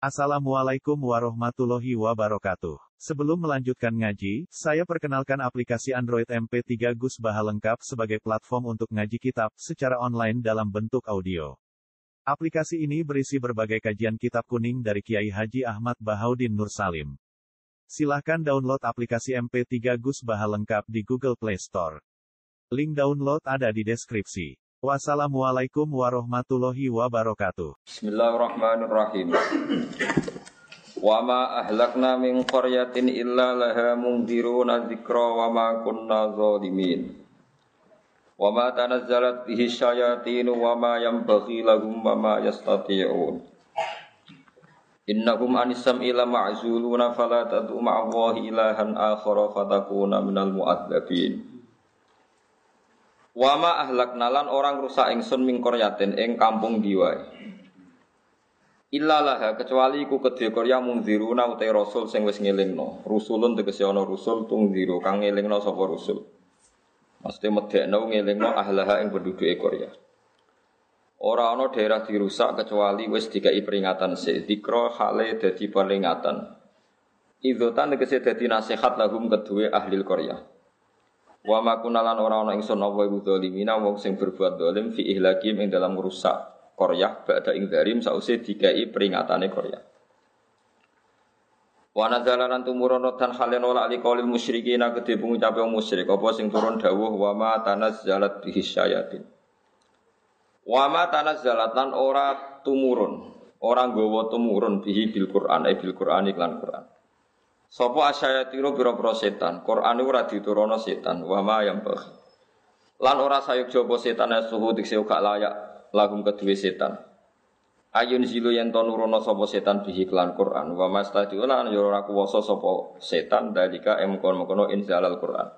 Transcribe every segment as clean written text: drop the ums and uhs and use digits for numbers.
Assalamualaikum warahmatullahi wabarakatuh. Sebelum melanjutkan ngaji, saya perkenalkan aplikasi Android MP3 Gus Baha lengkap sebagai platform untuk ngaji kitab secara online dalam bentuk audio. Aplikasi ini berisi berbagai kajian kitab kuning dari Kiai Haji Ahmad Bahaudin Nur Salim. Silahkan download aplikasi MP3 Gus Baha lengkap di Google Play Store. Link download ada di deskripsi. Wassalamualaikum warahmatullahi wabarakatuh. Bismillahirrahmanirrahim. Wa ma ahlakna min qaryatin illa laha mundhiruna dzikra wa ma kunna zalimin. Wa ma tanazzalat bihi syayatin wa ma yanbaghi lahum wa ma yastati'un. Innahum anis sam'i la ma'zuluna fala tad'u ma'allahi ilahan akhara fatakuna minal mu'adzabin. Wa ma ahlakna lan orang rusak ingsun ming qaryatin ing kampung diwae. Illa laha kecuali iku kedhe Korea mungziruna uta rasul sing wis ngelingno. Rusulun tegese ana rusul tungziru kang ngelingno sapa rusul. Maksudé medekno ngelingno ahlaha ing penduduke Korea. Ora ana daerah dirusak kecuali wis dikai peringatan sik. Dikra hale dadi peringatan. Idzotan tegese dadi nasihat lahum kedue ahli Korea. Wa ma kunalan ora ana ingsun apa iku zalimina wong sing berbuat zalim fi ihlakim ing dalam rusak Korea ba'da ing zalim sause dikai peringatane Korea. Wa nazalalan tumurun dan halen wala ali qaulil musyrikin kedhe pengucape wong musyrik apa sing turun dawuh wa ma tanazzalat bihi syayatin. Wa ma tanazzalat lan ora tumurun, ora nggawa tumurun bihi bil Qur'an bil Qur'an iklan Qur'an. Sapa asyayatiro pira-pira setan, Quran ora diturono setan, wa ma yang bagh. Lan ora sayuk jaba setan suhu dikse gak layak lahum kedue setan. Ayun zilu yen to nurono sapa setan bihi lan Quran, wa mastadiuna yo ora kuwasa sapa setan dalika emkon-mkono inzalal Quran.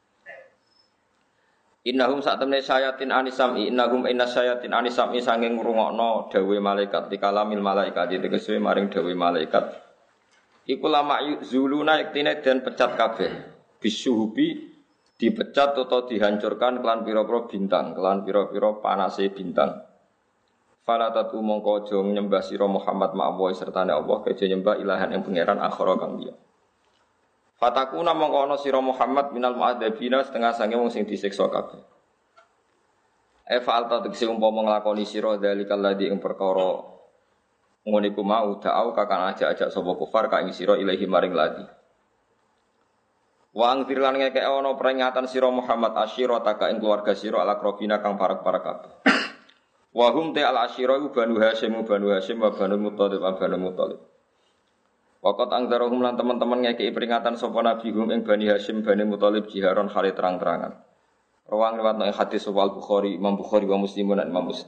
Innahum sa'tamne syayatin anisami innahum inasyayatin anisami sanging ngrungokno dawuhe malaikat dikalamil malaikat tegese maring dawuhe malaikat. Iku lama zuluna iktine dan pecat kabeh. Bisuhubi dipecat atau dihancurkan kelan pira-pira bintang, kelan pira-pira panase bintang. Fala tatu mongko aja nyembah sira Muhammad ma'awa sertane Allah keja nyembah ilahan yang pangeran akhara kang liya. Fatakuna mongko ana sira Muhammad minal mu'adzabina setengah sange wong sing disiksa kabeh. Fa'alta tegese umpama nglakoni sira dalikal ladzi ing perkara ngene iku mau da'au kakang ajak-ajak sapa kufar ka ing sira ilahi maring ladi. Wa angfir lan ngeke ana peringatan sira Muhammad asyirataka ing keluarga sira alakrobina kang parek-parek kabeh. Wa hum ta al asyira banu Hasyim wa banu Muthalib banu Muthalib. Waqat angdarahum lan teman-teman ngeke peringatan sapa nabi hum ing Bani Hasyim bani Muthalib jiharon hale terang-terangan. Rawang riwayat nang hadis Bukhari Imam Bukhari wa Muslim lan Imam Muslim.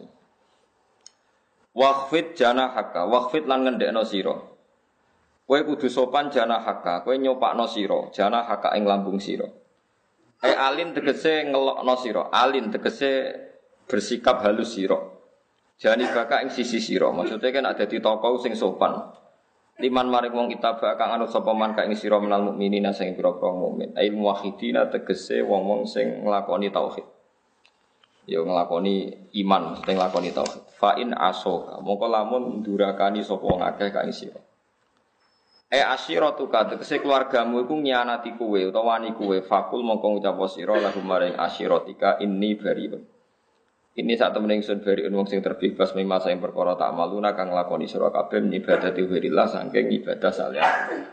Waqfid janahaka, waqfid lan ngendhekno sira. Kowe kudu sopan janahaka, kowe nyopakno sira, janahaka ing lambung sira. Alin tegese ngelokno sira, alin tegese bersikap halus sira. Janibaka ing sisi sira, maksude kan ada di tokoh sing sopan. Liman maring wong kitaba kang anut sapa man ka ing sira menal mukminina sing pira-pira mukmin. Ail muwahhidina tegese wong-wong sing nglakoni tauhid. Ya nglakoni iman, mesti nglakoni tauhid. Fa in asoka, mongko lamun ndurakani sapa wong akeh ka ing sira. Asyiratuka tegese keluargamu iku nyianati kowe utawa wani kowe, fakul mongko ngucap sira lahum maring asyiratika inni bariun. Ini sak temene ingsun bariun wong sing terbebas mimasa ing perkara tak maluna kang nglakoni sira kabeh ibadati ghairilah saking ibadah saleh.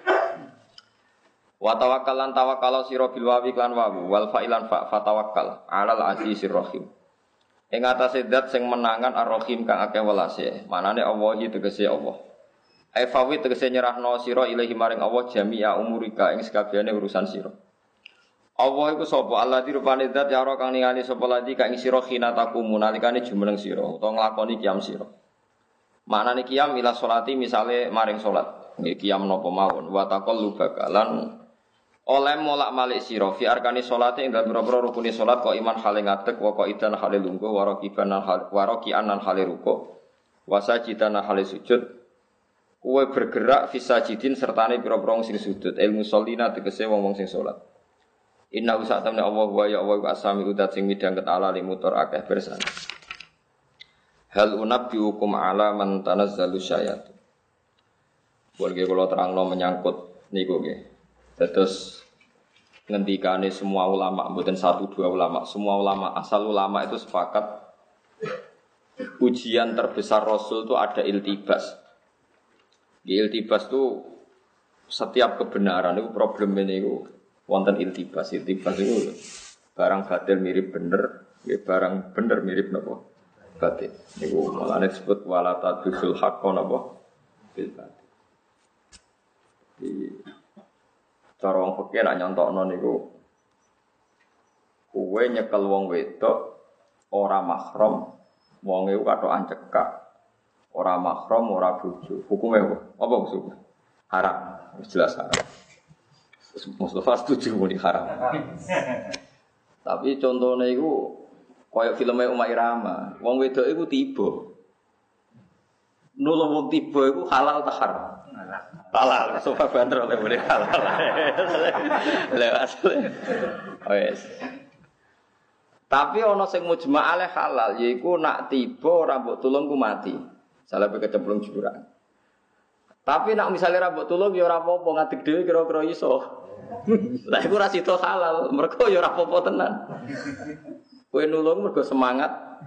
Wa tawakkalan tawakkala sira bil wawi lan wawu wal fa'ilan fa tawakkal alal azizir rahim. Ing atase zat sing menangan ar-rahim kang akeh welase. Manane Allah iki tegese Allah. Ai fawi tegese nyerahno sira ilahi maring Allah jami'a umurika ing sakabehane urusan sira. Allah iku sapa? Allah dirupane zat ya ora kang ningali sapa ladi kang sira khinatakum nalikane jumeneng sira utawa nglakoni qiyam sira. Manane qiyam ila sholati misale maring salat. Nggih qiyam napa mawon wa taqallu bakalan oleh molak malik sira fi arkani salate ing dalem pira-pira rukune salat kok iman hale ngadeg wa kok idan hale lungguh warakian lan hale ruku wasajidan hale sujud kuwe bergerak fisajidin sertane pira-pira sing sujud ilmu sholina tegese wong-wong sing salat inna usatamna Allah wa ya Allah asami udat sing midhang ketala limutor akeh bersan hal unabbiukum ala man tanazzalu syayat Buat kalau terangno menyangkut niku nggih. Terus ngendikane semua ulama, mboten satu dua ulama, semua ulama, asal ulama itu sepakat ujian terbesar Rasul itu ada iltibas. Di iltibas itu setiap kebenaran itu problem ini itu wonten iltibas. Iltibas itu barang batil mirip bener, barang bener mirip napa batil. Niku malane disebut wala tadul haqqo napa bil batil. Di cara wong fikih nak nyontokno niku kowe nyekel wong wedok ora mahram, wong iku katokan cekak, ora mahram, ora bojo. Hukume apa maksudnya? Haram, jelas haram. Mustafa setuju muni haram. Tapi contohnya iku kaya filmnya Uma Irama, wong wedok iku tiba. Nulung wong tiba iku halal ta haram? Halal, sofa banter oleh boleh halal. Lewat. Oh yes. Tapi ana sing mujma' ale halal yaiku nak tiba ora mbok tulung ku mati. Salah kecemplung jurang. Tapi nak misalnya ra mbok tulung ya ora apa-apa ngadeg dhewe kira-kira iso. Lah iku ra sida halal, mergo ya ora apa-apa tenan. Kowe nulung mergo semangat.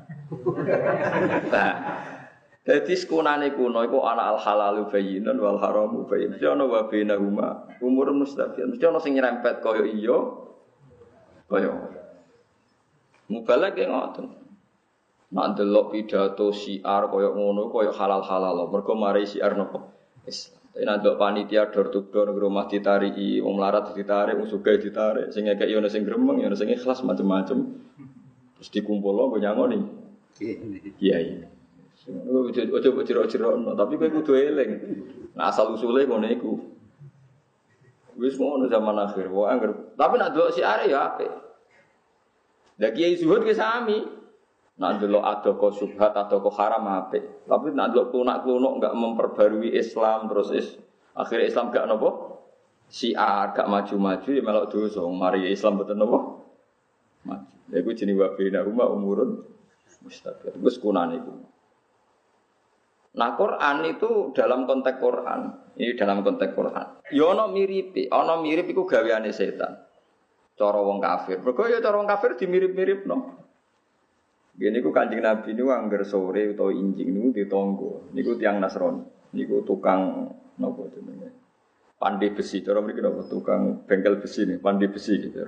Nah, jadi sekunane kuno iku ana al halalu bayyinun wal haramu bayyin. Mesti ana wa bainahuma umurun mustafiyan. Mesti ana sing nyerempet kaya iya kaya mubalagh ki ngoten. Nek delok pidato syiar kaya ngono kaya halal-halal. Mergo mari syiar napa? Islam. Tapi nek delok panitia dor to dor nang rumah ditariki, wong melarat ditarik, wong sugih ditarik, sing ngekek yo ana sing gremeng, yo ana sing ikhlas macam-macam. Terus dikumpulno nggo nyangoni. Kiai. Ojo jero-jero, tapi kowe kudu eling. Nah asal usule ngono iku. Wis ngono zaman akhir, wae angger. Tapi nek delok syiar ya apik. Lah kiai zuhud ki sami. Nek delok adoko subhat adoko haram apik. Tapi nek delok klunak-klunuk enggak memperbarui Islam terus akhir Islam gak napa? Syiar gak maju-maju ya melok dosa. Mari Islam mboten napa? Maju. Lha iku jenenge wa bina umurun mustaqir. Wis kunane iku. Nah Quran itu dalam konteks Quran, ini dalam konteks Quran. Ya ana mirip iku gaweane setan. Cara wong kafir. Mergo ya cara wong kafir dimirip-miripno. Ngene iku Kanjeng Nabi niku angger sore utawa injing niku ditangga. Niku tiyang Nasrani. Niku tukang napa jenenge? Pandai besi. Cara mriki napa tukang bengkel besi nih, pandai besi gitu.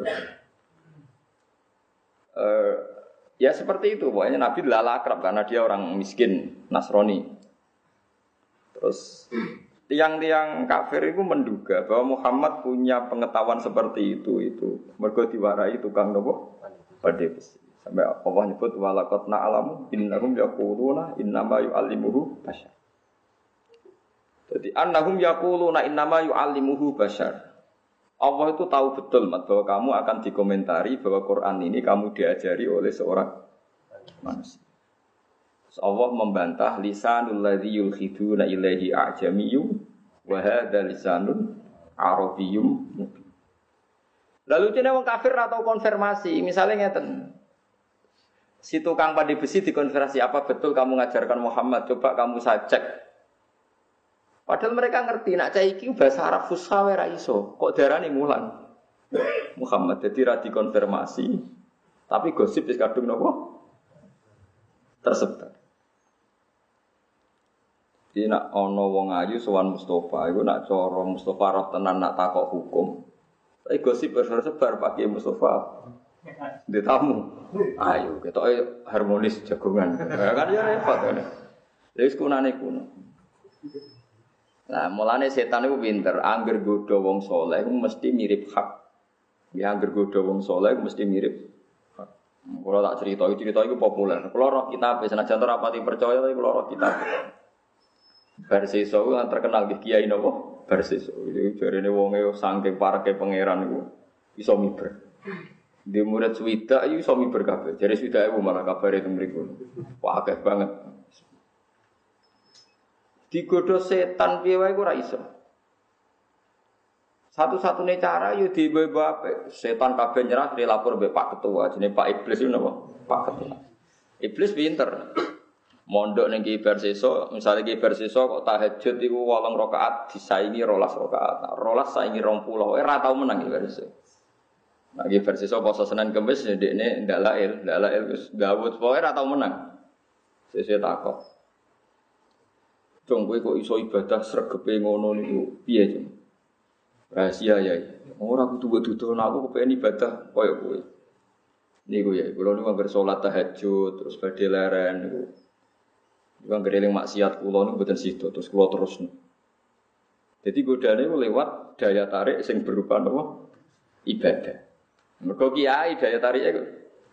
Ya seperti itu. Pokoknya Nabi lala akrab karena dia orang miskin Nasrani. Terus tiang-tiang kafir itu menduga bahwa Muhammad punya pengetahuan seperti itu mergo diwarai tukang nopo pandai besi. Sampai Allah nyebut walaqad na'lamu innahum yaquluna innama yu'allimuhu bashar. Jadi annahum yaquluna innama yu'allimuhu bashar. Allah itu tahu betul bahwa kamu akan dikomentari bahwa Quran ini kamu diajari oleh seorang manusia. Allah membantah lisanul ladzi yulkhiduna ilaihi a'jamiyyun wa hadza lisanun arabiyyun mubin. Lalu cene wong kafir atau konfirmasi, misalnya ngeten. Si tukang pandai besi dikonfirmasi, apa betul kamu ngajarkan Muhammad? Coba kamu saya cek. Padahal mereka ngerti nak cah iki bahasa Arab fusha wae ra iso. Kok darani mulan? Muhammad jadi ra dikonfirmasi. Tapi gosip wis kadung napa? Tersebar. Jadi nak ana wong ayu sowan Mustafa, iku nak cara Mustafa roh tenan nak takok hukum. Tapi gosip bersebar pakai Mustafa. Di tamu. Ayo ketoke harmonis jagongan. Kan ya repot kan. Wis kunane kuno. Nah, mulane setan iku pinter, angger godho wong saleh iku mesti mirip hak. Ya angger godho wong saleh iku mesti mirip hak. Kula tak cerita iku populer. Kula roh kitab senajan ora pati percaya tapi kula roh kitab. Barseso kan terkenal di kiai napa? Barseso. Iki jarene wonge saking pareke pangeran iku iso miber. Di murid swidak iku iso miber kabeh. Jare swidak iku malah kabare teng mriku. Wah akeh banget. Digodho setan piye wae ora iso. Satu-satunya cara yo dibawa apik. Setan kabeh nyerah dilapor mbek Pak Ketua, jenenge Pak Iblis itu napa? Pak Ketua. Iblis pinter. mondok ning Ki Barseso, misale Ki Barseso kok tahajud iku 8 rakaat disaingi 12 rakaat. 12 saingi 20, ora tau menang Ki Barseso. Nah Ki Barseso poso Senin Kamis ndekne ndak lail wis gawut pokoke ora tau menang. Sesuk takok. Cung kowe kok iso ibadah sregepe ngono niku piye, Cung? Rahasia ya. Ora kudu mbok dudono aku kepengin ibadah koyo kowe. Niku ya, kula niku anggere salat tahajud terus badhe leren niku. Niku anggere eling maksiat kula niku mboten sida terus kula terusno. Jadi godane lewat daya tarik sing berupa napa? Ibadah. Mergo kiai daya tarike kok.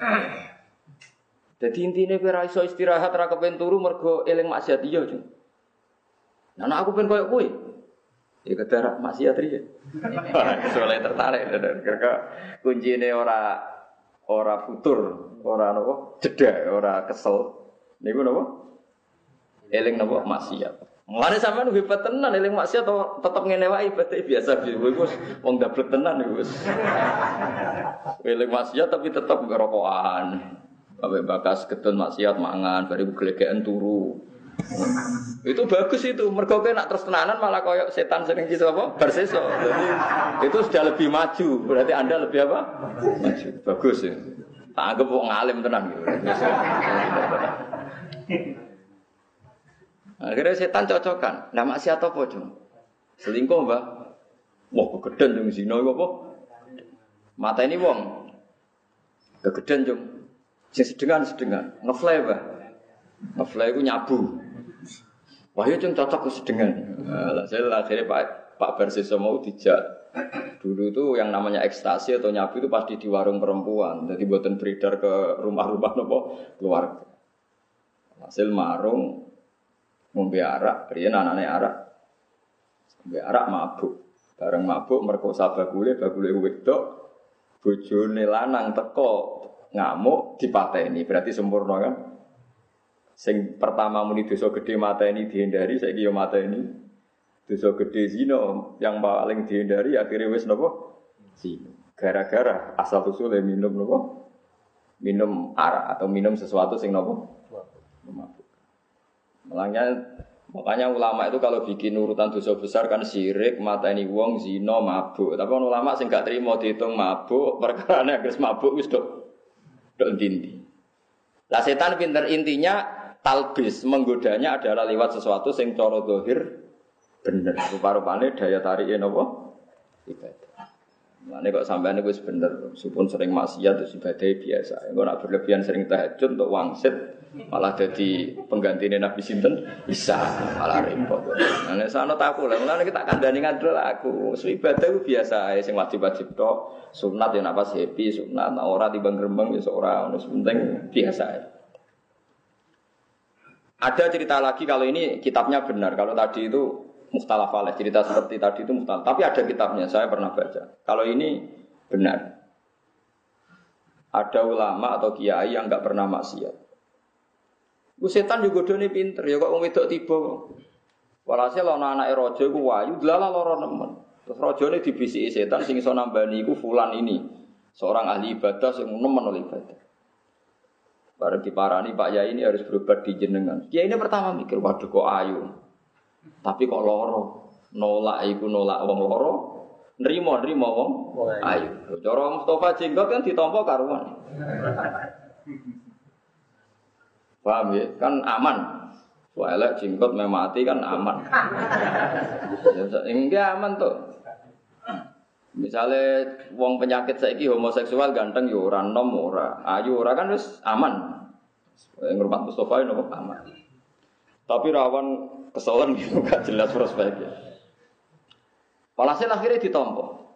Dadi intine kowe ora iso istirahat ora kepen turu mergo eling maksiat iya, Cung. Nah, aku pengen koyo kowe. Ya kedarak maksiat riye. Soale tertarik karena kuncine ora futur, ora napa? Jeda, ora kesel. Niku napa? Eling napa maksiat. Mulane sampean hebat tenan eling maksiat tetep ngene wae ibadah biasa kowe wis wong dablek tenan iku wis. Eling maksiat tapi tetep ngerokokan. Sampai bakas ketun maksiat mangan, bari glegeken turu. Itu bagus itu, mergo kowe nak terus tenanan malah koyo setan sering gitu apa? Barseso. Jadi itu sudah lebih maju, berarti Anda lebih apa? Maju. Bagus ya. Tak anggap wong alim tenan gitu. Akhirnya setan cocokan. Lah maksiat apa, Jung? Selingkuh, Mbah. Wah, kegeden jung zina iku apa? Mateni wong. Kegeden, Jung. Sing sedengan, ngefly, Mbah. Ngefly iku nyabu. Wah, ya Jung cocok kesedengan. Lah saya akhirnya Pak Barseso mau dijak. Dulu itu yang namanya ekstasi atau nyabu itu pasti di warung perempuan. Jadi buatan beredar ke rumah-rumah nopo keluarga. Hasil marung ngombe arak, riyen anane arak. Ngombe arak mabuk. Bareng mabuk merkosa bagule wedok. Bojone lanang teko ngamuk dipateni. Berarti sempurna kan? Sing pertama muni dosa gede mateni dihindari, saiki yo mateni. Dosa gede zina yang paling dihindari akhirnya wis napa? Zina. Gara-gara asal usule minum napa? Minum arak atau minum sesuatu sing napa? Mabuk. Makanya ulama itu kalau bikin urutan dosa besar kan syirik, mateni wong, zina, mabuk. Tapi ulama sing gak trimo diitung mabuk, perkarane wis mabuk wis dok ndi. Lah setan pinter intinya talbis menggodanya adalah lewat sesuatu sing cara zahir bener. Rupa-rupane daya tarike napa? Ibadah. Mane kok sampean wis bener, meskipun sering maksiat terus ibadah biasa. Engko nek berlebihan sering tahajud untuk wangsit malah jadi penggantine Nabi sinten? Isa, malah repot. Nah nek sono taku lha mulane kita kandhani ngandel aku. Ibadah ku biasa ae sing wajib-wajib tok. Sunat ya napa happy, sunat ora timbang grembeng wis ora ono penting biasa ae. Ada cerita lagi kalau ini kitabnya benar. Kalau tadi itu mukhtalaf alaih, cerita seperti tadi itu mukhtalaf. Tapi ada kitabnya, saya pernah baca. Kalau ini benar. Ada ulama atau kiai yang enggak pernah maksiat. Setan juga dene pinter, ya kok wong wedok tiba. Walhasil ana anake raja iku wayu, dlalah lara nemen. Terus rajane dibisiki setan sing iso nambani iku fulan ini. Seorang ahli ibadah sing nemen oleh ibadah. Bareng diparani Pak Yai ini harus berobat di jenengan. Kiai ini pertama mikir, waduh kok ayu. Tapi kok loro. Nolak iku nolak wong loro. Nrimo wong ayu. Cara Mustafa jenggot kan ditampa karuan. Paham ya? Kan aman. Soalnya jenggot mati kan aman. Enggak aman tuh. Misalnya wong penyakit saiki homoseksual ganteng yo ora nom ora, ayu ora kan wis aman. Ngrumat Mustafa yo aman. Tapi rawan kesolan gitu gak jelas prospeknya. Walhasil akhirnya ditampa.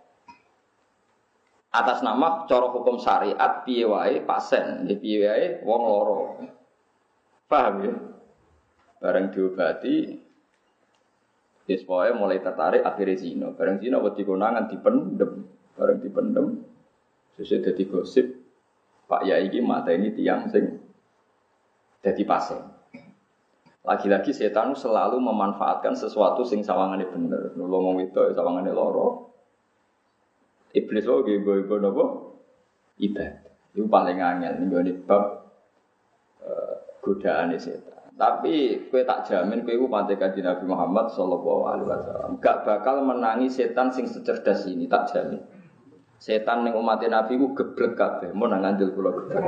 Atas nama cara hukum syariat piye wae pasien, piye wae wong loro. Paham ya? Bareng diobati wis pokoke mulai tertarik akhirnya zina. Bareng zina wedi konangan dipendem. Bareng dipendem sesuk dadi gosip Pak Yai iki mateni tiyang sing dadi pasien. Lagi-lagi setan selalu memanfaatkan sesuatu sing sawangane bener. Nulung wong wedok sawangane loro. Iblis wae go napa? Ibadah. Iku paling angel nggone bab godaane setan. Tapi kowe tak jamin kowe iku pante Kanjeng Nabi Muhammad sallallahu alaihi wasallam. Gak bakal menangi setan sing secerdas ini, tak jamin. Setan ning umat Nabi ku geblek kabeh, mun nang ngandel kula geblek.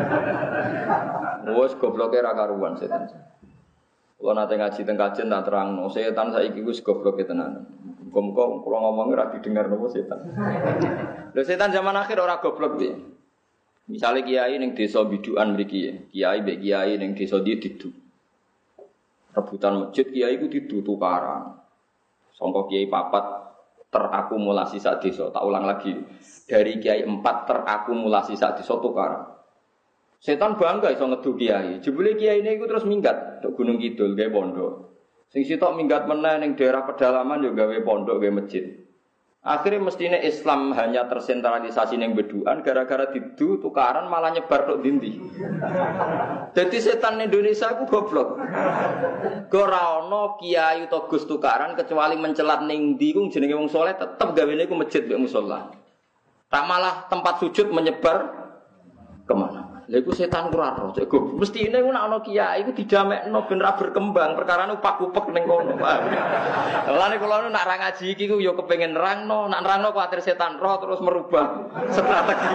Wes gobloke ra karuan setan. Kula nate ngaji teng kajen tak terangno, setan saiki wis gobloke tenan. Muga-muga kula ngomongi ra didengar nopo setan. Lho setan zaman akhir ora goblok piye? Misale kiai ning desa bidukan mriki, kiai mbek kiai ning desa ndi didu. Rebutan masjid kiai ku didu tukaran. Sangka kiai papat terakumulasi sak desa. Tak ulang lagi. Dari kiai 4 terakumulasi sak desa tukaran. Setan bangga iso ngedu kiai. Jebule kiai niku terus minggat tok Gunung Kidul gawe pondok. Sing sitok minggat meneh ning daerah pedalaman yo gawe pondok gawe masjid. Akhirnya mestinya Islam hanya tersentralisasi ning beduan gara-gara didu tukaran malah nyebar tok dindi. Jadi setan Indonesia ku goblok. Ora ana kiai utawa gus tukaran kecuali mencelat ning ndi ku jenenge wong saleh tetep gawene ku masjid mek musala. Tak malah tempat sujud menyebar kemana? Lha iku setan ora ro, cek goblok. Mestine ku nek ana kiai iku didamekno ben ra berkembang, perkarane upak-upek ning kono. Lane kula nek ra ngaji iki ku ya kepengin nerangno, nek nerangno kuwatir setan roh terus merubah strategi.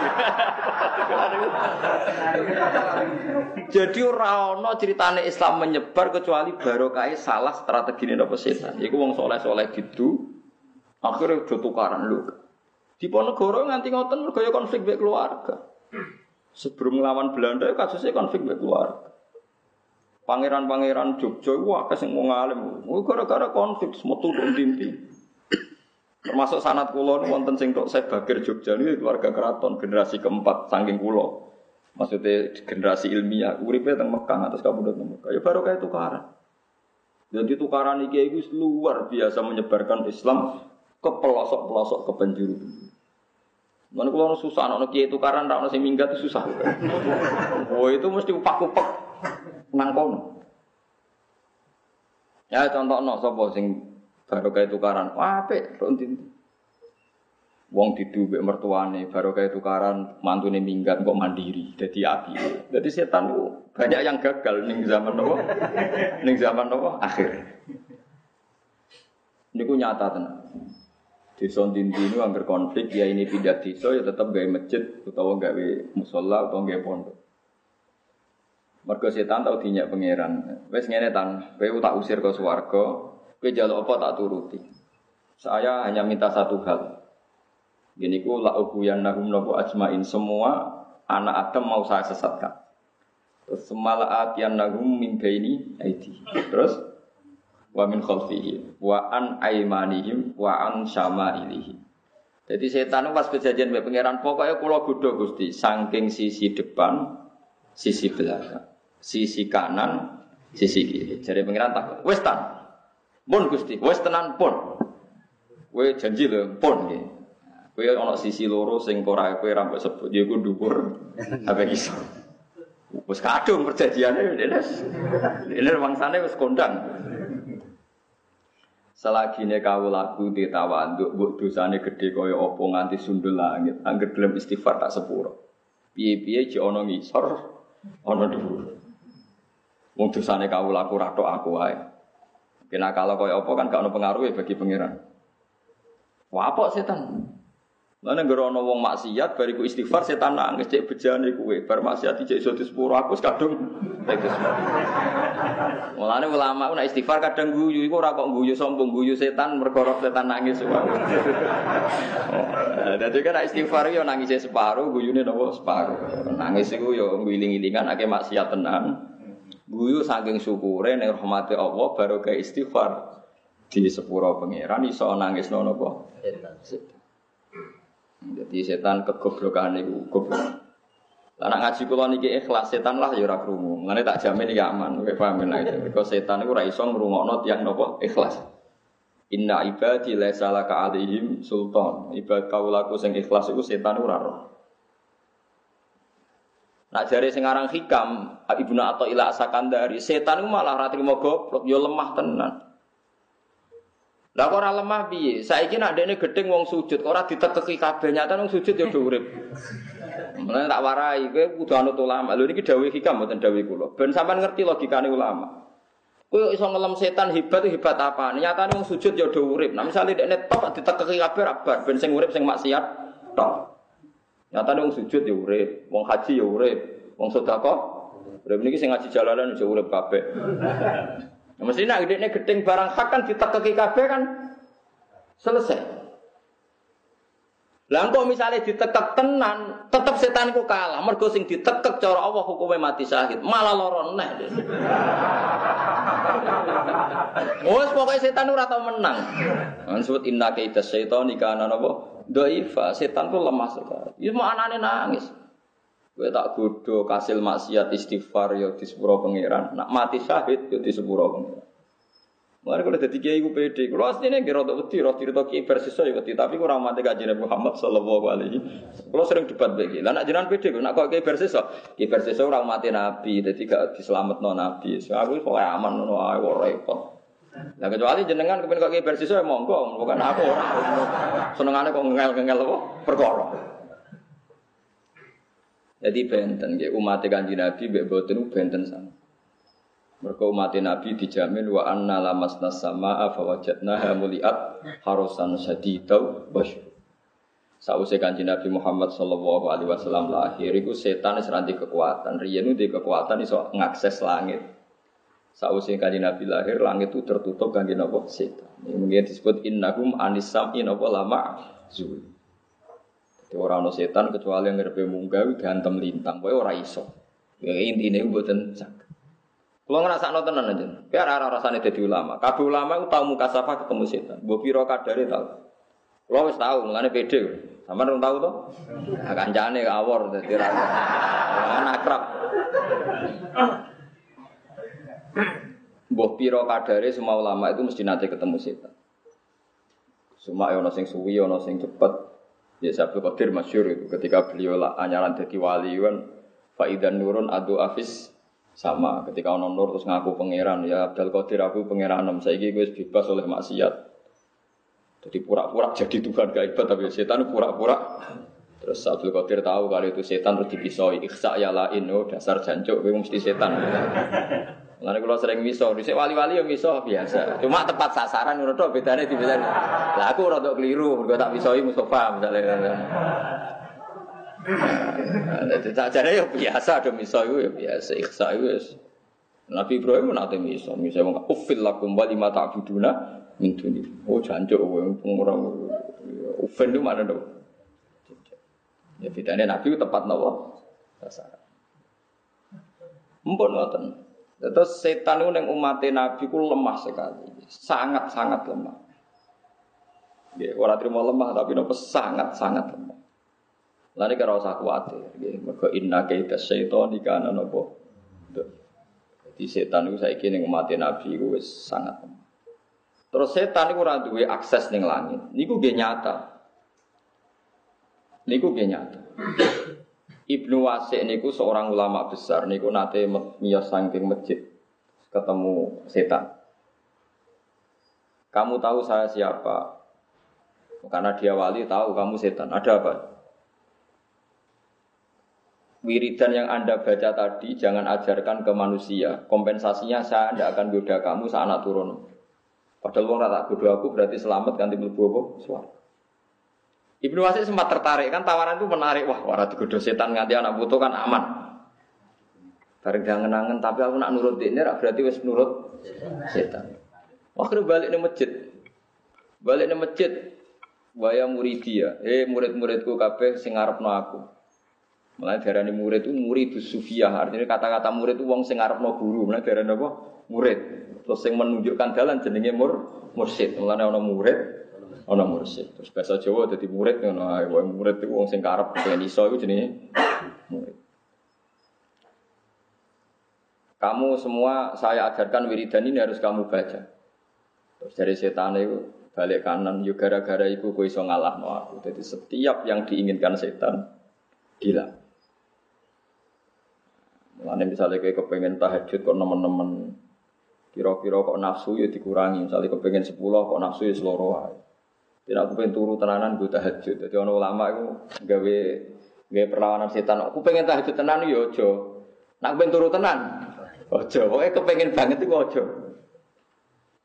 Jadi ora ana critane Islam menyebar kecuali barokah salah strategine napa setan. Iku wong saleh-saleh gitu akhire do tukaran lho. Di Ponegoro nganti ngoten mergo ya konflik mek keluarga. Sebelum ngelawan Belanda kasusnya konflik mek keluarga. Pangeran-pangeran Jogja iku akeh sing wong alim. Gara-gara konflik metu ndinti. Termasuk sanad kula wonten sing tok Sebagir Jogja niku keluarga keraton generasi keempat saking kula. Maksudnya generasi ilmiah uripe teng Mekah atas kabudut Mekah. Ya baru kayak tukaran. Jadi tukaran iki iku luar biasa menyebarkan Islam ke pelosok-pelosok ke penjuru. Mana kalau orang susah, orang kiai tukaran, orang sing minggat itu susah. Oh itu mesti upak-upak nangkon. Ya contoh no, sopo sing baru kayak tukaran, apik, rontin. Wong didu mbek mertuane, baru kayak tukaran, mantune minggat kok mandiri, jadi api. Jadi setan itu banyak yang gagal ning zaman nopo, ning zaman nopo akhir. Niku nyata tenan. Desa Ndindi ini anggar konflik, ya ini pindah desa ya tetap gawe masjid utawa gawe musala utawa gawe pondok. Mergo setan tau dinyak pangeran. Wis ngene tan, kowe tak usir ke swarga, kowe njaluk apa tak turuti. Saya hanya minta satu hal. Gini ku la ubuyannahum nabu ajmain, semua anak Adam mau saya sesatkan. Terus semalaatiyannahum min baini aidi. Terus wa min khalfihi wa an aymanihim wa an syama'ilihim. Jadi setan itu pas kejadian mbek pangeran pokoknya kula godho Gusti saking sisi depan, sisi belakang, sisi kanan, sisi kiri. Jare pangeran tak wis tan. Pun Gusti, wis tenan pun. Kowe janji lho pun nggih. Kowe ana sisi loro sing ora kowe ra mbok sebut ya iku dhuwur. Apa iso. Wis kadung perjanjiane ini wangsane wis kondang. Selagi ne kawulaku ditawanduk mbok dosane gedhe kaya apa nganti sundul langit anggere gelem istighfar tak sepuro piye-piye jek ana ngisor ana dhuwur wong dosane kawulaku ra tok aku wae kena kalau kaya apa kan gak ono pengaruhe bagi pangeran wapok setan mana ngero ana wong maksiat bariku istighfar setan nangis cek bejane kuwe bar maksiat cek iso disepuro aku kadung teges mulane ulama nek istighfar kadang guyu iku ora kok guyu sombong guyu setan mergo setan nangis wae. Dadi kan istighfar yo nangis separo guyune napa separo. Nangis iku yo ngiling-ilingan akeh maksiat tenan. Guyu saking syukure nek rahmate Allah baru ke istighfar di sepuro pangeran iso nangis napa setan. Jadi setan kegoblokan niku goblok. Lah nek ngaji kula niki ikhlas setan lah ya ora krungu. Mane tak jamin iki aman. Kowe paham nek iku setan iku ora iso ngrungokno tiyang napa ikhlas. Inna ibadi laisa laka alaihim sultan. Ibad kaulaku sing ikhlas iku setan ora roh. Nak jare sing aran Hikam, Ibnu Athaillah Sakandari, setan iku malah ora trimo goblok, ya lemah tenan. Lah kok ora lemah piye? Saiki nek ndekne gedeng wong sujud, ora ditekeki kabeh nyata wong sujud ya do urip. Mulane tak warai kowe kudu anut ulama. Lho niki dawuh Hikam mboten dawuh kula. Ben sampean ngerti logikane ulama. Kowe iso ngelem setan hebat apa? Nyatane wong sujud ya do urip. Nah misale dekne tok ditekeki kabeh rabar ben sing urip sing maksiat tok. Nyatane wong sujud ya urip, wong haji ya urip, wong sedekah urip niki sing ngaji jalalan ya urip kabeh. Nah, mesti nek dekne gedeng barang hak kan ditekeki kabeh kan selesai. Lah engko misale ditekek tenan, tetep setan iku kalah. Mergo sing ditekek cara Allah hukume mati syahid, malah lara neh. Wes pokoke setan ora tau menang. Maksud inna kaida syaitani kana napa? Dhaifa. Setan ku lemah sekali. Iku anane nangis. Kowe tak godho kasil maksiat istighfar ya disepuro pangeran. Nak mati syahid ya disepuro pangeran. Mari kalau dadi kiai ku pede, kalau asline nggih rada wedi, rada cerita kiai bersisa ya wedi, tapi kurang mate kanjeng Muhammad sallallahu alaihi. Kalau sering debat begini, lah nak jenengan pede, nak kok kiai bersisa ora mate nabi, dadi gak dislametno nabi. So aku kok aman ngono ae ora repot. Lah kecuali jenengan kepen kok kiai bersisa ya monggo, bukan aku ora. Senengane kok ngel-ngel apa perkara. Jadi benten nggih umat kanjeng Nabi mbek boten benten sama. Mergo umat Nabi dijamin wa anna lamasna samaa fa wajadnaha muliat harusan syadidau wasyur. Sawise Kanjeng Nabi Muhammad sallallahu alaihi wasallam lahir iku setan wis ranti kekuatan. Riyen ndek kekuatan iso ngakses langit. Sawise Kanjeng Nabi lahir langit itu tertutup kangge napa setan. Ini mungkin disebut innahum anisam in apa lama zul. Dadi ora ana setan kecuali yang ngarepe munggah gantem lintang. Kowe ora iso. Ya intine mboten sak. Kalau ngerasakno tenan aja, biar arah rasane dadi ulama. Kabeh ulama iku tau mukasafah ketemu setan. Mbok pira kadare tau. Kulo wis tau, mulane pede. Sampeyan ora tau to? Nah, kancane awor dadi ra. Ana akrab. Mbok pira kadare semua ulama itu mesti nate ketemu setan. Semua ana sing suwi, ana sing cepet. Ya Abdul Qadir masyhur itu ketika beliau anyaran dadi wali kan faidan nurun adu afis sama ketika ono nur terus ngaku pangeran ya Abdul Qadir aku pangeranem saiki wis bebas oleh maksiat. Jadi pura-pura jadi Tuhan gak hebat tapi setan pura-pura. Terus Abdul Qadir tahu kalau itu setan terus dipisoi ikhsa ya lain oh dasar jancuk kowe mesti setan. Mulane kula sering miso, dhisik wali-wali yo miso biasa. Cuma tepat sasaran ngono tok bedane dibedani. Lah aku rada keliru mergo tak misoi Mustofa misale. Tak jare yo biasa do miso iku yo biasa ikhsa iku wis. Nabi Ibrahim nate miso, wong ufil lakum wa lima ta'buduna min duni. Oh jancuk kowe pengurang ufil itu mana do? Ya bedane Nabi tepat napa? Sasaran. Mumpun ngoten. Terus setan itu yang umat Nabi ku lemah sekali, sangat-sangat lemah. Ya, orang terima lemah tapi nopo sangat-sangat lemah. Lalu kalau usah khawatir, mereka inna kaita syaitan kana nopo. Jadi setan itu saya kira yang umat Nabi ku sangat lemah. Terus setan itu ora duwe akses ning langit. Niku nggih nyata. Ibnu Wasik niku seorang ulama besar niku nate miyos saking masjid ketemu setan. Kamu tahu saya siapa? Karena dia wali tahu kamu setan. Ada apa? Wiridan yang Anda baca tadi jangan ajarkan ke manusia. Kompensasinya saya tidak akan goda kamu saat anak turun. Padahal wong tak goda aku berarti selamat ganti mlebu apa? Suara. Ibnu Wasik sempat tertarik kan tawaran itu menarik. Wah, ora digodho setan nganti anak putu kan aman. Bareng jangan-angen tapi aku nak nurut dekne ra berarti wis nurut setan. Wah, kena balik ning masjid. Waya muridia. Murid-muridku kabeh sing ngarepno aku. Mulane diarani murid itu muridus sufiyah. Artinya kata-kata murid itu wong sing ngarepno guru. Mulane diarani apa? Murid. Terus sing menunjukkan dalan jenenge mursyid. Mulane ana murid ana mursyid. Terus bahasa Jawa dadi murid ngono ae. Wong murid iku wong sing karep ben iso iku jenenge murid. Kamu semua saya ajarkan wiridan ini harus kamu baca. Terus dari setan itu balik kanan yo gara-gara iku kowe iso ngalahno aku. Jadi setiap yang diinginkan setan gila. Mulane misalnya kowe kepengin tahajud kok nemen-nemen kira-kira kok nafsu ya dikurangi. Misalnya kepengin 10 kok nafsu ya seloro ae. Tidak aku pengen turu tenanan gue tahajud. Jadi orang ulama itu gawe perlawanan setan. Aku pengen tahajud tenan ya ojo. Nak pengen turu tenan, ojo. Pokoknya kepengen banget itu ojo.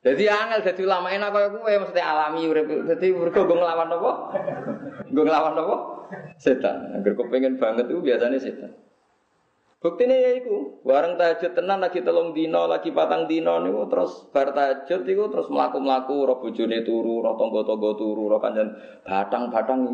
Jadi angel dadi ulama enak kaya kowe mesti alami urip. Dadi mergo nggo nglawan apa? Nggo nglawan apa? Setan. Angger kepengin banget itu biasanya setan. Buktine ya iku, bareng tahajud tenan lagi 3 dina, lagi 4 dina niku terus bar tahajud iku terus mlaku-mlaku ro bojone turu, ro tangga-tangga turu, ro kancan batang-batang.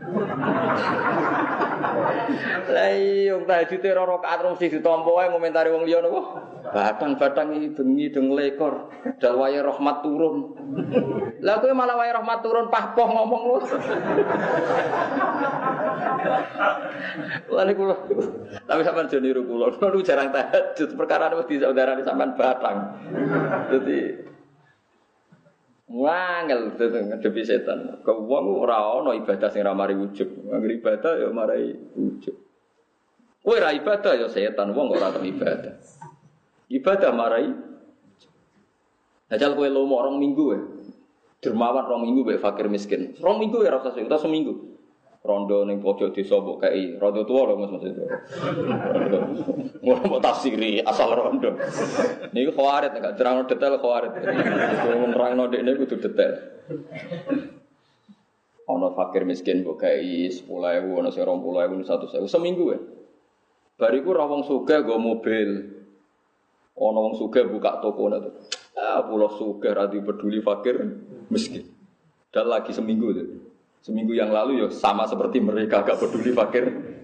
Lah iya tahajude ro rakaat mesti ditampa wae ngomentari wong liya napa? Batang-batang iki bengi deng lekor, dal wae rahmat turun. Lah kowe malah wae rahmat turun pah-poh ngomong lu. Lah niku tapi sampean jane niru kula jarang tahajud perkara wis disaudarane sampean batang. Dadi wangel ngadepi setan. Kok wong ora ana ibadah sing ora mari ujug. Angger ibadah ya marai ujug. Kowe ora ibadah ya setan, wong ora tau ibadah. Ibadah marai. Ajal kowe lomo 2 minggu wae. Dermawan 2 minggu wae fakir miskin. 2 minggu ya ora usah kita seminggu. Rondo ning pojok desa mbok kei, rondo tuwa lho Mas maksud. Ngono mbok tafsiri asal rondo. Niku khawarit enggak terang detail khawarit. Nerangno dekne kudu detail. Ana fakir miskin mbok kei 10.000, ana sing 20.000, 100.000 seminggu wae. Bariku ra wong sugih nggo mobil. Ana wong sugih buka toko ngono. Ah, pulau sugih ra peduli fakir miskin. Dan lagi seminggu tuh. Seminggu yang lalu ya sama seperti mereka gak peduli fakir.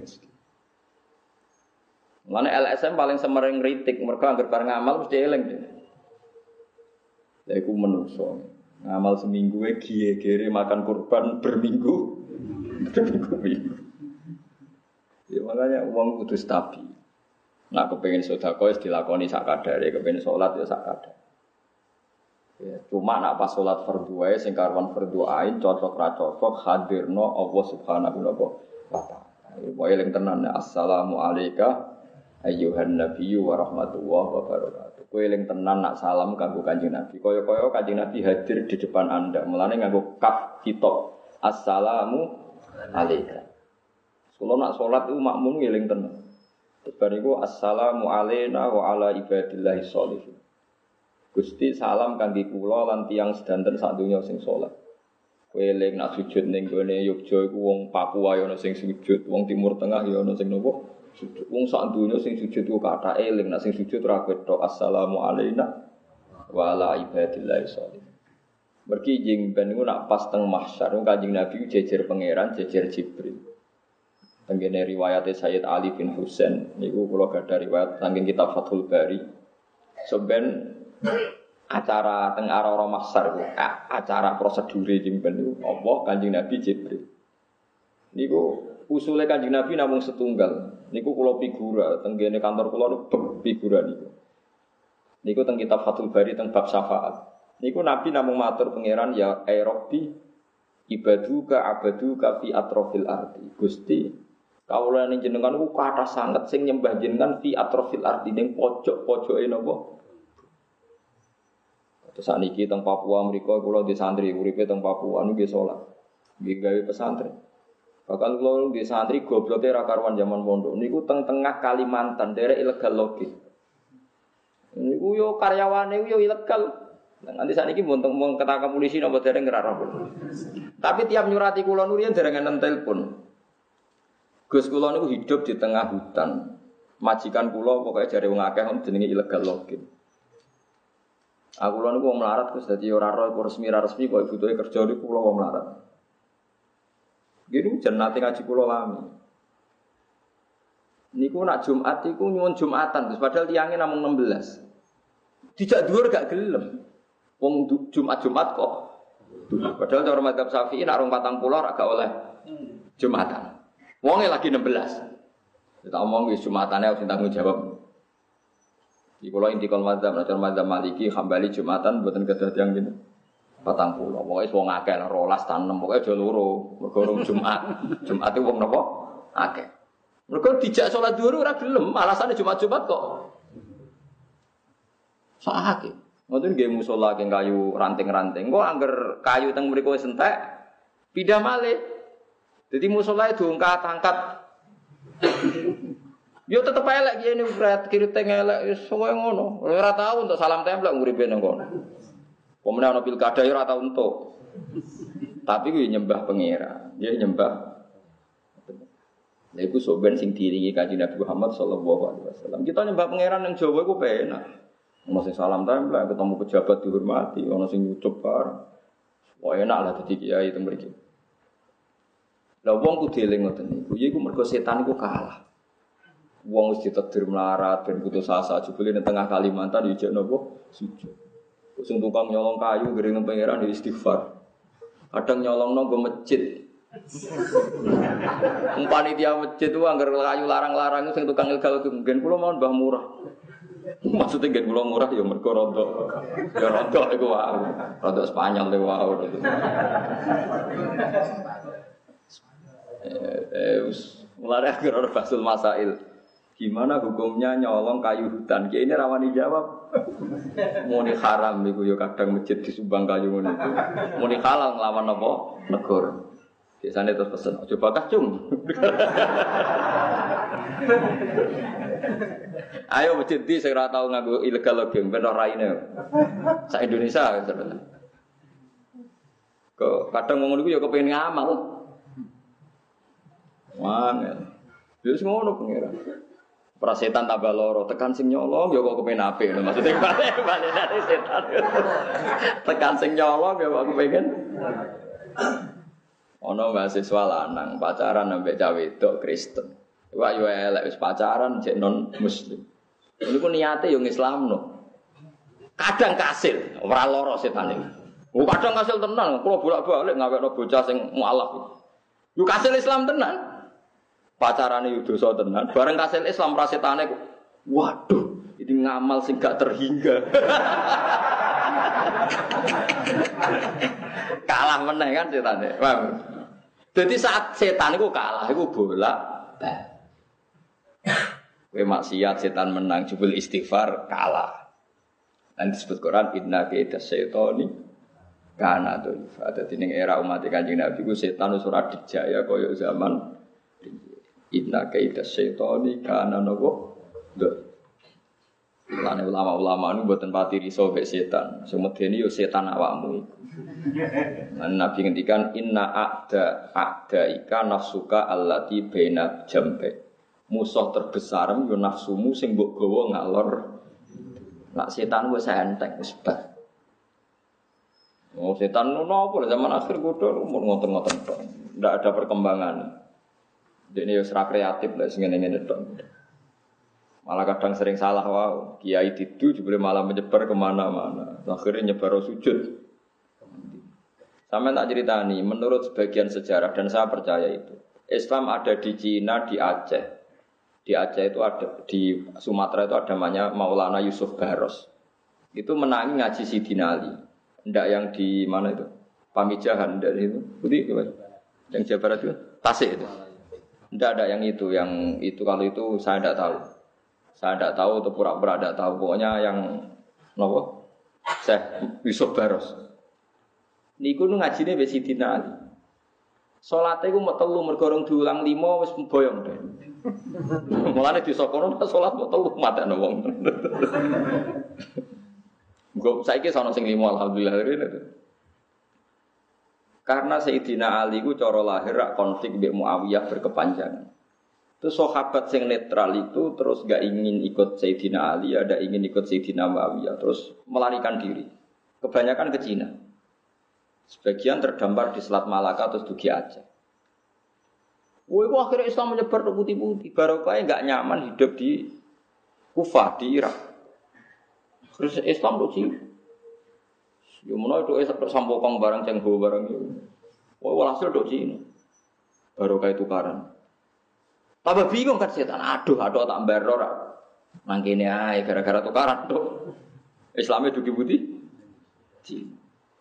Mulane LSM paling semering kritik, mereka anggere bareng ngamal mesti eling deh. Lha iku menungso. Ngamal seminggu wae giye-gere makan kurban berminggu. Berminggu. Ya makanya uang kudu stabil. Nah kepengin sedekah wis dilakoni sak kadare, kepengin salat ya sak kadare. Ya, cuma nak pas sholat fardhu wae sing karuan fardhu ain cocok ra cocok hadirno Allah Subhanahu wa taala. Wae eling tenan assalamu alayka ayyuhan nabiyyu wa rahmatullahi wa barakatuh. Kowe eling tenan nak salam kanggo Kanjeng Nabi. Kaya-kaya Kanjeng Nabi hadir di depan Anda. Mulane nganggo kaf kitab. Assalamu alayka. Kalau nak sholat itu makmum eling tenan. Bariku assalamu alayna wa ala ibadillahi sholihin. Gusti salam kangge kula lan tiyang sedanten sak donya sing saleh. Kowe eling nak sujud ning gone Yogya iku wong Papua ya ana sing sujud, wong Timur Tengah ya ana sing nopo? Sujud. Wong sak donya sing sujud ku kathah eling nak sing sujud ora ketok assalamu alayna wa ala ibadillahi sholihin. Mergi jeng ben niku nak pas teng mahsyar Kanjeng Nabi jejer pangeran, jejer Jibril. Tenggene riwayate Sayyid Ali bin Husain niku kula gadah riwayat saking kitab Fathul Bari. Sampeyan acara teng ara-ara mahsyar ku acara prosedure jemben niku Allah Kanjeng Nabi Jibril. Niku usule Kanjeng Nabi namung setunggal. Niku kula figura teng kene kantor kula niku figura niku. Niku teng kitab Fathul Bari teng bab syafaat. Niku Nabi namung matur pangeran ya Rabbi ibaduka abaduka fi atrofil ardi. Gusti kawula ning jenengan ku kathah sanget sing nyembah jenengan fi atrofil ardi ning pojok-pojoke napa? Terus saniki teng Papua mriku kula di santri uripe teng Papua niku nggih salat. Nggih gawe pesantren. Bahkan kula di santri gobloke ra karuan zaman pondok niku teng tengah Kalimantan daerah ilegal logi. Niku yo karyawane yo ilegal. Nanti saniki mun ketangkap polisi napa dereng ora roh. Tapi tiap nyurati kula nurian dereng enten telepon. Gus kula niku hidup di tengah hutan. Majikan kula pokoke jare wong akeh jenenge ilegal logi. Aku lho niku wong melarat Gus dadi ora roh resmi kok butuhe kerja niku kula wong melarat. Gini jenate ngaji kula lami. Niku nak Jumat iku nyuwun Jumatan Gus padahal tiyange namung 16. Dijak dhuwur gak gelem. Wong Jumat kok. Padahal cara madzhab Syafi'i nak rong 40 ora gak oleh Jumatan. Wonge lagi 16. Kita omong wis Jumatane harus tanggung jawab. Di kula intikal madzhab, cara madzhab Maliki Hambali Jumatan mboten kedah tiyang ngene. 40. Pokoke wong akeh 12 ta 6, pokoke aja loro. Mergo rong Jumat. Jumat itu wong napa? Akeh. Mergo dijak salat zuhur ora gelem, alasane Jumat-Jumat kok. Sakake. Ngoten nggih musala keng kayu ranting-ranting. Kok angger kayu teng mriku wis entek, pindah malih. Dadi musala diangkat-angkat. Yo tetep elek ngene berat kiri teng elek wis koyo ngono. Ora tau untuk salam tempel nguripe nang kono. Pemenang ana pilkada ora tau entuk. Tapi kuwi nyembah pangeran, dia nyembah. Lha iku soben sing diiringi Kanjeng Nabi Muhammad sallallahu alaihi wasallam. Kita nyembah pangeran yang Jawa iku penak. Ono sing salam tempel, ketemu pejabat dihormati, ono sing nyucup bareng. Wah enak lah dadi kiai itu mriki. Lah wong kudu eling ngoten niku. Iku mergo setan iku kalah. Wong wis ditakdir melarat ben putus asa jebule ning tengah Kalimantan yo jek napa sujud. Sing tukang nyolong kayu gering pangeran di istighfar. Kadang nyolongno nggo masjid. Panitia masjid itu anggar kayu larang-larang sing tukang ilegal gen kula mohon Mbah murah. Maksudnya gen kula murah ya mergo rontok. Ya rontok iku wae. Rontok Spanyol le wae. Mulai akhir orang basul masail. Gimana hukumnya nyolong kayu hutan? Kayak ini rawani jawab. Muni haram iku ya kadang masjid disumbang kayu ngono iku. Muni halal nglawan apa? Negara. Biasane terus pesen, "Aja bakah, Cung." Ayo masjid di sing ora tau nganggo ilegal login ben ora raine. Sak Indonesia sebenarnya. Kok kadang ngomong iku ya kepengin ngamal. Wangel. Wis ngono pangeran. Prasetan tambah loro, tekan sing nyolong ya kok kepen apik lho maksudnya balik setan. Tekan sing nyolong ya kok kepengin. Ono mahasiswa lanang pacaran ambek cah wedok Kristen. Wah yo elek wis pacaran jek non muslim. Niku niate yo ngislamno. Kadang kasil, ora loro setan iki. Oh kadang kasil tenan, kula bolak-balik ngawekno bocah sing mualaf. Yo kasil Islam tenan. Pacarane yo dosa tenan, bareng kasil Islam prasetane kok. Waduh, ini ngamal sing gak terhingga. Kalah meneh kan setane. Paham? Dadi saat setan iku kalah iku bolak. Kowe maksiat setan menang jebul istighfar kalah. Dan disebut Quran inna kaida syaitani kana dzulfa. Dadi ning era umat Kanjeng Nabi ku setan wis ora dijaya kaya zaman inna kaida syaitani kana nopo. Lane ulama-ulama niku mboten pati riso mek setan. Sumedene yo setan awakmu iku. Lan Nabi ngendikan inna a'da ika nafsuka allati baina jambe. Musuh terbesar yo nafsumu sing mbok gawa ngalor. Nak setan wis enteng wis bar. Oh setan nopo zaman akhir kudu ngoten-ngoten tok. Ndak ada perkembangan. Dene yo ora kreatif lah sing ngene-ngene tok. Malah kadang sering salah wow. Kiai didu jebule malah menyebar kemana-mana. Akhirnya nyebar sujud. Sampai tak ceritani, menurut sebagian sejarah dan saya percaya itu, Islam ada di Cina, di Aceh. Di Aceh itu ada, di Sumatera itu ada namanya Maulana Yusuf Baros. Itu menangi ngaji Sidina Ali. Ndak yang di mana itu? Pamijahan dari itu. Putih gimana? Yang Jawa Barat itu? Tasik itu. Ndak ada yang itu kalau itu saya tidak tahu. Saya tidak tahu atau pura-pura tidak tahu. Pokoknya yang nopo Syekh Yusuf Baros. Niku nu ngajine wis Sidina Ali. Salate iku mau telu mergo rong diulang 5 wis boyong deh. Mulane disokono salat mau telu matane wong. Engko saiki ana sing 5 alhamdulillah. Karena Sayyidina Ali ku cara lahir konflik mbek Muawiyah berkepanjangan. Terus sahabat yang netral itu terus gak ingin ikut Sayyidina Ali, ada ingin ikut Sayyidina Muawiyah, terus melarikan diri. Kebanyakan ke Cina. Sebagian terdampar di Selat Malaka terus dugi Aceh. Woi, kok akhirnya Islam menyebar ke putih-putih. Barokahnya gak nyaman hidup di Kufah, di Irak. Terus Islam tuh sih. Ya mana itu sampokong barang cengho barang itu. Woi, walhasil tuh Cina. Barokah tukaran. Tambah bingung kan setan. Aduh tak mbaro ora. Nang kene ae gara-gara tukaran tuh. Islamnya dugi putih. Cina.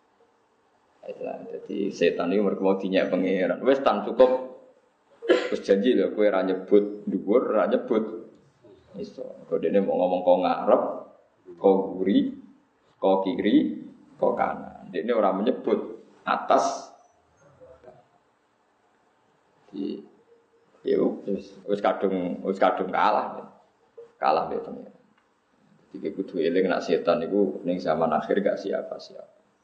Jadi setan itu mereka mau dinyak pangeran. Wes tan cukup. Terus janji lho kowe ora nyebut dhuwur, ora nyebut iso. Kok dene mau ngomong kok ngarep, kok guri, kok kiri, kok kanan. Dene ora menyebut atas. Wis kadung kalah. Kalah be pangeran. Iki kudu eling nek setan niku ning zaman akhir gak siapa-siapa.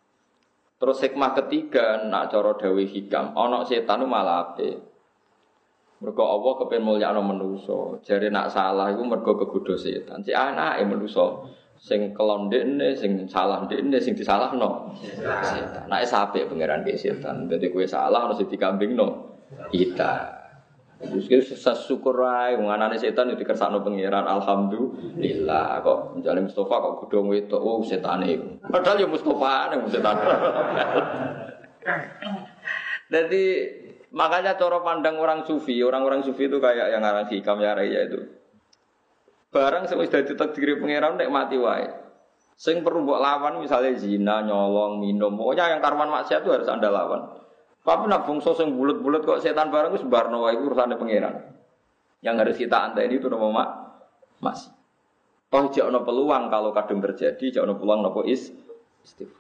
Terus hikmah ketiga nak cara dawuh hikam, ana setan malah apik. Mergo Allah kepen mulyakno manusa. Jare nak salah iku mergo kegodho setan. Si anake manusa sing kelon ndekne, sing salah ndekne, sing disalahno setan. Nek sapik pangeran ke setan. Dadi kowe salah harus dikambingno kita. Terus syukur ae wong anane setan yo dikersakno pangeran. Alhamdulillah kok njale Mustofa kok godhong wedok oh setane. Padahal yo Mustofane setan. Jadi makanya cara pandang orang sufi itu kayak yang ngarang hikam ya raya itu. Barang sing wis dadi takdir pangeran nek mati wae. Sing perlu mbok lawan misalnya zina, nyolong, minum, pokoknya yang karwan maksiat itu harus Anda lawan. Tapi nak bungso sing bulet-bulet kok setan barang wis barno wae iku urusane pangeran. Yang harus kita anteni itu nama masih. Toh jek ana peluang kalau kadung terjadi, jek ana peluang napa istighfar.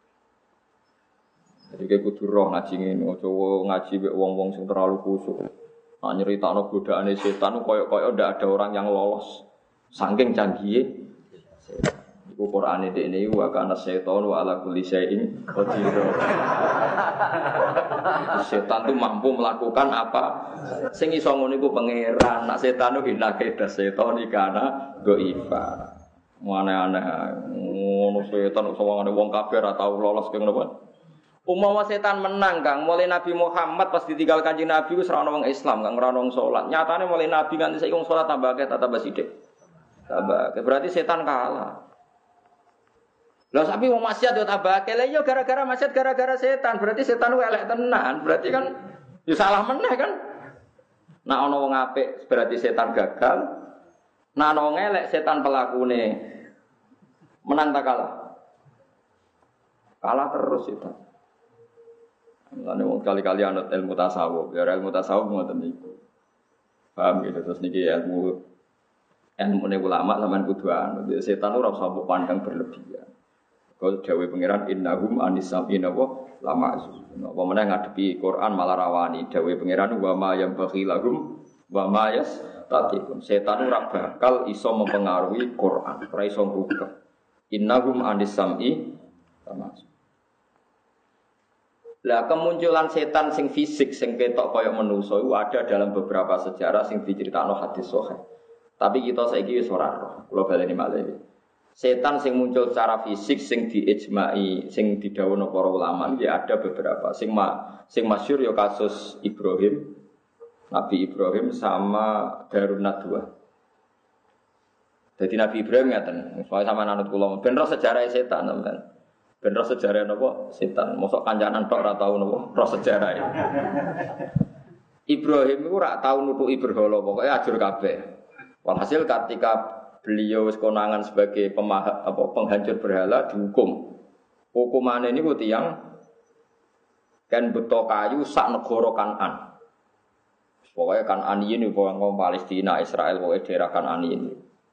Jadi kayak kudu roh ngaji ngene, aja ngaji mek wong-wong sing terlalu khusyuk. Nak nyeritakno godaane setan koyo-koyo ndak ada orang yang lolos. Saking canggihe setan. Iku Qur'ane dekne wa kana setan wa ala kulli syai'in qadir. Setan itu mampu melakukan apa? Sing iso ngono iku pangeran. Nak setan ku hinake das setan ikana goifa. Aneh-aneh ngono setan kok sawangane wong kabeh ora tau lolos ke ngono apa? Umpama setan menang Kang, mulai Nabi Muhammad pas ditinggal Kanjeng Nabi wis ora ono wong Islam, Kang ora ono wong salat. Nyatane mulai Nabi nganti saiki wong salat tambah akeh tambah sithik. Tambah. Berarti setan kalah. Lah sapi wong maksiat yo tambah akeh. Lah yo gara-gara maksiat gara-gara setan. Berarti setan ku elek tenan. Berarti kan yo salah meneh kan. Nek ana wong apik berarti setan gagal. Nek ana wong elek setan pelakune. Menang ta kalah? Kalah terus setan. Mulane wong kali-kali anut ilmu tasawuf, ya ilmu tasawuf ngoten niku. Paham gitu terus niki ilmu ulama sampean kudu anut. Setan ora usah mbok pandang berlebihan. Kau dawuh pangeran innahum anisabina wa lama. Apa meneh ngadepi Quran malah rawani dawuh pangeran wa ma yambaghi lahum wa ma yastatiqun. Setan ora bakal iso mempengaruhi Quran, ora iso ngubah. Innahum anisami lama. Lah kemunculan setan sing fisik sing ketok kaya manusa iku ada dalam beberapa sejarah sing diceritakno hadis sahih. Tapi kita saiki wis ora roh. Kula baleni malih. Setan sing muncul secara fisik sing diijma'i, sing didhawuhna para ulama iki ada beberapa. Sing masyhur ya kasus Ibrahim. Nabi Ibrahim sama Darun Nadwa. Jadi Nabi Ibrahim ngaten, soal sama anut kula ben roh sejarah setan sampean. Ben roh sejarah napa setan. Mosok kancanan tok ora tau napa roh sejarah. Ibrahim iku ora tau nutuki berhala, pokoke ajur kabeh. Walhasil ketika beliau wis konangan sebagai penghancur berhala dihukum. Hukumane niku tiyang kan beto kayu sak negara Kanan. Pokoke Kanan ini wong Palestina, Israel, pokoke daerah Kanan ini.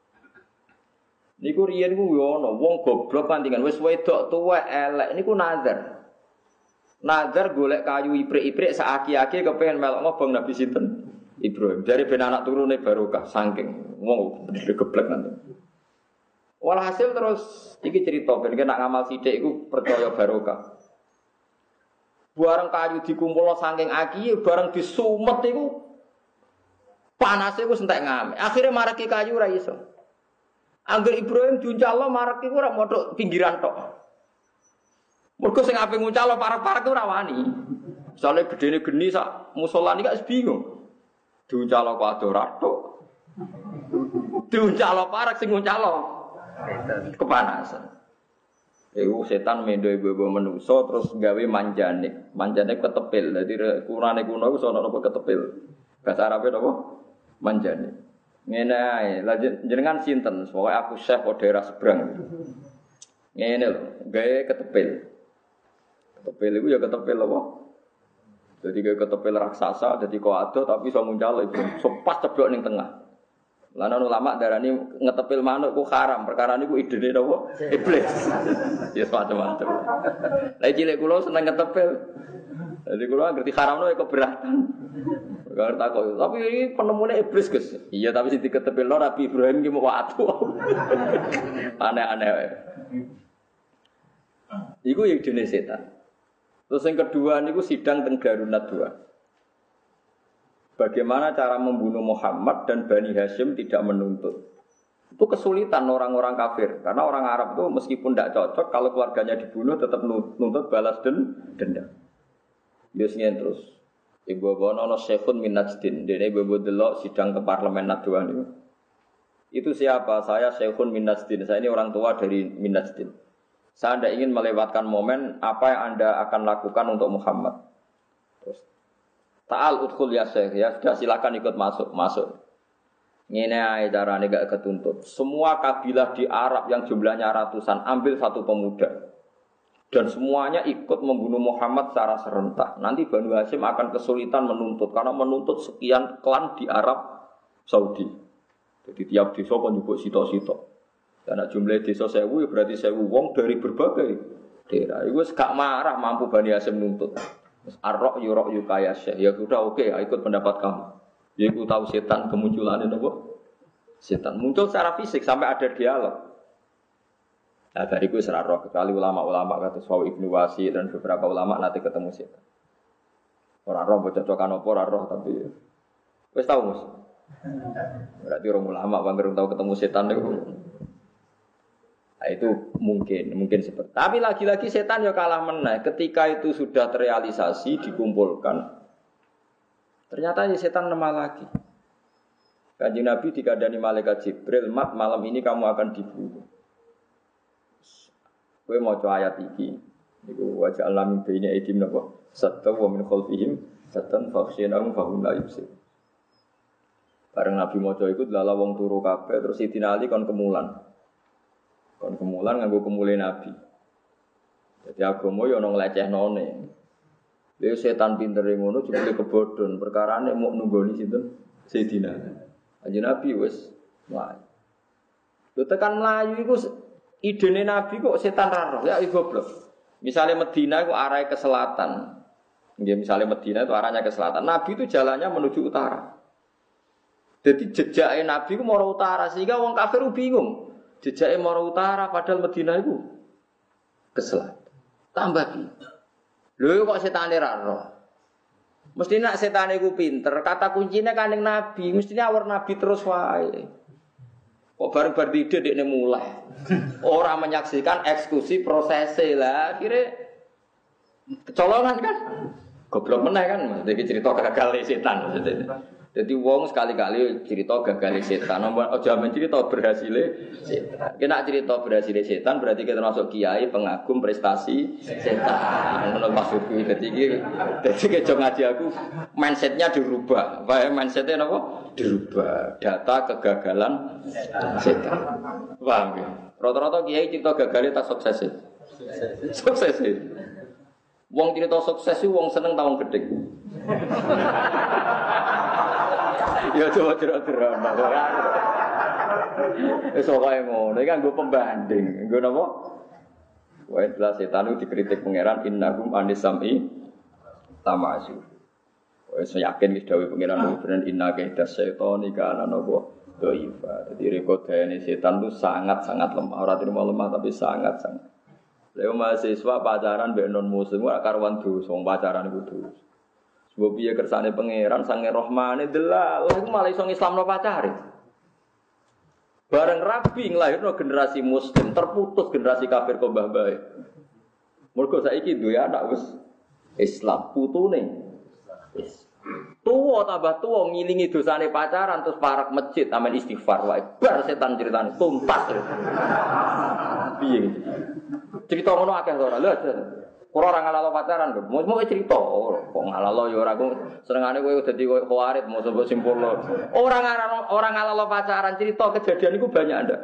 Niku riyen ku yo ana wong goblok pantingan wis wedok tuwek elek niku nazar. Nazar golek kayu iprik-iprik sak aki-aki kepengin melok ngobong Nabi sinten? Ibrahim. Dari ben anak turune barokah saking wong geblek nanti. Walhasil terus iki cerita ben nek ngamal sithik iku percaya barokah. Bareng kayu dikumpulno saking aki bareng disumet iku panase iku entek ngame. Akhire marake kayu ora iso. Angger Ibrahim diuncalno marek iku ora modok pinggiran tok. Mergo sing ape nguncalno parek-parek ora wani. Misale gedene geni sak musala iki gak bingung. Diuncalno kok ado ratok. Diuncalno parek sing nguncalno kepanasan. Iku setan mendo ibu-ibu menungso terus gawe manjane. Manjane ketepil. Dadi kurane kuno iku sono napa ketepil. Bahasa Arabe napa? Manjane. Ngene ae, lha jenengan sinten? Pokoke aku Syekh kok daerah seberang. Ngene lho, gawe ketepil. Ketepil iku ya ketepil apa? Jadi gawe ketepil raksasa, dadi kok ado tapi iso muncal iku pas ceblok ning tengah. Lan ulama darani ngetepil manuk ku haram, perkara niku idene napa? Iblis. Ya macam-macam. Lah cilik kula seneng ngetepil. Jadi kula ngerti haramno ya keberatan. Gak takut. Tapi ini penemunya iblis guys. Iya tapi sing diketepilno Nabi Ibrahim ki mau watu. Aneh-aneh. Iku yang jenis setan. Terus yang kedua niku sidang teng Darunat 2. Bagaimana cara membunuh Muhammad dan Bani Hashim tidak menuntut. Itu kesulitan orang-orang kafir. Karena orang Arab itu meskipun tidak cocok, kalau keluarganya dibunuh tetap nuntut balas dendam. Biasanya terus. Ibu Bono Syekhun min Najdin. Dene ibu delok sidang ke parlemen Nadwan itu. Itu siapa? Saya Syekhun min Najdin. Saya ini orang tua dari min Najdin. Saya tidak ingin melewatkan momen apa yang Anda akan lakukan untuk Muhammad. Terus Ta'al udkhul ya Syekh, ya sudah silakan ikut masuk. Ngene ae carane gak ketuntut. Semua kabilah di Arab yang jumlahnya ratusan ambil satu pemuda. Dan semuanya ikut membunuh Muhammad secara serentak. Nanti Banu Hashim akan kesulitan menuntut karena menuntut sekian klan di Arab Saudi. Jadi tiap desa kan nyebut sito-sito. Karena jumlah desa 1000 ya berarti 1000 wong dari berbagai daerah. Iku wis gak marah mampu Bani Hashim nuntut. Ar-ra' yura' kaya Syekh. Ya sudah oke, ikut pendapat kamu. Ya iku tahu setan kemunculannya apa? Setan muncul secara fisik sampai ada dialog. Nah dari itu serah kecuali ulama-ulama kata Sawi Ibnu Wasi dan beberapa ulama nanti ketemu setan. Orang roh bercocokan apa orang roh tapi wis tahu Mus. Berarti orang ulama bangga tahu ketemu setan itu. Nah, itu mungkin seperti. Tapi lagi-lagi setan ya kalah meneh. Ketika itu sudah terrealisasi dikumpulkan. Ternyata ya setan lemah lagi. Kanjeng Nabi dikandani malaikat Jibril, "Mat, malam ini kamu akan dibunuh." Kowe maca ayat iki. Niku wa ja'alna min baini aidim napa? Satta wa min khalfihim satan fakhshinahum fahum la yubsir. Bareng Nabi maca iku lala wong turu kabeh terus Sidina Ali kon kemulan. Kon kemulan nganggo kemule Nabi. Jadi agama ya ana nglecehnone. Lha setan pintere ngono jebule kebodhon, perkarane mau nunggoni sinten? Sayyidina. Kanjeng Nabi wis mlayu. Lho tekan mlayu iku idene Nabi kok setan ra roh, ya goblok. Misale Madinah iku arahe ke selatan. Nggih, misale Madinah itu arahnya ke selatan. Nabi itu jalannya menuju utara. Jadi jejake Nabi ku mara utara sehingga wong kafir bingung. Jejake mara utara padahal Madinah iku ke selatan. Tambah piye? Lho kok setane ra roh. Mesti nak setane iku pinter, kata kuncinya Kanjeng Nabi, mestinya awar Nabi terus wae. Kok bareng-bareng ide dekne mulai. Orang menyaksikan eksekusi prosese lah, akhirnya kecolongan kan. Goblok meneh kan, maksudnya cerita gagal setan maksudnya. Jadi wong sekali-kali cerita gagal setan, aja men cerita berhasil setan. Kena cerita berhasil setan berarti kita masuk kiai pengagum prestasi setan. Menurut maksudku jadi kejo ngaji aku mindsetnya dirubah. Apa mindsetnya apa? Dirubah. Data kegagalan setan. Paham ya? Rata-rata kiai cerita gagal tak sukses. Sukses. Wong cerita sukses itu wong seneng tawang gedhe. Ya coba cerita-cerita. Wis pokoke ngono, iki kan nggo pembanding. Nggo napa? Wae jelas setan itu dikritik pangeran innahum anisami tamasu. Wis yakin wis dawuh pangeran bener inna kaidas setan iki ana napa dhaifa. Dadi rekodane setan itu sangat-sangat lemah. Ora terima lemah tapi sangat-sangat. Lha mahasiswa pacaran mbek non muslim ora karuan dosa, wong pacaran iku dosa. Sebab piye kersane pangeran sange rahmane delal, iku malah iso ngislamno pacare. Bareng rabi nglahirno generasi muslim, terputus generasi kafir kok mbah-mbahe. Mergo saiki duwe anak wis Islam, putune wis tuwa tambah tuwa ngilingi dosane pacaran terus parak masjid amen istighfar wae. Bar setan ceritane tuntas. Piye iki? Cerita ngono akeh ora lho. Ora ora ngalalo pacaran lho. Mau cerita kok ngalalo ya ora ku senengane kowe dadi koyo khawarit mau sebut simpulno. Ora ngalalo pacaran cerita kejadian iku banyak ndak?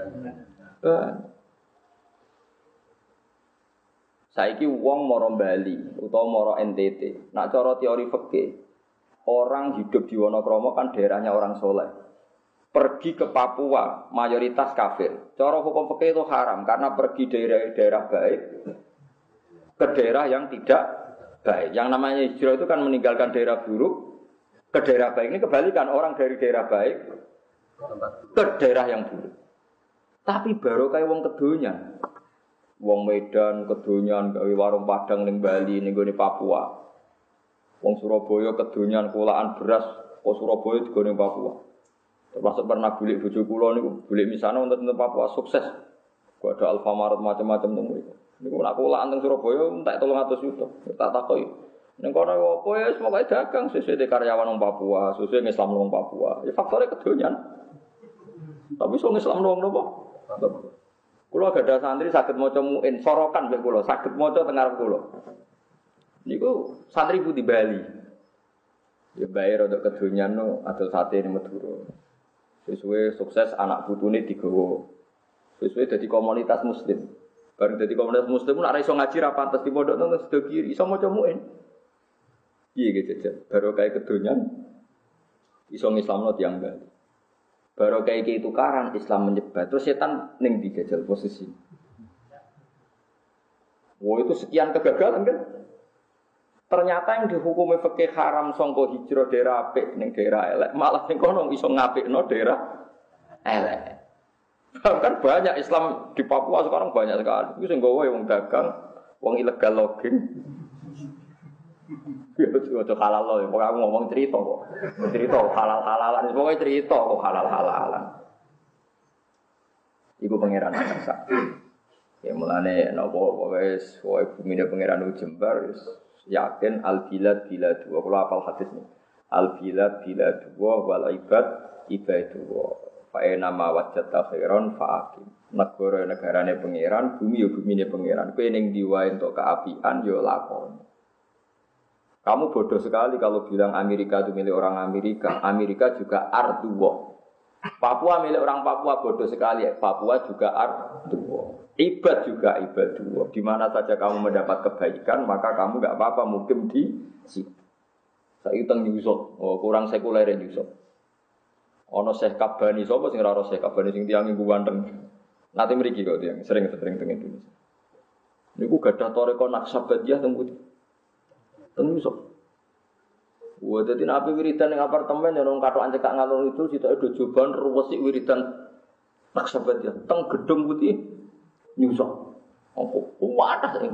Saiki wong mara Bali utawa mara NTT. Nak cara teori fikih, orang hidup di Wonokromo kan daerahnya orang soleh. Pergi ke Papua mayoritas kafir. Cara hukum fikih itu haram karena pergi dari daerah baik ke daerah yang tidak baik. Yang namanya hijrah itu kan meninggalkan daerah buruk ke daerah baik. Ini kebalikan, orang dari daerah baik ke daerah yang buruk. Tapi baru kayak wong kedunya. Wong Medan kedonyan gawe warung Padang ning Bali ning gone Papua. Wong Surabaya kedonyan kulaan beras kok Surabaya digone Papua. Termasuk pernah bulik bojo kula niku, bulik misana wonten Papua sukses. Kok ada Alfamart macam-macam teng mriku. Niku nek kulaan teng Surabaya entek 300 juta. Tak takoki. Ning kono opo ya pokoke dagang sesuai karyawan wong Papua, sesuai Islam wong Papua. Ya faktore kedonyan. Tapi iso Islam wong napa? Kula gadah santri saged maca muin sorokan mek kula, saged maca teng ngarep kula. Niku santri ku di Bali. Ya bae rada kedonyan no adol sate ning Madura. Sesuai sukses anak putune digawa. Sesuai dadi komunitas muslim. Bareng dadi komunitas muslim nek ora iso ngaji ra pantes di pondok nang sedo kiri, iso maca muin. Piye ge jajan? Baru kae kedonyan iso ngislamno tiyang Bali. Baru kae iki tukaran Islam menyebar. Terus setan ning dijajal posisi. Wah itu sekian kegagalan kan? Ternyata yang dihukumi fikih haram sangka hijrah daerah apik ning daerah elek, malah ning kono iso ngapikno daerah elek. Bahkan banyak Islam di Papua sekarang banyak sekali. Iku sing gawe wong dagang, wong ilegal logging. Ya itu halal loh, pokoknya aku ngomong cerita kok. Cerita halal-halalan, pokoknya cerita kok halal-halalan. Iku pangeran Aksa. Ya mulane nopo wis wae bumine pangeran Jembar wis yakin al-bilad bilad wa kula hafal hadis nih. Al-bilad bilad wal ibad ibadu. Fa nama wajata khairon fa aqim. Negara-negarane pangeran, bumi yo bumine pangeran. Kowe ning diwae entuk keapian yo lakon. Kamu bodoh sekali kalau bilang Amerika itu milik orang Amerika. Amerika juga arduwa. Papua milik orang Papua, bodoh sekali. Papua juga arduwa. Ibad juga ibadullah. Di mana saja kamu mendapat kebaikan, maka kamu enggak apa-apa mukim di situ. Saya utang Yusuf, kurang sekuler Yusuf. Ono Syekh Kabani, sapa sing ora Syekh Kabani sing tiyang iku wanteng. Nanti mriki kok tiyang sering teng Indonesia. Niku gadah toreko Naksabandiyah teng Putih. Teng Yusuf. Wah, dadi nek ape wiridan ning apartemen ya nang katokan cekak ngalor itu sitoke do joban ruwes wiridan Naksabandiyah teng Gedung Putih. Nyusok, apa? Wadah sing.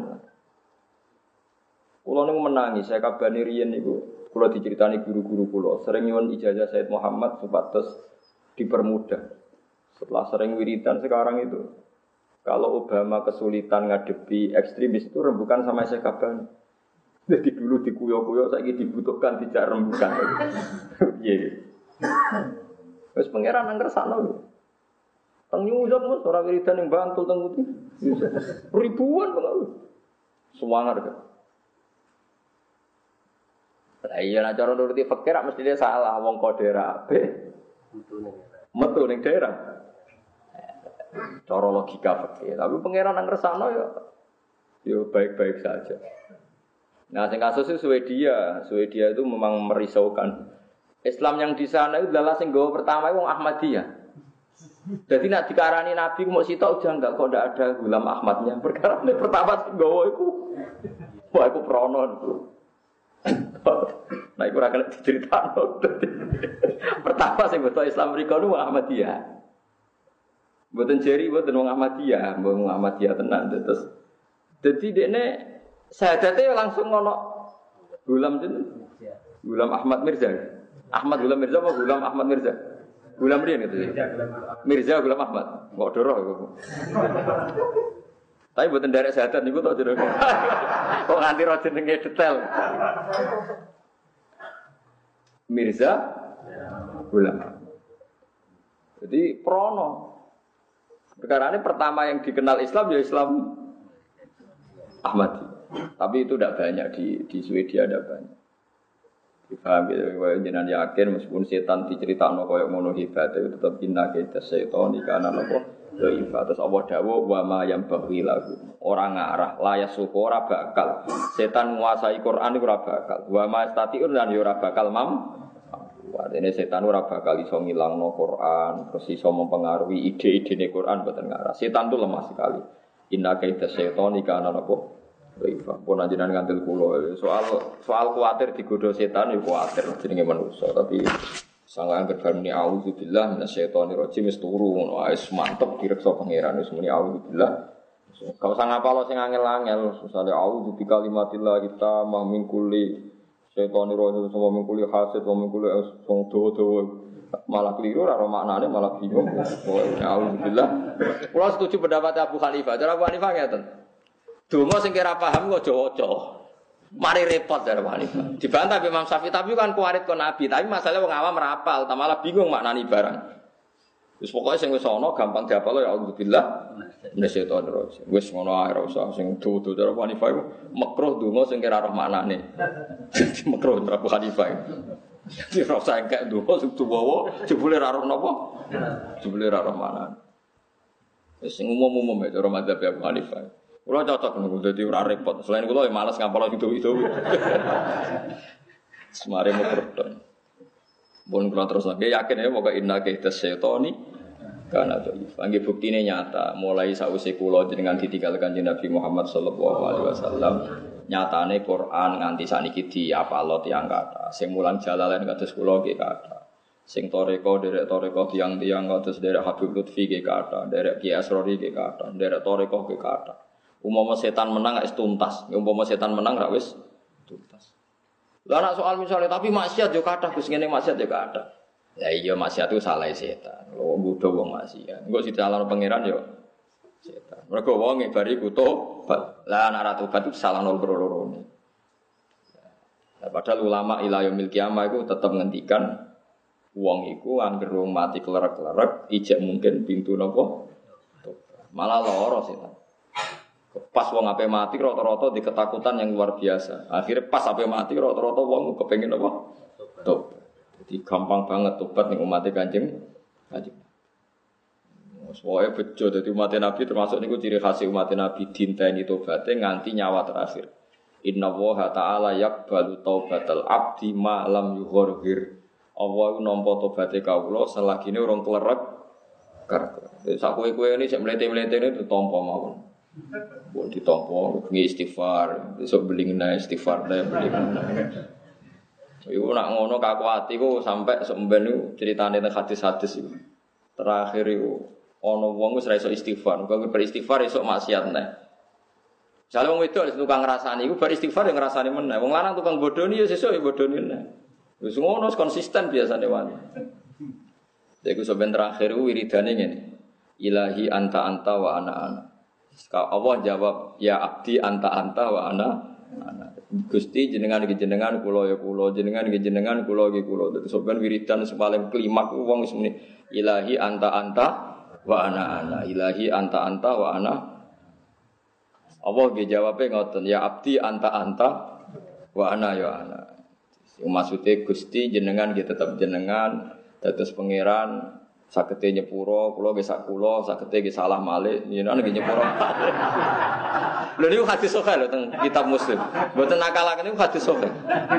Kulo niku menangis, saya kabani riyen niku. Kulo diceritani guru-guru kulo, sering nyuwun ijazah Said Muhammad supados dipermudah. Setelah sering wiridan sekarang itu, kalau Obama kesulitan ngadepi ekstremis itu rembukan sama saya kabani. Jadi dulu dikuyo-kuyo, saiki dibutuhkan tidak rembukan. Iya. Wis pangeran nang kersane lho. Teng nyusap mas, orang wiridan yang Bantul teng Putih, ribuan pengaruh, semangat kan? Nah iya, nah cara nuruti fakir, mesti dia salah, wong kau daerah, metu neng daerah, cara logika fakir. Tapi pangeran nang resano ya baik-baik saja. Nah, sing kasus itu Swedia itu memang merisaukan. Islam yang di sana itu adalah sing gawa pertama wong Ahmadiyah. Jadi nak dikarani Nabi mau sitok janggal kok ndak ada Gulam Ahmadnya. Perkara ini pertama nggawa iku. Wah iku prono itu. Nah iku ora kena diceritakno. Pertama sing beto Islam mriku niku Ahmadiyah. Mboten jeri mboten wong Ahmadiyah, wong Ahmadiyah tenan terus. Dadi dekne sahadate langsung ngono Gulam jeneng. Gulam Ahmad Mirza. Ahmad Gulam Mirza apa Gulam Ahmad Mirza? Gulam riyen gitu. Mirza Gulam Ahmad. Kok doroh iku. Tapi mboten derek syahadat niku tok jero. Kok nganti ro jenenge detail. Mirza Gulam. Jadi prono. Perkara ini pertama yang dikenal Islam ya Islam Ahmadi. Tapi itu tidak banyak di Swedia ada banyak. Difaham gitu, kalau jenengan yakin meskipun setan diceritakno koyo ngono hebat itu tetap inna kaita setan ikana napa dhaifah terus Allah dawuh wa ma yang baghi lagu ora ngarah layas suku ora bakal setan nguasai Quran iku ora bakal wa ma statiun lan yo ora bakal artinya setan ora bakal iso ngilangno Quran terus iso mempengaruhi ide-idene Quran mboten ngarah setan itu lemah sekali inna kaita setan ikana napa Rifah, pun ajaran ngantil kulo. Soal kuatir digoda setan, ya kuatir jenenge manusia. Tapi sangat berfirman auzubillah minasyaitonir rajim wis turu ngono wis mantep direksa pangeran wis muni auzubillah Kau usah ngapalo sing angel-angel, misale auzu bi kalimatillah kita min kulli syaitonir rajim sama min kulli hasid wa min kulli sing dawa-dawa. Malah keliru ora maknane malah bingung. Alhamdulillah. Kula setuju pendapat Abu Hanifah. Cara Abu Hanifah ngeten. Donga sing kira paham kok aja waca. Mari repot cara Abu Hanifah. Dibantah Imam Syafi'i tapi kan kuarit kon Nabi, tapi masalahnya wong awam rapal, malah bingung maknani barang. Wis pokoke sing wis ana gampang diapal ya alhamdulillah. Minasyaitonir rajim. Wis ngono ae ora usah sing dudu cara Abu Hanifah iku makruh donga sing kira roh maknane. Makruh cara Abu Hanifah. Jadi rasa engkek donga sing tuwa jebule ra roh napa? Jebule ra roh maknane. Wis sing umum-umum ya cara madzhab Abu Hanifah. Kula cocok niku dadi ora repot. Selain kula ya males ngapal itu. Semare mukrodon. Bon kula terus lagi yakin ya pokoke inna kaita syaitani kana dhaif. Angge buktine nyata mulai sausé kula jenengan ditinggalkan jeneng Nabi Muhammad sallallahu alaihi wasallam. Nyatane Quran nganti saniki diapalo tiyang kathah. Sing mulang jalalain kados kula nggih kathah. Sing toreko derek toreko tiang-tiang kados derek Habib Lutfi nggih kathah, derek Ki Asrori nggih kathah, derek toreko nggih kathah. Umpama setan menang wis tuntas. Umpama setan menang ra wis tuntas. Lah nek soal misalnya tapi maksiat yo kathah Gus ngene maksiat yo kathah. Ya iya maksiat itu salah setan. Lho nggodho wong maksiat. Engko dicalon pangeran yo setan. Mergo wong bari tobat. Lah nek ora tobat itu salah loro-loro. Nah, padahal ulama ila yaumil kiamah iku tetep ngendikan wong iku anggere mati klerak-klerak ijek mungkin pintu napa? Malah lara setan. Pas wong ape mati rata-rata di ketakutan yang luar biasa. Akhirnya pas ape mati rata-rata wong kepengin apa? Tobat. Jadi gampang banget tobat ning umat Kanjeng. Soale bejo dadi umat Nabi termasuk niku ciri khas umat Nabi dinteni tobaté nganti nyawa terakhir. Inna Allaha ta'ala yaqbalu taubatal abdi ma lam yughir. Allah nampa tobaté kawula selagine urung klerak. Sak kowe-kowe ini sik mlete-mlete ini ditampa mawon. Buat ditompo, istighfar, besok beli nana istighfar deh beli nana. Ibu nak ngono kaku hati ku sampai semben itu ceritanya tentang hadis-hadis itu. Terakhir itu ono wong wis ra iso istighfar, kok beristighfar iso maksiat neh. Misalnya wong wedok tukang ngrasani iku beristighfar yang ngrasani meneh. Wong lanang tukang bodoni ya sesuk ya bodoni neh. Wis ngono konsisten biasane wani. Iku sampeyan terakhir wiridane ngene. Ilahi anta wa ana. Allah jawab ya abdi anta wa ana. Gusti jenengan iki jenengan kula ya kula jenengan iki jenengan kula iki kula. Dadi sampeyan wiridan paling klimak wong wis muni ilahi anta wa ana. Ilahi anta wa ana. Allah nggih jawabe ngoten ya abdi anta wa ana ya ana. Maksudnya Gusti jenengan nggih tetep jenengan dados pangeran sakete nyepuro, kula nggih sak kula, sakete nggih salah malih, jenengan nggih nyepuro. Lha niku hadis sahih lho teng kitab Muslim. Mboten nakalaken niku hadis sahih.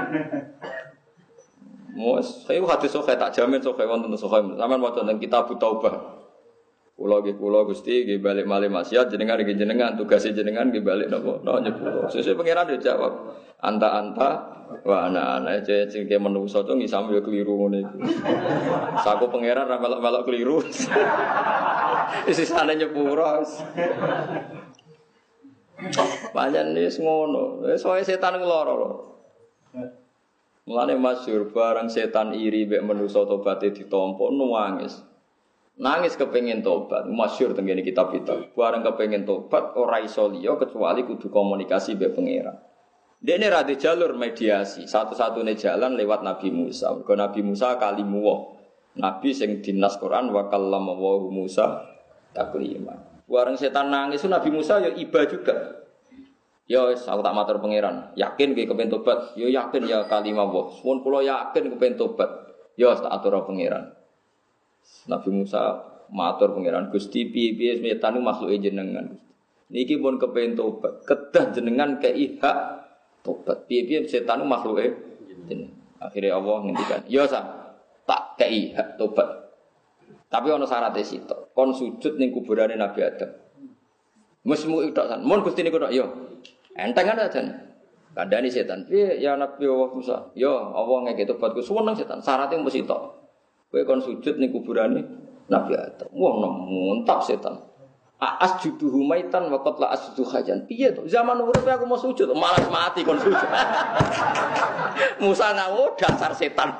Saya hadis sahih tak jamin sahih wonten sahih. Sampeyan maca teng kitab Taubah. Kula Gusti nggih balik malih maksiat, jenengan nggih jenengan tugase jenengan nggih balik napa? Nyepuro. Sesuk pangeran dijawab, anta wa ana sing ke menungso to ngisam yo keliru ngene iki. Saku pangeran ra melok-melok keliru. Sisane nyepuro. Pancen wis ngono. Wis wae setan lara lho. Mulane masyhur barang setan iri mek menungso tobaté ditampa nangis. Nangis kepengin tobat, masyhur teng ngene kitab-kitab. Bareng kepengin tobat ora iso liya kecuali kudu komunikasi mbek pangeran. Dene ra di jalur mediasi, satu-satunya jalan lewat Nabi Musa. Mergo Nabi Musa kalimuwah. Nabi sing dinas Quran wa kallama wa Musa taklima. Bareng setan nangis Nabi Musa ya iba juga. Ya wis aku tak matur pangeran, yakin kowe kepengin tobat? Ya yakin ya kalimah wa. Mun kula yakin kepengin tobat. Ya tak atur pangeran. Nabi Musa matur pangeran Gusti piye-piye setan niku makhluke jenengan. Niki pun kepengin tobat, kedah jenengan kei hak tobat. Piye-piye setan niku makhluke jenengan. Akhire Allah ngendikan, "Ya sa, tak kei hak tobat." Tapi ana syaratnya sitok. Kon sujud ning kuburane Nabi Adam. Mesmu tok san. Mun Gusti niku tok yo. Entengan aja. Kandhani setan. Piye ya Nabi Allah Musa? Yo Allah ngeke tobatku suweneng setan. Syaratnya mesti tok. Kowe kon sujud ning kuburane Nabi Adam. Wah, muntap setan. Asjuduhu maitan wa qad la asjudu hajan. Piye to? Zaman urip aku mau sujud, malas mati kon sujud. Musa ngawo dasar setan.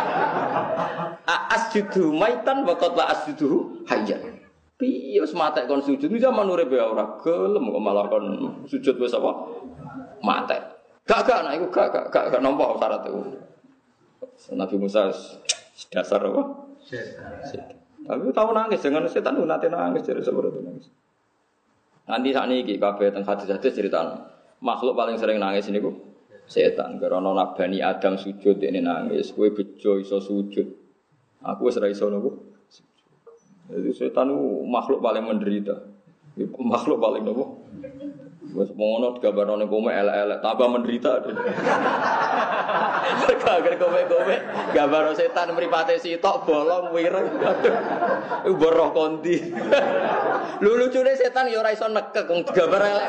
Asjuduhu maitan wa qad la asjudu hajan. Piye wis matek kon sujud. Zaman urip ya ora gelem kok malah kon sujud wis apa? Matek. Gak nek iku gak nampa syarat iku. Nabi Musa dasar apa? Setan. Tapi tahu nangis dengan setan itu nanti nangis jadi seperti itu nangis. Nanti saat ini kabeh teng hadis-hadis cerita makhluk paling sering nangis ini ku setan. Karena Nabi Adam sujud ini nangis, kue bejo iso sujud. Aku wis ra iso nopo. Jadi setan itu makhluk paling menderita. Makhluk paling nopo. Wes ngono digambarno ning kowe elek-elek tambah menderita. Kaget kowe-kowe gambar setan mripate sitok bolong wireng. Iku boroh kondi. Lucune setan ya ora iso nekek wong digambar elek.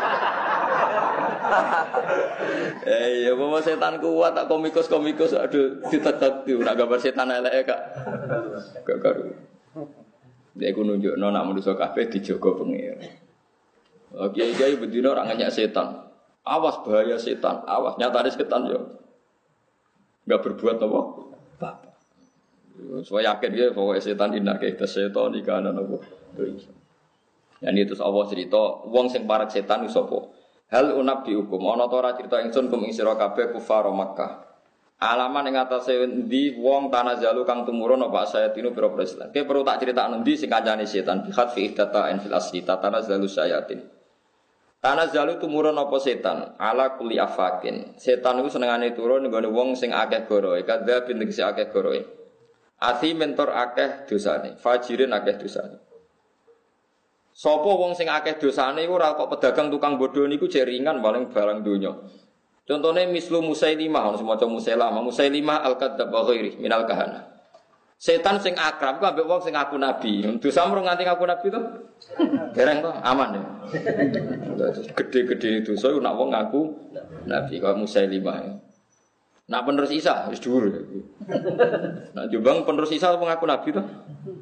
Ya bawa setan kuat tak komikus aduh ditetek nek gambar setan elek gak karu. Dia ku nunjukno nek manusa kabeh dijaga pengira. Kiai-kiai bedino orang nanya setan. Awas bahaya setan. Awas nyatane setan yo. Enggak berbuat apa? Apa. Saya yakin dia bahwa setan inake setan ikana apa. Yang itu Allah cerita wong sing parek setan iku sapa? Hal unabi hukum ana ta ora cerita ingsun kum ing sira kabeh kufar Makkah. Alaman ing atase endi wong tanazalu kang tumurun apa sayatinu pira Islam. Ki perlu tak critakno endi sing kancane setan bi khat fi ihdata fil asli tanazalu sayatin. Tanazzalu tumurun apa setan ala kulli afakin. Setan iku senengane turun nggone wong sing akeh goroe, kadha bin sing akeh goroe. Ati mentor akeh dosane, fajirin akeh dosane. Sapa wong sing akeh dosane iku ora kok pedagang tukang bodho niku jeringan paling barang donya. Contone mislu Musailimah, ono semaca Musailimah al-kadzdzab wa ghairi minal kahana. Setan sing akrab ku ambek wong sing ngaku nabi. Dosa mrung nganti ngaku nabi to? Dereng to, aman ya. Gede-gede dosa nek wong ngaku nabi kaya Musailimah. Nak penerus Isa wis dhuwur. Nak Jombang penerus Isa apa ngaku nabi to?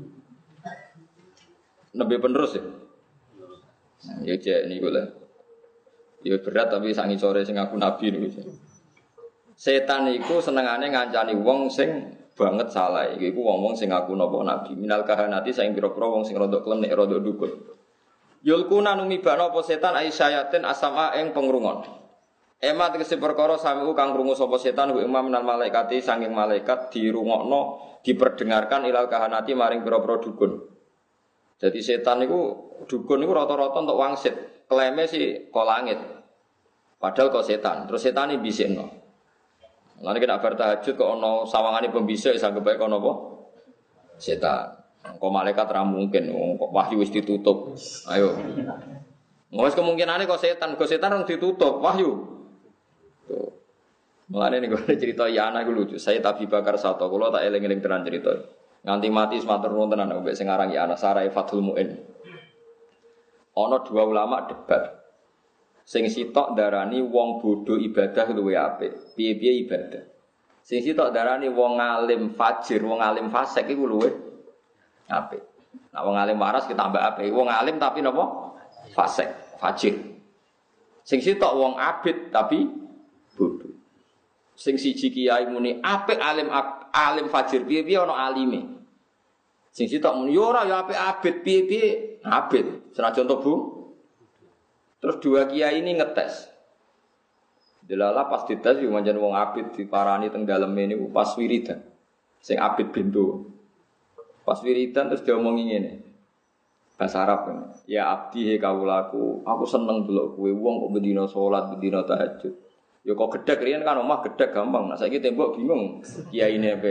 Nabi penerus ya. Ya cek niku lah. Ya berat tapi sak ngisore sing ngaku nabi niku. Setan iku senengane ngancani wong sing banget salah iku wong-wong sing ngaku napa nabi minal kahanati saing pira-pira wong sing rada klenik rada dukun yulkuna numibana apa setan aisayatin asama ing pengrungon emat tegese perkara samiku kang krungu sapa setan ku imam minal malaikati saking malaikat dirungokno diperdengarkan ilal kahanati maring pira-pira dukun. Jadi setan niku dukun niku rata-rata entuk wangsit kleme sih kok langit padahal kok setan terus setane bisikno. Lan nek bar tahajud kok ana sawangane pembisik sanggep bae kono apa? Setan. Kok malaikat ra mungkin kok wahyu wis ditutup. Ayo. Wes kemungkinane kok setan rong ditutup wahyu. Tuh. Mulane niku cerita Yana iku lucu. Saya Abi Bakar Sato kula tak eling-eling tenan cerita. Nganti mati matur nuwun tenan mbek sing aran Yana Sarai Fathul Muin. Ana dua ulama debat. Sing sitok darani wong bodho ibadah luwih apik. Piye-piye ibadah. Sing sitok darani wong alim fajir, wong alim fasik iku luwih apik. Nah wong alim waras kita tambah apik. Wong alim tapi napa? Fasik, fajir. Sing sitok wong abid tapi bodho. Sing siji kiai muni apik alim fajir, piye-piye ana alime. Sing sitok muni yo ora ya apik abid, piye-piye abid. Senajan to Bu. Terus dua kiai ini ngetes. Delala pas dites yo manjen wong abid diparani teng daleme niku pas wiridan. Sing abid bendo. Pas wiridan terus diomongi ngene. Bahasa Arab kan. Ya abdi he kawulaku, aku seneng delok kowe wong kok bendina salat, bendina tahajud. Ya kok gedhek riyen kan omah gedhek gampang. Nah saiki tembok bingung kiyaine apa.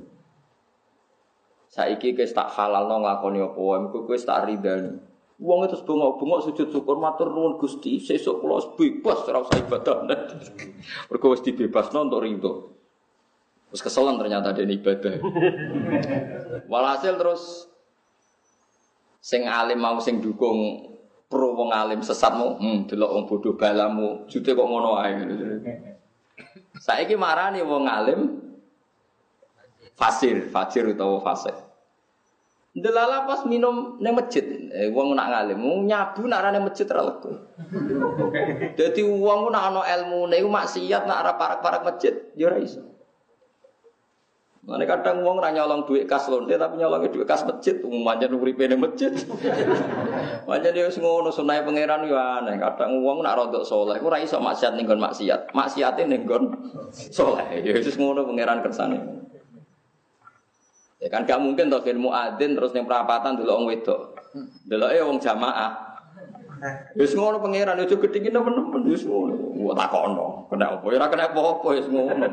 Saiki wis tak halalno nglakoni apa wae, kowe wis tak ridani. Wong itu bengok-bengok sujud syukur matur nuwun Gusti, sesuk kula bebas ora usah ibadah. Mergo wis dibebasno untuk ridho. Terus keselan ternyata dene ibadah. Walhasil terus sing alim mau sing dukung pro wong alim sesatmu, delok wong bodoh balamu, jute kok ngono ae. Saiki marani wong alim fajir utawa fasik. Delala pas minum ning masjid, wong nak ngalim, nyabu nak ning masjid ra lego. Dadi wong nak ana ilmune iku maksiat nak arep parak-parak masjid ya ora iso. Mane kadang wong ra nyolong dhuwit kas lonte tapi nyolongi dhuwit kas masjid, pancen uripe ning masjid. Pancen wis ngono sunah pangeran yo aneh. Kadang wong nak rodok saleh iku ora iso maksiat ning nggon maksiat. Maksiate ning nggon saleh. Ya wis ngono pangeran kersane. Ya kan gak mungkin to ben muadzin terus ning perapatan delok wong wedok. Deloke wong jamaah. Wis ngono pangeran aja gedhingi nemen-nemen wis ngono. Kok takono, kena apa ya ora kena apa-apa wis ngono.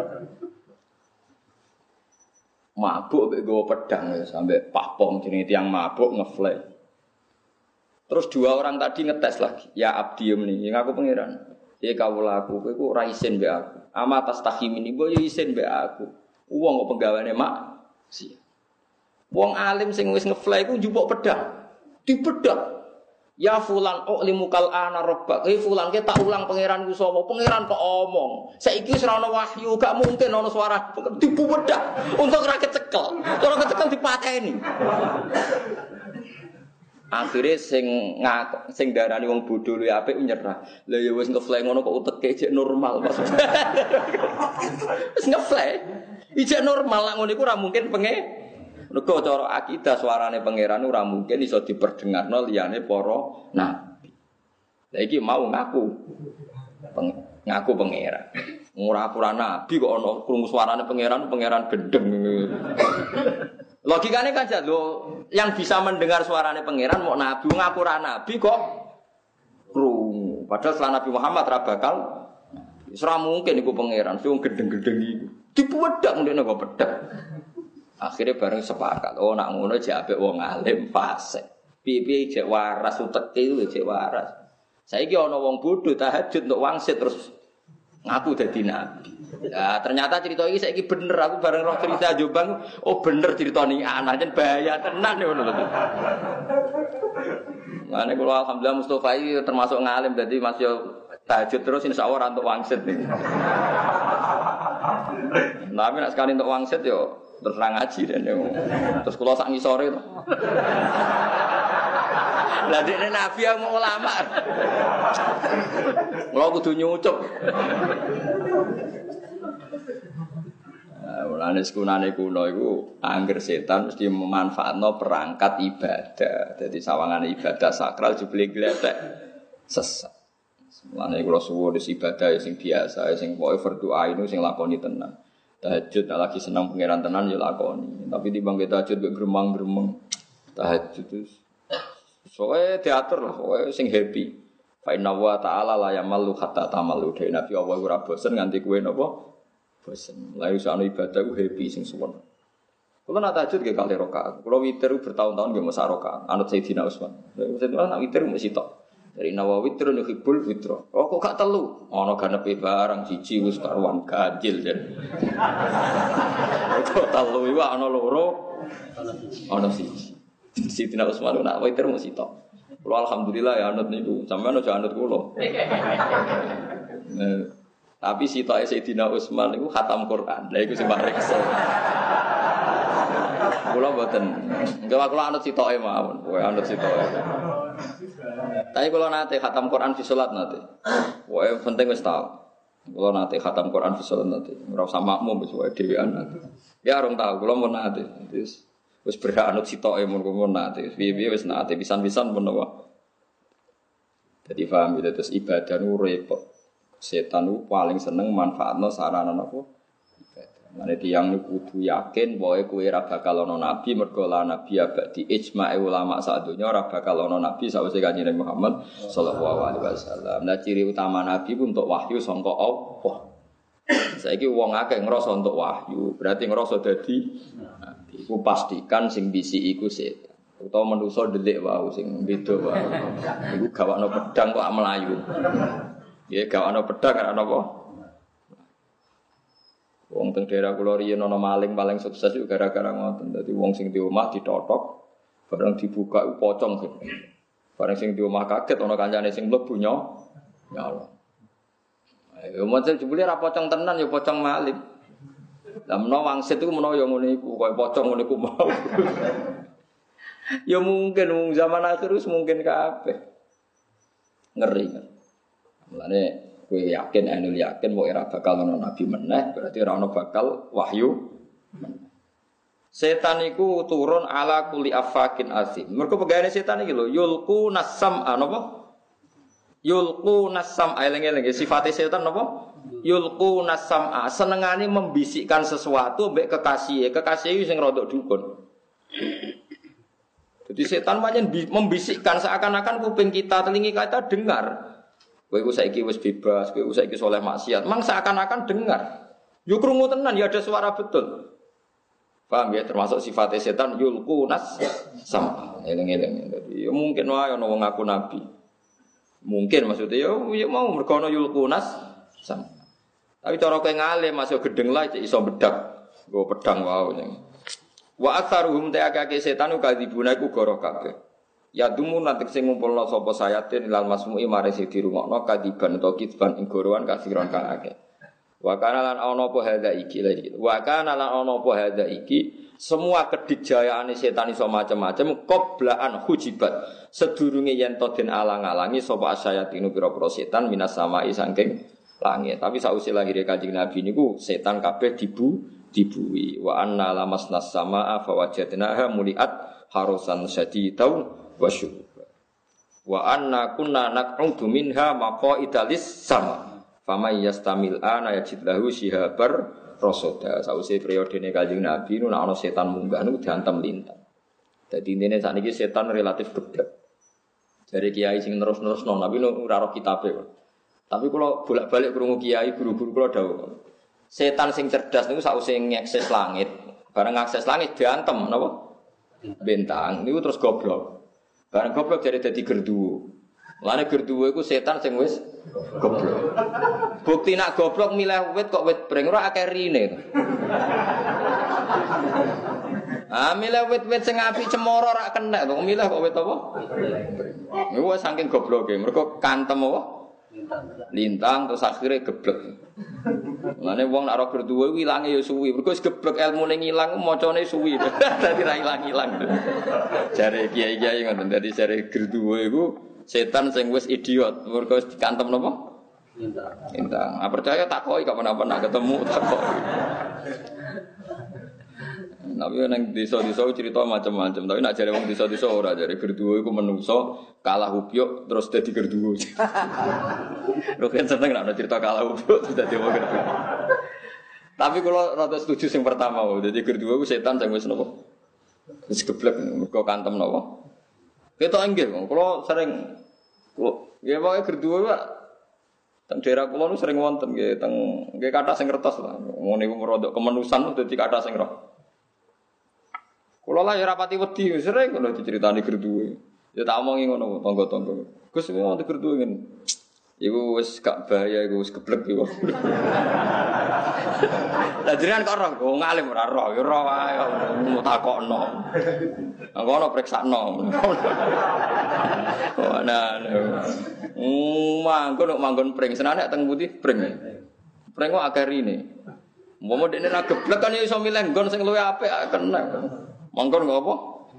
Mabuk mek nggawa pedang ya sampai pahpom jenenge tiyang mabuk ngeflek. Terus dua orang tadi ngetes lagi. Ya abdi meni, ngaku pangeran. Ya kawula aku kowe iku ora isin mbek aku. Ama tas tahimini mbok yo isin mbek aku. Wong kok penggaweane mak si. Wong alim sing wis ngefly iku njupuk pedang. Dibedak. Ya fulan ulimukal ana rabbak. Fulan ke tak ulang pangeranku sapa? Pangeran kok omong. Saiki wis ora ana wahyu, gak mungkin ana suara dibedak. Untuk ora kecekel. Ora kecekel dipateni. Akhire sing darani wong bodho luwih apik nyerah. Lah ya wis ngefly ngono kok uteke jek normal maksudnya. Wis ngefly. Ijek normal lak ngono iku ora mungkin Mergo cara akidah suarane pangeran ora mungkin iso diperdengarno liyane para nabi. Lah iki mau ngaku pangeran. Ora nabi kok ana krungu suarane pangeran gendeng. Logikane kan lho, yang bisa mendengar suarane pangeran mau nabi, ngaku ora nabi kok krungu. Padahal setelah Nabi Muhammad ra bakal ora mungkin iku pangeran, sing gendeng-gendeng iku. Dipuwedak ndekne kok pedhak. Akhirnya bareng sepakat, oh nak ngono jek apik wong alim fasik. Piye-piye jek waras uteke iku jek waras. Saiki ana wong bodho tahajud untuk wangsit terus ngaku dadi nabi. Ya ternyata cerita iki saiki bener aku bareng roh cerita Jombang, oh bener ceritane anak jen bahaya tenan ngono lho. Mane kula alhamdulillah Mustofa iki termasuk ngalim dadi masih tahajud terus insyaallah untuk wangsit nih. Tapi nak sekali untuk wangsit yo terus ngaji dan terus kula sak ngisore to. Lah dekne nabi mau ulama. Kula kudu nyucup. Mulane sekunane kuno iku angger setan mesti memanfaatno perangkat ibadah. Dadi sawangane ibadah sakral jebule gletek sesat. Mulane kula suwun ibadah sing biasa sing pokoke berdoa itu sing lakoni tenan. Tahajud lagi senang pangeran tenan ya lakoni. Tapi timbang kita tahajud mek gremeng-gremeng. Tahajud terus soe teater lah, soe sing happy. Fa inna wa ta'ala la yamallu hatta tamalu. Dene Nabi Allah ora bosen nganti kowe napa? Bosen. Lah iso ana ibadah ku happy sing suwon. Kula nak tahajud nggih kali rakaat. Kula witir bertahun-tahun nggih masa rakaat. Anut Sayyidina Utsman. Sayyidina nak witir mesti tok. Dari Nawawi witrun yuhibbul witra. Oh kok gak telu? Ana ganepe barang siji wis karuan ganjil jen. Kok telu iku ana loro. Ana siji. Sayyidina Utsman nak witir mesti tok. Kula alhamdulillah ya anut niku. Sampeyan aja anut kula. Tapi sitoke Sayyidina Utsman niku khatam Quran. Lah iku sing paling kesel. Kula mboten. Enggak kula anut sitoke mawon. Kowe anut sitoke. Tapi kalau nate khatam Quran fi salat nate. Wae penting wis tau. Kalau nate khatam Quran fi salat nate. Ora usah makmum wis wae dhewean nate. Ya rong tau kula mun nate. Wis berhak anut sitoke mun nate. Piye-piye wis nate pisan-pisan pun apa. Jadi paham itu terus ibadah nu repot. Setan nu paling seneng manfaatno sarana napa? Mane tiyang niku kudu yakin bahwa kowe ora bakal ana nabi mergo la nabi abadi ijma' ulama sak donya ora bakal ana nabi sawise Kanjeng Muhammad sallallahu alaihi wasallam. Nah ciri utama nabi ku untuk wahyu sangka Allah. Saiki wong akeh ngrasa untuk wahyu, berarti ngrasa dadi nabi. Iku pastikan sing bisi iku setan. Utawa manusa delik wae sing beda wae. Iku gawakno pedang kok melayu. Ya gawakno pedang ana apa? Wong teng daerah kula riyen ana maling paling sukses yo gara-gara ngoten. Dadi wong sing di omah ditotok, bareng dibuka pocong. Bareng sing di omah kaget ana kancane sing mlebu nyala. Ayo moncel jebule ra pocong tenan yo pocong maling. Lah menawa wangsit iku menawa yo ngene iku koyo pocong ngene iku mau. Ya mungkin wong zaman akhir wis mungkin kabeh. Ngeri kan. Mulane kowe yakin anul yakin mau era bakal ono nabi meneh berarti ora ono bakal wahyu. Setan iku turun ala kulli afakin azim. Mergo pegawene setan iki lho yulqu nasam napa? Yulqu nasam eling-eling sifate setan napa? Yulqu nasam senengane membisikkan sesuatu mbek kekasih. Kekasih sing rodok dukun. Jadi setan pancen membisikkan seakan-akan kuping kita, telinga kita dengar. Kowe iku saiki wis bebas, kowe saiki soleh maksiat. Mang seakan-akan dengar. Yo krungu tenan ya ada suara betul. Paham ya termasuk sifat setan yulqu nas sama eling-eling. Jadi ya mungkin wae ana wong ngaku nabi. Mungkin maksudnya ya mau mergo ana yulqu nas sama. Tapi cara kowe ngalim masuk gedeng lah iso bedak. Nggo pedang wae. Wa aktsaruhum ta'akake setan ukadzibuna iku goro kabeh. Ya dumun nanti sing ngumpulna sapa sayatin ilal masmu'i mare sing dirungokno kadiban utawa kitban ing gorowan kasiron kang akeh. Wa kana lan ana apa hadza iki lagi. Wa kana lan ana apa hadza iki semua kedikjayaane setan iso macam-macam qoblaan hujibat. Sedurunge yen to den alang-alangi sapa sayatinu pira-pira setan minas samai saking langit. Tapi sausé lahire Kanjeng Nabi niku setan kabeh dibui. Wa anna lamasnas samaa fa wajadnaha muliat harusan syadidau wa syuba. Wa anna kunna naq'udu minha maqaidalis sama. Famay yastamil ana yajid lahu shihabar rasada. Sause periodene Kanjeng Nabi nu ana setan munggah niku diantem lintang. Dadi intine sakniki setan relatif geblek. Dari kiai sing terus-terusno tapi ora ro kitabe. Tapi kula bolak-balik krungu kiai guru-guru kula dawuh. Setan sing cerdas niku sause ngakses langit. Bareng ngakses langit diantem napa? Bintang niku terus goblok. Bareng goblok jadi dadi gerduwo. Lane gerduwo iku setan sing wis goblok. Bukti nak goblok milih wit kok wit breng ora akeh rine. Milih wit-wit sing apik cemara ora kena kok milih kok wit apa? Niku saking gobloke. Mergo kantem apa? Lintang terus akhirnya geblek. Lane wong nak ora gerduwo iku ilange ya suwi. Mergo wis geblek elmune ngilang macane suwi. Dadi ra ilang-ilang. Jare kiai-kiai ngoten. Dadi jare gerduwo iku setan sing wis idiot, mergo wis dikantem napa? Lintang. Percaya takoki kok menapa ketemu takoki. Tapi nang desa-desa cerita macam-macam, tapi nak jare wong desa-desa ora jare gerduwo iku menungso kalah upyuk terus dadi gerduwo. Lho kan seneng nek cerita kalah upyuk terus dadi wong gerduwo. Tapi kalau rada setuju sing pertama, dadi gerduwo iku setan sing wis napa? Wis geblek mergo kantem napa? Kita inggih, kalau sering, ya pakai gerduwo pak, teng daerah kulo nu sering wonten, teng kata sing kertas lah, mau niku merodok kemenusan udah di kata sing roh. Kulo lah ya rapati wedi, sering kalau diceritani gerduwo, ya tak omongi ngono, tonggo-tonggo, Gus mau di gerduwo ngene, iku wis gak bahaya, iku wis geblek iku. Lah jenengan kok roh, wong alim ora roh, ya roh wae, mau takokno. Ngono priksakno. Manggon pring senane teng putih pring. Pring kok akeh rine. Umpama dekne ra geblek kan ya iso milih nggon sing luwih apik kena. Manggon ngopo?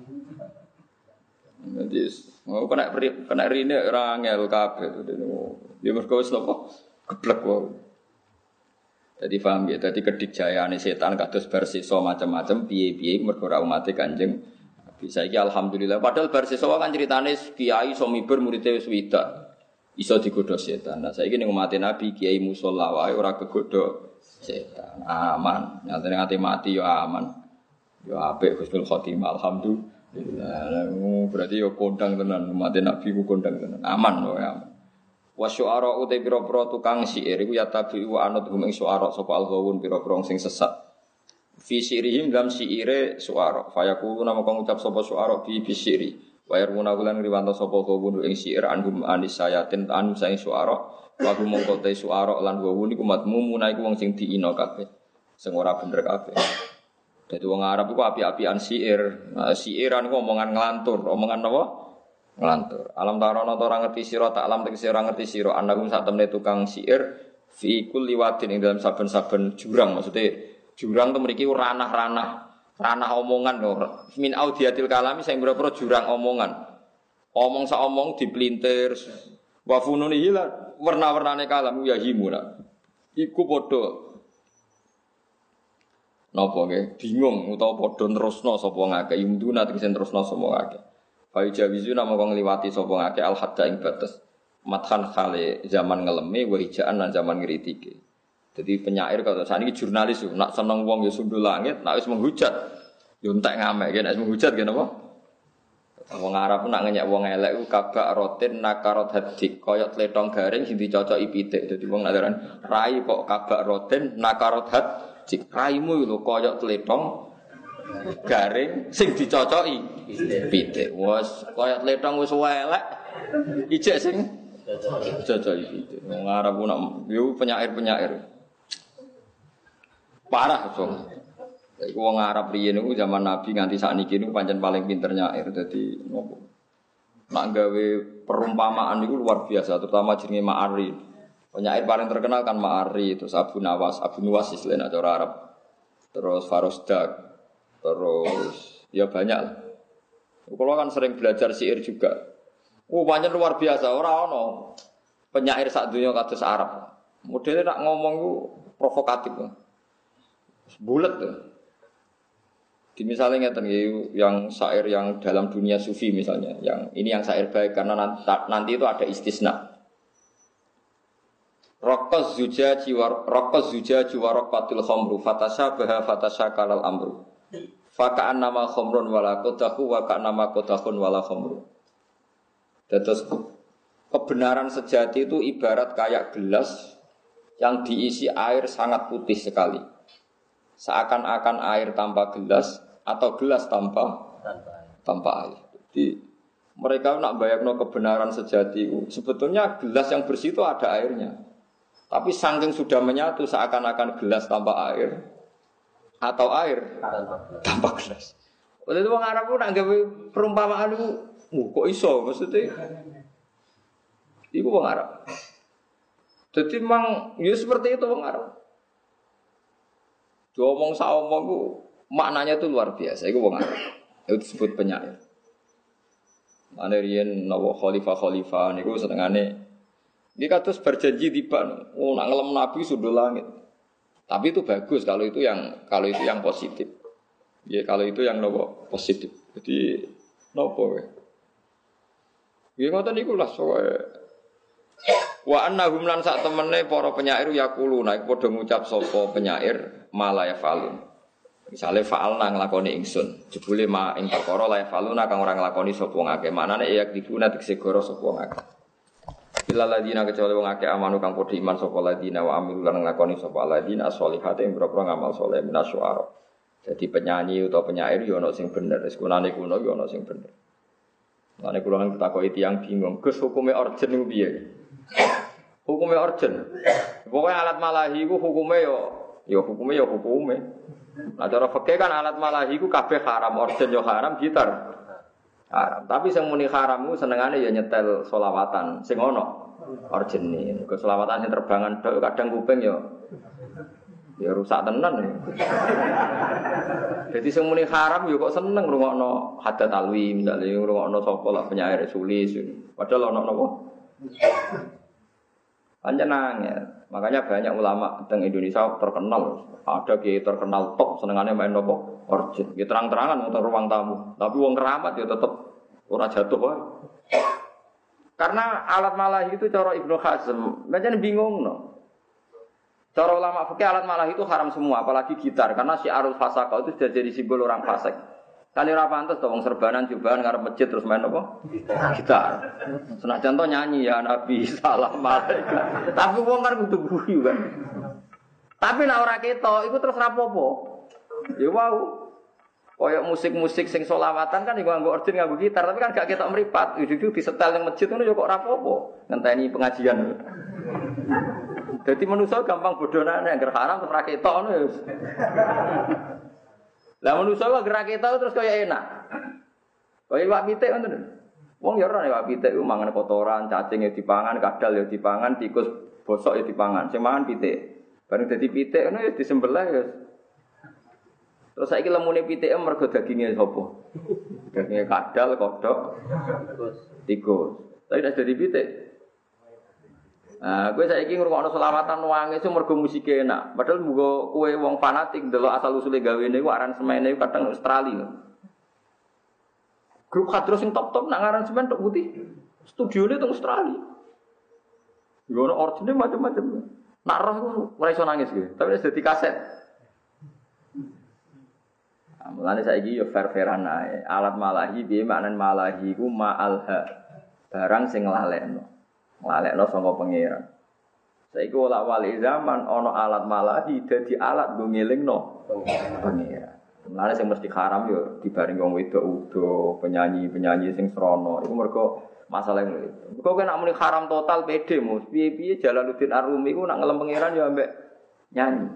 Dadi kena rine ora ngel kabeh. Ya mergo wis napa? Geblek wae. Jadi paham ya, jadi kedikjayaane setan kados bersisa macam-macam piye-piye mergo ora umate Kanjeng. Bisa iki alhamdulillah padahal bersisa kan ceritane kiai iso miber muridé wis widak. Iso digodho setan. Nah saiki ning umate Nabi kiai musala wae ora kegodho setan. Aman. Nyatane ngati mati ya aman. Ya apik husnul khotimah alhamdulillah. Berarti ya kondang tenan umate Nabi ku kondang tenan. Aman wae aman. Wasyu'ara uta pira-pira tukang syair iku ya tabi wa anut hum ing syu'ara sapa al-ghawun pira-pira sing sesat. Fi syairihim dalam syaire syu'ara. Fa yaqulu nama kang ucap sapa syu'ara bi syairi. Wa yarmuna wulan riwanto sapa ghawun ing syair anhum anis sayatin anu saing syu'ara. Wa hum mongko te syu'ara lan ghawun iku matmumuna iku wong sing diina kabeh. Sing ora bener kabeh. Dadi wong Arab iku api-apian syair. Nah, syairan iku omongan nglantur, omongan apa? Ngelantur. Alam tarono ora ngerti sira tak alam tegese ora ngerti sira anakum sak temne tukang syair fi kulli wadin ing dalam saben-saben jurang maksudnya jurang itu mriki ranah-ranah ranah omongan ora. Min audiatil kalami sing pira-pira jurang omongan. Omong sak omong dipelintir. Wa fununi hila warna-warnane kalam ya himuna. Iku padha napa nggih bingung utawa padha terusno sapa ngake yumduna tegese terusno sapa ngake. Fa jawizu nama kang ngliwati sapa ngake al hadda ing batas. Matkan khale zaman ngeleme wa hijaan lan zaman ngritike. Jadi penyair kalau saniki jurnalis yo nak seneng wong yo sundul langit, nak wis menghujat yo entek ngamek, nek wis menghujat ngene apa? Wong Arab nak ngenyek wong elek ku kabak rotin nakarot hadik, koyok tletong garing sing dicocoki pitik. Dadi wong nak rai kok kabak rotin nakarot hadik. Raimu lho koyok tletong garing sing dicocoki pitik. Wes koyok tletong wis elek. Ijek sing cocoki pitik. Wong Arab ku nak yo penyair-penyair. Parah so. Iku wong Arab riyen niku zaman Nabi nganti sakniki niku pancen paling pinter nyair. Dadi nopo. Nak gawe perumpamaan niku luar biasa, terutama jenenge Ma'ari. Penyair paling terkenal kan Ma'ari, terus Abu Nuwas istilahnya cara Arab. Terus Farosdak. Terus ya banyak lah. Kalau kan sering belajar syair juga. Pancen luar biasa, ora ono penyair sak donya kados Arab. Modele nak ngomong ku provokatif. Bulat tuh. Di misalnya ngeten yang syair yang dalam dunia sufi misalnya, yang ini yang syair baik karena nanti itu ada istisna. Raqaz zujaji wa raqatil khamru fatashabaha fatashakalal amru. Fa ka'annama khamrun wala qadahu wa ka'annama qadahun wala khamru. Terus kebenaran sejati itu ibarat kayak gelas yang diisi air sangat putih sekali. Seakan-akan air tanpa gelas atau gelas tanpa air. Jadi mereka nak bayangno kebenaran sejati. Sebetulnya gelas yang bersih itu ada airnya. Tapi saking sudah menyatu seakan-akan gelas tanpa air atau air tanpa gelas. Oleh itu orang Arab nak gawe perumpamaan itu, kok iso maksudnya? Iku orang Arab. Jadi memang ya seperti itu orang Arab. Diomong saomong ku maknanya itu luar biasa. Iku wong Arab. Itu disebut penyair. Mane riyen nawa khalifah niku senengane iki kados berjanji tiba nak ngelem nabi sundul langit. Tapi itu bagus kalau itu yang positif. Ya kalau itu yang nawa positif. Jadi napa wae. Ya ngoten niku lah wa annahum lan sak temene para penyair yaquluna iku padha ngucap sapa penyair malaya falun. Misale fa'alna nglakoni ingsun, jebule ma ing perkara la faluna kang ora nglakoni sapa ngake. Manane ya dibuna tegese goro sapa ngake. Illa ladina kecuali wong akeh amanu kang padha iman sapa ladina wa amilu lan nglakoni sapa ladina sholihate ing boro ngamal saleh minasyuara. Jadi penyanyi utawa penyair yo ana sing bener, wis kunane kuno yo ana sing bener. Lane kula nang takoki tiyang bingung, Gus hukume orjen niku piye? Hukume orjen. Pokoke alat malahi ku hukume yo hukume. Nah cara fikih kan alat malahi ku kabeh haram, orjen yo haram, gitar haram. Tapi sing muni haram ku senengane ya nyetel selawatan sing ono orjene. Ke selawatan sing terbangan tok kadang kuping ya rusak tenan. Jadi sing muni haram yo kok seneng ngrungokno hadat alwi, misale ngrungokno sapa lah penyair sulis. Padahal ono napa? Panjenengan ya. Makanya banyak ulama teng Indonesia terkenal. Ada kiai terkenal top senengane main napa? Orjen. Ya terang-terangan wong ruang tamu. Tapi wong keramat ya tetep ora jatuh wae. Karena alat malahi itu cara Ibnu Hazm, pancen bingungno. Cara ulama fikih alat malahi itu haram semua, apalagi gitar karena syiarul fasaqah itu sudah jadi simbol orang fasik. Kan ora pantes to wong serbanan jubahan ngarep masjid terus main apa? Gitar. Senajan to nyanyi ya Nabi salam alaikum. Tapi wong kan kudu guyu kan. Tapi nek ora ketok iku terus rapopo. Ya wau. Kayak musik-musik sing selawatan kan iku nganggo organ nganggo gitar tapi kan gak ketok mripat. Itu disetel ning masjid ngono ya kok rapopo. Ngenteni pengajian. Jadi manusia gampang bodohane anggar haram terus ra ketok ngono ya. Lah manusia kok gerak ketok terus kaya enak. Kaya iwak pitik ngoten. Wong ya ora iwak pitik ku mangan kotoran, cacing ya dipangan, kadal ya dipangan, tikus bosok ya dipangan. Sing mangan pitik. Bareng dadi pitik ngono ya disembelih ya. Terus saiki lemune PTM mergo daginge sapa? Daginge kadal, kodhok, tikus. Tapi nek dadi pitik. Kowe saiki ngrungokno selawatan nangis mergo musike enak. Padahal muga kowe wong fanatik ndelok asal usule gawene iku aransemene kadang Australia. Grup kadro sing top-top nak aransemen tok putih. Studione teng Australia. Yo ono origine macam-macam. Nak roh iku ora iso nangis kowe, tapi wis dadi kaset. Mulane saiki yo fair-fairan ae. Alat malahi piye maknane malahi iku ma'alha. Barang sing nglalekno. Nglalekno saka pangeran. Saiki ora wali zaman ana alat malahi dadi alat nggo ngelingno pangeran. Mulane sing mesti haram yo dibaring wong wedok udo, penyanyi-penyanyi sing srana. Iku mergo masalah itu. Mergo nek muni haram total pede mus. Piye-piye Jalaluddin Ar-Rumi iku nak ngelem pangeran yo ambek nyanyi.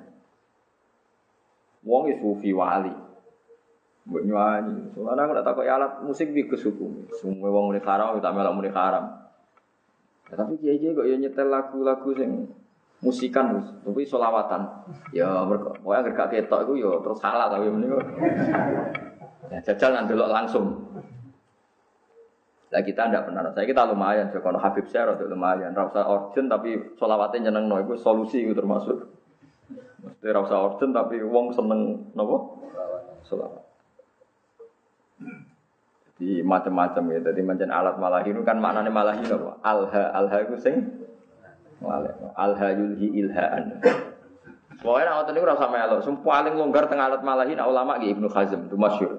Wong sufi wali. Mbok nyanyi. Soalnya aku nak takut alat musik iki kesukum. Semua wong muni haram tak melok muni haram. Ya, tapi kiai-kiai kok ya nyetel lagu-lagu sing musikan tapi selawatan. Ya mergo kowe anggere gak ketok iku ya terus salah tapi meniku. Ya jajal nang delok langsung. Lah kita ndak pernah. Saya kita lumayan kono Habib Syekh rada lumayan. Ra usah urgent tapi selawate nyenengno iku solusi iku termasuk. Mesti ra usah urgent tapi wong seneng napa? Selawat. Jadi macam-macam ya. Jadi macam alat malahi itu kan maknanya malahi apa? Alha itu sing alha yulhi ilhaan. Pokoknya nak ngoten niku ora usah melok. Sing paling longgar teng alat malahi nak ulama ki Ibnu Hazm itu masyhur.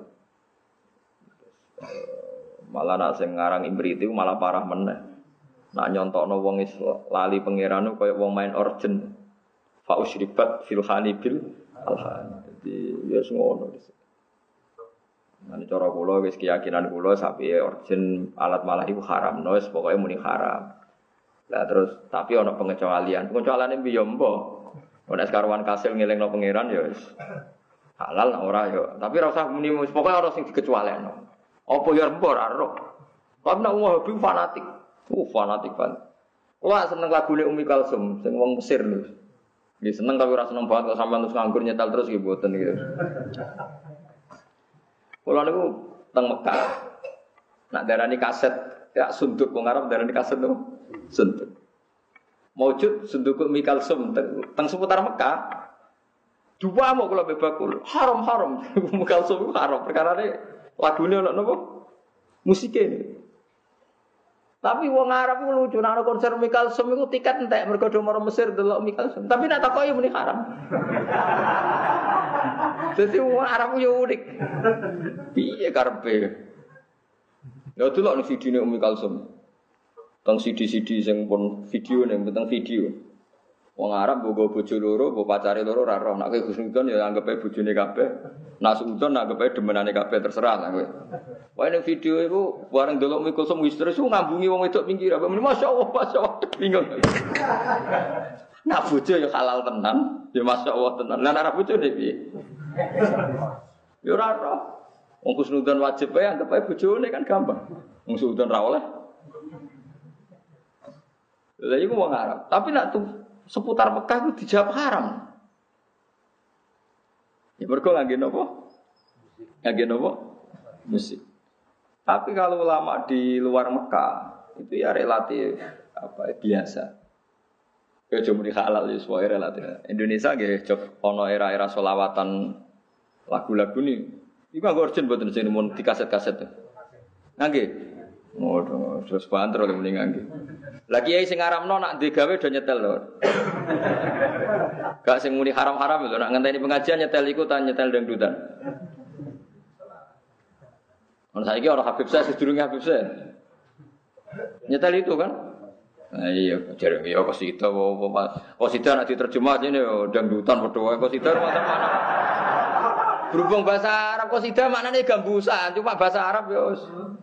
Malah nak sing ngarang Imrit itu malah parah meneh. Nak nyontokno wong is lali pangeran koyo wong main organ. Fa usyribat fil hanibil alhan. Jadi ya ngono. Nanti cara kula wis keyakinan kula sapi origin alat malah iku haram, wis pokoke muni haram. Lah terus tapi ana pengecualian. Pengecualiane piye mbok? Nek sekarwan kasil ngelingno pangeran ya wis halal ora ya. Tapi ora usah muni pokoke ora sing dikecualiano. Apa ya mbok ora ro. Tapi nek wong hobi fanatik. Fanatik kan. Kula seneng lagune Umi Kalsum sing wong Mesir lho. Nggih seneng tapi ora seneng banget kok sampean terus nganggur nyetel terus nggih mboten gitu. Kalau niku teng Mekah, nak darani kaset, ya sunduk wong Arab darani kaset tuh, sunduk. Maujud sunduk Mikal Sum teng seputar Mekah. Dua mau kalau bebakul, haram. Mikal Sum haram. Perkara ini lagunya napa? Musiknya. Tapi wong Arab itu lucu, nak konser Mikal Sum itu tiket entek mergo do marang Mesir delok Mikal Sum. Tapi nak takoki muni haram. Jadi wong Arab yo unik. Piye karepe? Ya delok ning video-ne Umi Kalsum. Teng CD-CD sing pun video ning teng video. Wong Arab nggo bojo loro, nggo pacare loro ora roh. Nek kowe Gusnudon ya anggap ae bojone kabeh. Nek Sudon anggap ae demenane kabeh terserah lah kowe. Wae ning video iku bareng delok Umi Kalsum wis terus ngambungi wong wedok pinggir. Masyaallah, bingung. Nak bojo ya halal tenan, ya masyaallah tenan. Lah nek bojone piye? Ya ora roh. Wong Gusnudon wajib wae anggap ae bojone kan gampang. Wong Sudon ra oleh. Lah iku wong Arab. Tapi nek seputar Mekah itu dijawab haram. Ya mergo ngangge napa? Ngangge napa? Musik. Tapi kalau ulama di luar Mekah itu ya relatif biasa. Ya cuma di halal ya semua relatif. Indonesia nggih jog ana era-era selawatan lagu-lagu nih. Iku anggo urgent mboten sing mun di kaset-kaset. Nggih. Ngono, terus banter oleh mending nggih. Lah kiai sing ngaramno nak digawe do nyetel lho. Gak sing muni haram-haram lho nak ngenteni pengajian nyetel iku ta nyetel dangdutan. Ono saiki ora Habib Syekh sedurunge Habib Syekh. Nyetel itu kan? Nah, iya, jare ya qasidah apa qasidah nek diterjemah ini dangdutan padha wae qasidah macam-macam. Berhubung bahasa Arab qasidah maknane gambusan, cuma bahasa Arab ya wis.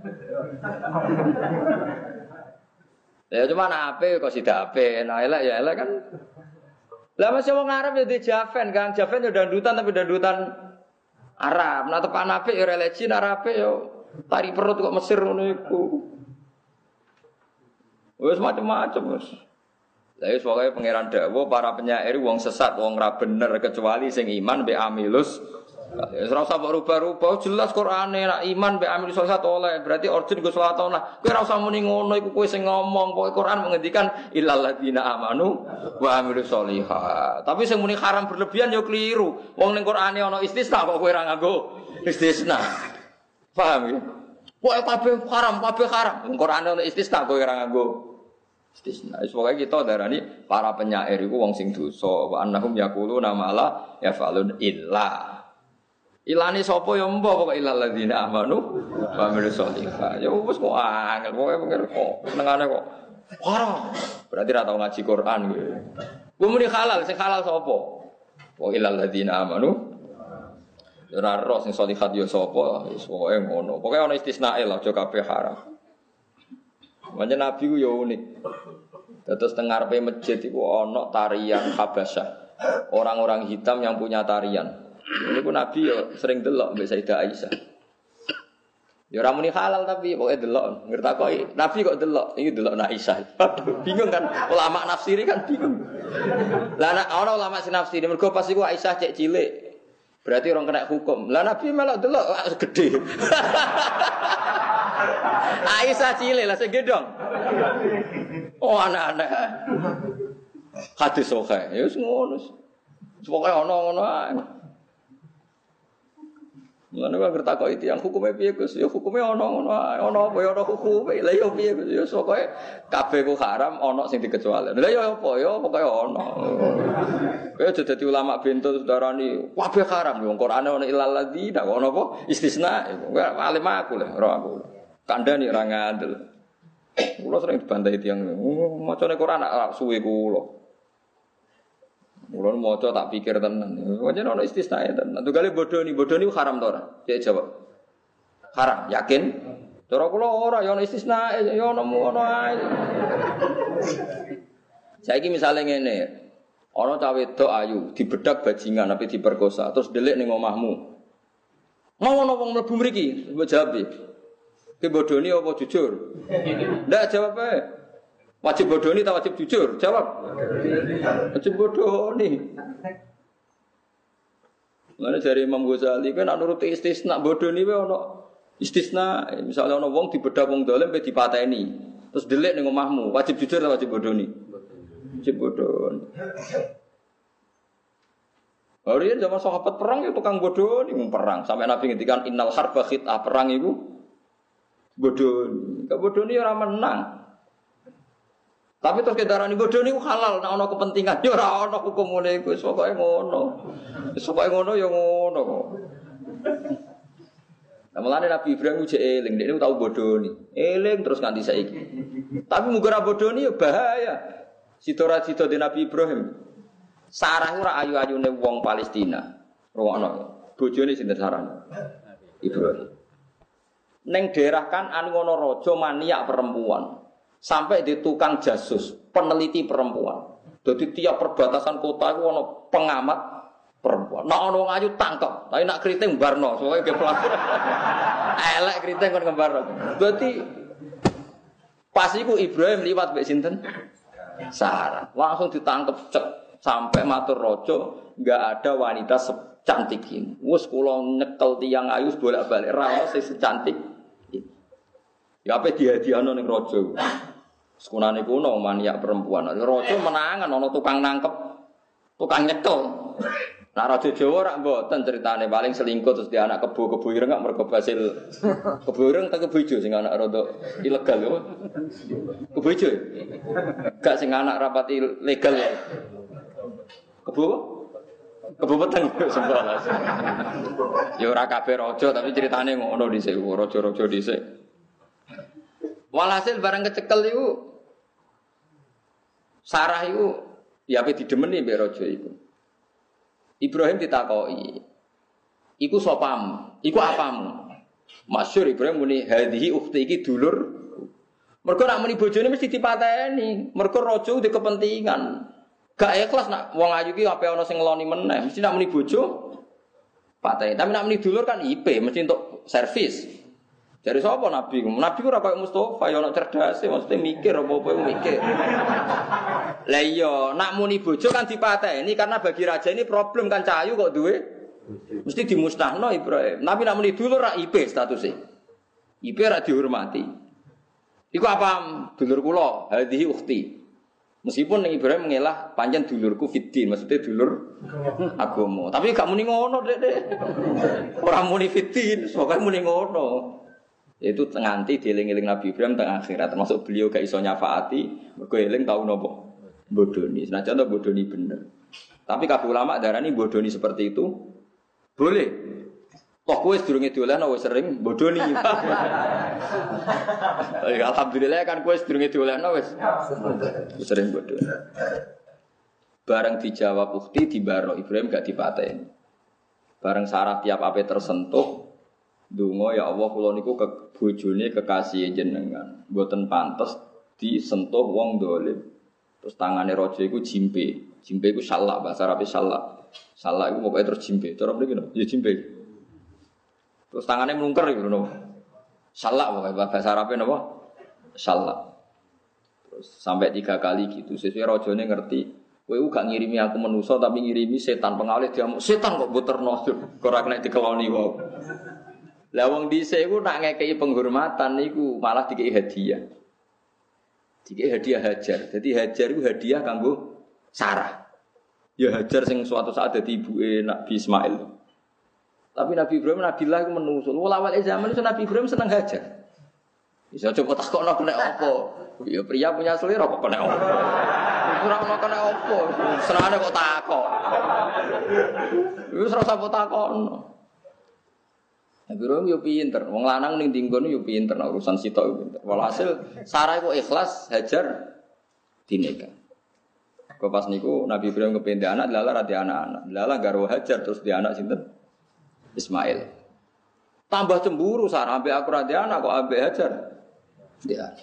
Ya cuma ape qasidah ape, nah elek ya elek kan. Lah masih wong Arab ya di Javen kan, Javen ya dangdutan tapi dangdutan Arab. Nah tepan apik ya religi Arabe ya tari perut kok Mesir ngono iku. Wis macam-macam wis. Lah wis pokoke pangeran dawuh para penyair wong sesat, wong ra bener kecuali sing iman mbek amilus Ora usah rubah-rubah, jelas Qur'ane nak iman mbek amil sholat oleh. Berarti origin go sholat oleh. Kowe ora usah muni ngono iku kowe sing ngomong. Pokoke Qur'an mengendikan illal ladzina amanu wa amilus sholihat. Tapi sing muni haram berlebihan ya keliru. Wong ning Qur'ane ana istisna kok kowe ora nganggo istisna. Paham ya? Pokoke kabeh haram, kabeh haram. Wong Qur'ane ana istisna kowe ora nganggo istisna. Pokoke kita darani para penyair iku wong sing dosa. Wa annahum yaquluna ma la yaf'alun illa ilane sapa ya mbah pokoke ilal ladzina amanu wa amilus sholihat. Ya wis kok angel pokoke kok senengane kok haram. Berarti ra tau ngaji Quran kowe. Kowe muni halal, sing halal sapa? Wa ilal ladzina amanu. Ora ro sing sholihat ya sapa? Wis pokoke ngono. Pokoke ana istisnae lah aja kabeh haram. Manja Nabi ku ya unik. Terus teng ngarepe masjid iku ana tarian Habasyah. Orang-orang hitam yang punya tarian. Ini pun Nabi ya sering delok mbek Sayyidah Aisyah. Ya ora muni halal tapi pokoke delok. Ngertakoki Nabi kok delok, iki delok Aisyah. Aduh, bingung kan ulama nafsiri kan bingung. Lah nek ana ulama sing nafsiri mergo pas iku Aisyah cek cilik. Berarti orang kena hukum. Lah Nabi malah delok gede. Aisyah cilik lah sing gedong. Oh anak-anak. Hadis sahih. Ya wis ngono. Pokoke ana ngono ae. Mulane kok ngertakoki tiyang hukume piye Gus? Ya hukume ana ngono ae. Ana apa ya ana hukume. Lah ya piye Gus? Ya pokoke kabeh ku haram ana sing dikecualikan. Lah ya apa ya pokoke ana. Kowe aja dadi ulama bento darani kabeh haram. Wong Qur'ane ana ilal ladzina kok ana apa? Istisna. Kowe alim aku lah, ora aku. Kandhani ora ngandel. Kula sering dibantai tiyang. Macane Qur'an nak suwe kula. Mulane maca tak pikir tenan. Pancen ana istisnae tenan. Tunggale bodoni haram to ora? Cek jawab. Haram, yakin? Cara kula ora ya ana istisnae, ya ana ngono ae. Saiki misale ngene. Ana cah wedok ayu, dibedak bajingan ape diperkosa, terus delik ning omahmu. Mau ana wong mlebu mriki, mbok jawab iki. Ki bodoni apa jujur? Ndak jawab ae. Wajib bodoni atau wajib jujur? Jawab. Wajib bodoni. Mana dari Imam Ghazali kan nuruti istisna bodoni wae ana istisna. Misalnya ana wong dibedak wong dolim pe dipateni. Terus delik ning omahmu, wajib jujur atau wajib bodoni? Wajib bodoni. Oriyen zaman sahabat perang ya tukang bodoni perang. Sampai Nabi ngendikan innal harba khit'ah, perang iku bodoni. Bodoni ora menang. Tapi terus kendaraan bodoh ini halal, nak ono kepentingan, ya ora ono hukum ngene iku, pokoke ngono. Wis pokoke ngono ya ngono kok. Lah mulane Nabi Ibrahim ujek eling, dekne tau bodoni. Eling terus nganti saiki. Tapi muga ora bodoni ya bahaya. Sito-sito di Nabi Ibrahim. Sarah ora ayu-ayune wong Palestina. Rungokno. Bojone sinten Sarah? Ibrahim. Ning daerah kan ngono raja maniak perempuan. Sampai di tukang jasus, peneliti perempuan. Jadi tiap perbatasan kota itu ada pengamat perempuan. Nak ono ngayu tangkap, tapi nak keriting barno, soalnya ke pelaku. Elek keriting kon ngembarno. Berarti pas iku Ibrahim liwat mbek sinten? Sarah. Langsung ditangkap cek sampai matur raja, enggak ada wanita secantik ini. Wes kula nyekel tiyang ayu bolak-balik ra ono sing secantik ini. Ya ape dihadiahno ning raja. Sekunane kuno maniak perempuan. Raja menangan ana tukang nangkep, tukang nyekel. Nah raja Jawa rak mboten ceritane paling selingkuh terus dia anak kebo ireng gak mergo hasil kebo ireng ta kebo ijo sing anak rada ilegal yo. Kebo ijo. Gak sing anak rapati legal ya. Kebo peteng sembalas. Ya ora kabeh raja tapi ceritane ngono dhisik raja-raja dhisik. Walhasil barang kecekel iku Sarah iku ya ape didemeni mbek raja iku. Ibrahim ditakoki. Iku sopamu? Iku apamu? Masyhur Ibrahim muni hadhihi ukhti iki dulur. Mergo nak muni bojone mesti dipateni. Mergo raja duwe kepentingan. Gak ikhlas nak wong ayu iki ape ana sing ngeloni meneh. Mesti nak muni bojo pateni. Tapi nak muni dulur kan IP, mesti untuk servis. Dari sapa Nabi? Nabi ora koyo Mustofa, ya ana cerdase, maksudnya mikir apa-apa mikir. Lah iya, nak muni bojo kan dipateni karena bagi raja ini problem kan cahayu kok duwe Mesti dimusnahno Ibrahim. Nabi nak muni dulur ra IP statusnya. IP ra dihormati. Iku apa dulur kula? Hadhihi ukhti. Meskipun Ibrahim mengelah pancen dulurku fiddin, maksudnya dulur agama. Tapi gak muni ngono, Dek. Ora muni fiddin, pokoke muni ngono. Itu nganti dieling-eling Nabi Ibrahim teng akhirat, termasuk beliau gak iso nyafaati, mergo eling tau napa bodoni. Senajan to bodoni bener. Tapi kabeh ulama darani bodoni seperti itu boleh. Toh kowe sedurunge diolehno wis sering bodoni. Alhamdulillah kan kowe sedurunge diolehno wis sering bodoni. Bareng dijawab ukti dibaro Ibrahim gak dipateni. Bareng Sarah tiap ape tersentuh donga ya Allah kula niku bojone kekasih jenengan. Mboten pantes disentuh wong dolim. Terus tangane raja iku jimpe. Jimpe iku salak bahasa Arab salak. Salak iku pokoke terus jimpe. Cara mriki no, ya jimpe. Terus tangannya melungker gitu no. Salak pokoknya bahasa Arabnya napa? Salak. Terus sampai 3 kali gitu. Sesuai rajane ngerti. Kowe gak ngirimi aku manusa tapi ngirimi setan pengalih diamuk. Setan kok buterno. Ora kena dikeloni wae. Lah wong dhisik iku nak ngekeki penghormatan niku malah dikeki hadiah. Dikeki hadiah Hajar. Jadi Hajar iku hadiah kanggo Sarah. Ya Hajar sing suatu saat dadi ibuke Nabi Ismail. Tapi Nabi Ibrahim Nabilah itu menusul. Awal zaman itu Nabi Ibrahim seneng Hajar. Bisa coba takokno kena apa? Ya pria punya selera kok kena apa? Ora ono kena apa? Senengane kok takok. Wis ora usah takokno. Nabi Ibrahim yo pinter. Wong lanang ning dinggon yo pinter urusan sitok yo pinter. Walhasil Sarah iku ikhlas Hajar dinikah. Kok pas niku Nabi Ibrahim kependhe anak, lala ra di anak-anak. Lala garwa Hajar terus di anak sinten? Ismail. Tambah cemburu Sarah ambek aku ra di anak kok ambek Hajar. Dia.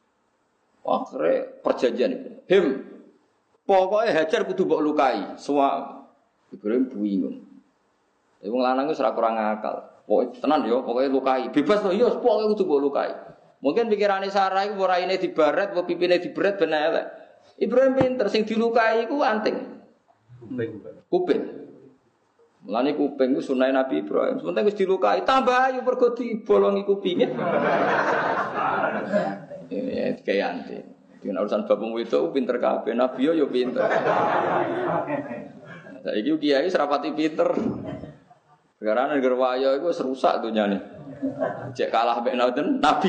Akhire perjanjian itu. Pokoknya Hajar kudu mbok lukai. Semua Ibrahim bingung. Wong lanang wis ora kurang akal. Pokoke tenan yo, pokoke lukai. Bebas to yo, pokoke kudu mbok lukai. Mungkin pikirane Sarah iku ora raine dibaret, apa pipine diberet ben elek. Ibrahim pinter sing dilukai iku anting. Kuping. Mulane kuping ku sunah Nabi Ibrahim. Sementara wis dilukai, tambah ayu mergo dibolongi kupinge. Ya kayak anting. Dengan urusan bapung itu pinter kabeh, Nabi yo pinter. Saiki kiai serapati pinter. Karena negara wayo iku wis rusak dunyane. Cek kalah mek Nabi.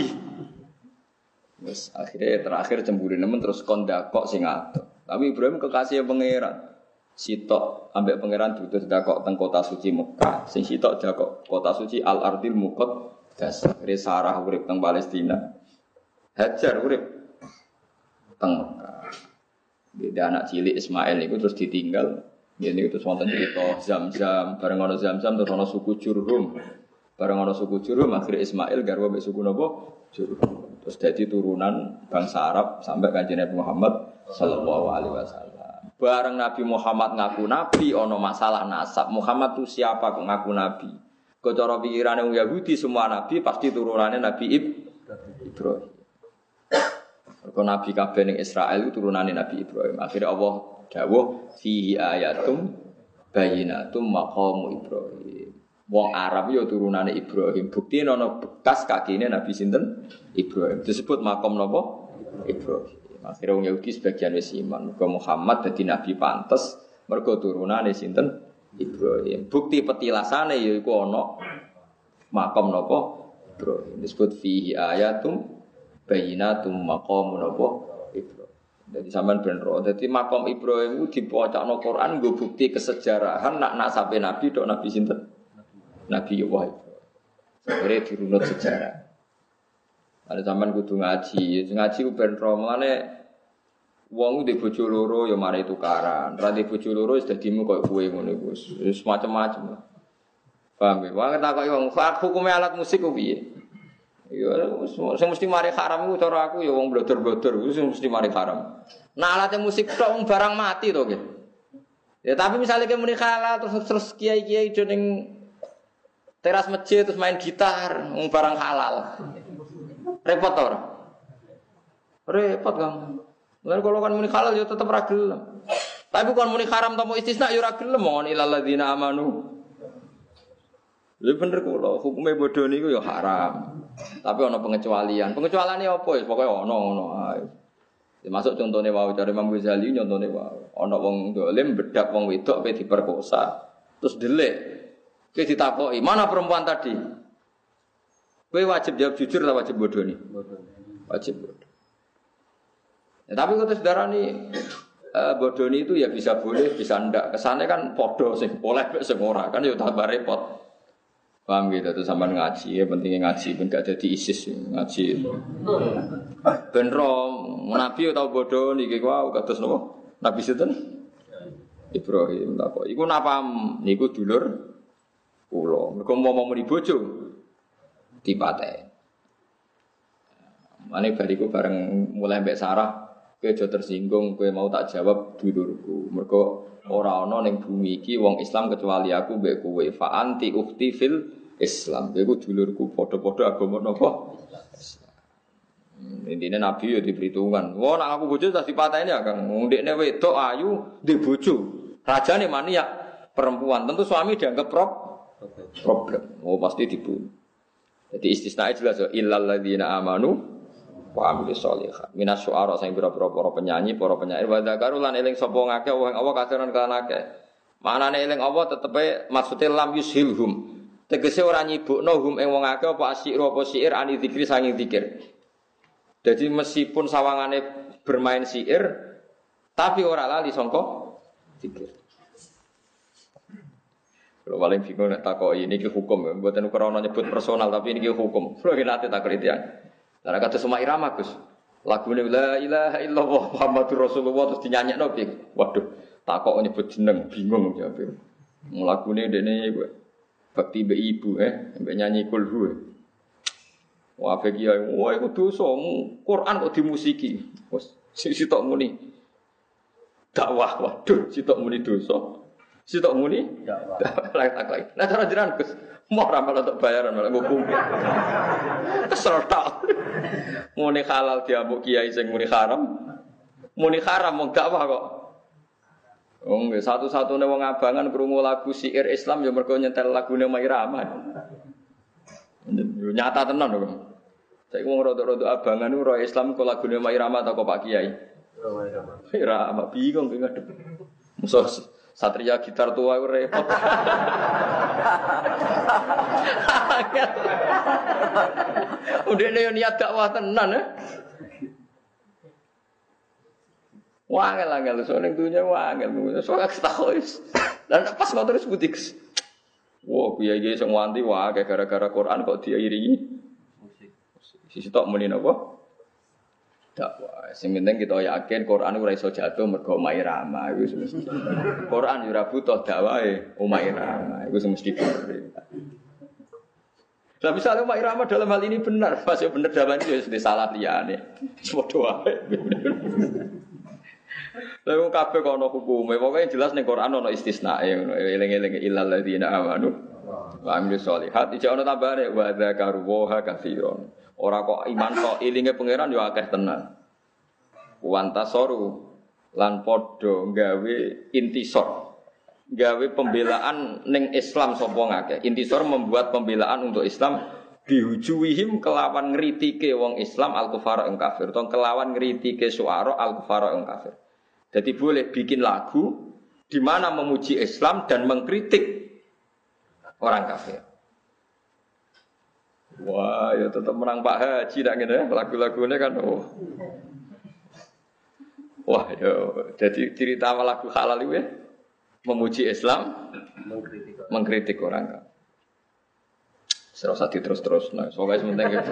Wis akhirnya terakhir cemburu nemen terus kondakok sing adoh. Tapi Ibrahim kekasih pangeran. Sitok ambek pangeran diutus dakok teng kota suci Mekah. Sing sitok dakok kota suci Al-Ardil Muqaddas. Sarah urip teng Palestina. Hajar urip teng Mekah. Dia anak cilik Ismail niku terus ditinggal. Ini terus wonten cerita Zamzam, bareng ana Zamzam terus ana suku Jurhum. Bareng ana suku Jurhum akhirnya Ismail garwa mbek suku napa? Jurhum. Terus dadi turunan bangsa Arab sampai Kanjeng Nabi Muhammad sallallahu alaihi wasallam. Bareng Nabi Muhammad ngaku nabi ana masalah nasab. Muhammad itu siapa kok ngaku nabi? Kok cara pikirane wong Yahudi semua nabi pasti turunannya Nabi Ibrahim. Kok nabi kabeh ning Israel itu turunannya Nabi Ibrahim. Akhirnya Allah dawuh fihi ayatum bayyinatum maqamu Ibrahim. Wong Arab yo turunane Ibrahim. Bukti ana bekas kakine Nabi sinten? Ibrahim. Disebut maqam napa? Ibrahim. Akhirnya wong Yahudi sebagian wis iman. Mergo Muhammad dadi nabi pantes mergo turunane sinten? Ibrahim. Bukti petilasane yaiku ana maqam napa? Ibrahim. Disebut fihi ayatum bayyinatum maqamu napa? Ibrahim. Jadi sampean ben ro. Dadi maqam Ibrahim ku dipocokno Quran nggo bukti kesejarahan nak nasabe nabi tok nabi sinten? Nabi Ibrahim. Akhirnya dirunut sejarah. Ada sampean kudu ngaji. Ngaji ku ben ro. Mulane wong di bojo loro ya mari tukaran. Ra di bojo loro wis dadimu koyo kowe ngono iku. Wis macam-macam. Paham ya? Wong takoki wong hukume alat musik ku piye? Ya sing mesti mari haram iku cara aku ya wong blodor-blodor iku sing mesti mari haram. Nah alat musik tok wong barang mati to nggih. Ya tapi misalnya kayak muni halal terus kiai-kiai do ning teras masjid terus main gitar wong barang halal. Repot to ora? Repot kamu. Lan kalau kan muni halal ya tetep ra gelem. Tapi kon muni haram tomo istisna ya ora gelem mon ilal ladzina amanu Lha bener kula, hukume bodho niku ya haram. Tapi ana pengecualian. Pengecualiane apa ya? Pokoke ana ngono ae. Termasuk contone wae cari Imam Ghazali nyontone wae. Ana wong dolim bedak wong wedok pe diperkosa. Terus delik. Kowe ditakoki, "Mana perempuan tadi?" Kowe wajib jawab jujur atau wajib bodoni? Wajib bodoni. Ya, tapi kok sedarani bodoni itu ya bisa boleh, bisa ndak. Kesane kan padha sing oleh mek sing ora kan ya tambah repot. Paham gitu tuh sampean ngaji ya pentingnya ngaji ben gak dadi ISIS ngaji. Ben rom nabi tau bodoni iki wae kados napa? Nabi sinten? Ibrahim tak kok. Iku napa niku dulur kula. Mergo mau muni bojo dipateni. Mane bariku bareng mulai mbek Sarah, kowe aja tersinggung, kowe mau tak jawab dulurku. Mergo ora ana ning bumi iki wong Islam kecuali aku mbek kowe. Fa anti ukhti fil Islam. Kowe dulurku padha-padha agama napa? Intine nabi yo diperhitungan. Wah nek aku bojo tak dipateni ya Kang. Wong ndekne wedok ayu ndek bojo. Rajane maniak perempuan. Tentu suami dianggap problem. Oh pasti dibunuh. Jadi istisnae jelas yo illal ladzina amanu wa amilus sholihat. Minas syu'ara sing pira-pira para penyanyi, para penyair wa dzakaru lan eling sapa ngakeh wong Allah kaseran kan akeh. Manane eling Allah tetepe maksude lam yushilhum. Tegese ora nyibukno hum ing wong akeh apa asyir apa syair ani zikri sanging zikir. Jadi meskipun sawangane bermain syair tapi ora lali sangka zikir. Kalau paling bingung nek takoki niki hukum, mboten krana nyebut personal tapi niki hukum. Kulo nate tak kritian. Lah kata semua irama Gus. Lagune la ilaha illallah Muhammadur Rasulullah terus dinyanyekno piye? Waduh, takok nyebut jeneng bingung jawab. Lagune dene iku bakti mbek ibu mbek nyanyi kulhu. Wah kiai, wah iku dosa. Quran kok dimusiki. Wes sitok muni. Dakwah, waduh, sitok muni dosa. Sitok muni dakwah. Lah takok. Nah cara jenengan Gus, mau ora malah untuk bayaran malah nghukum. Keserta. Muni halal diambuk kiai sing muni haram. Muni haram mung dakwah kok. Wong satu-satune wong abangan krungu lagu syair Islam ya mergo nyetel lagune Mairama. Nyata tenan kok. Saiki wong rada-rada abangan ora Islam kok lagune Mairama ta kok Pak Kiai. Mairama bingung ki ngadep. Musuh satria gitar tua iku repot. Udene yo niat dakwah tenan Wangel soalnya dunia wangel, soalnya ketahuis. Dan pas ngotot terus butik. Wah, kiai sing wanti wah kayak gara-gara Quran kok diiringi musik. Sisi tok muni napa? Dakwah. Sing penting kita yakin Quran ora iso jatuh mergo omahe Rama iku mesti. Quran yo ora butuh dakwahe omahe Rama iku mesti bener. Lah misalnya omahe Rama dalam hal ini benar, pas yo bener dakwah itu wis salah liyane. Padha wae. Lha wong kabeh kok ana hukume, pokoke jelas ning Quran ana istisnae ngono. Eling-eling illal ladzina amanu wa amilus sholihat. Iki ana tambahane wa dzakaru wa katsiron. Ora kok iman tok elinge pangeran yo akeh tenan. Wantasoru lan padha gawe intisor. Gawe pembelaan ning Islam sapa ngakeh. Intisor membuat pembelaan untuk Islam dihujuwihim kelawan ngritike wong Islam al-kufara ing kafir. Utawa kelawan ngritike syuara al-kufara ing kafir. Jadi boleh bikin lagu di mana memuji Islam dan mengkritik orang kafir. Wah, ya tetap menang Pak Haji nak ngene lagu-lagune kan. Oh. Wah, ya jadi cerita lagu halal itu ya memuji Islam, mengkritik orang kafir. Serasa terus-terus nah, soalnya sementing gitu.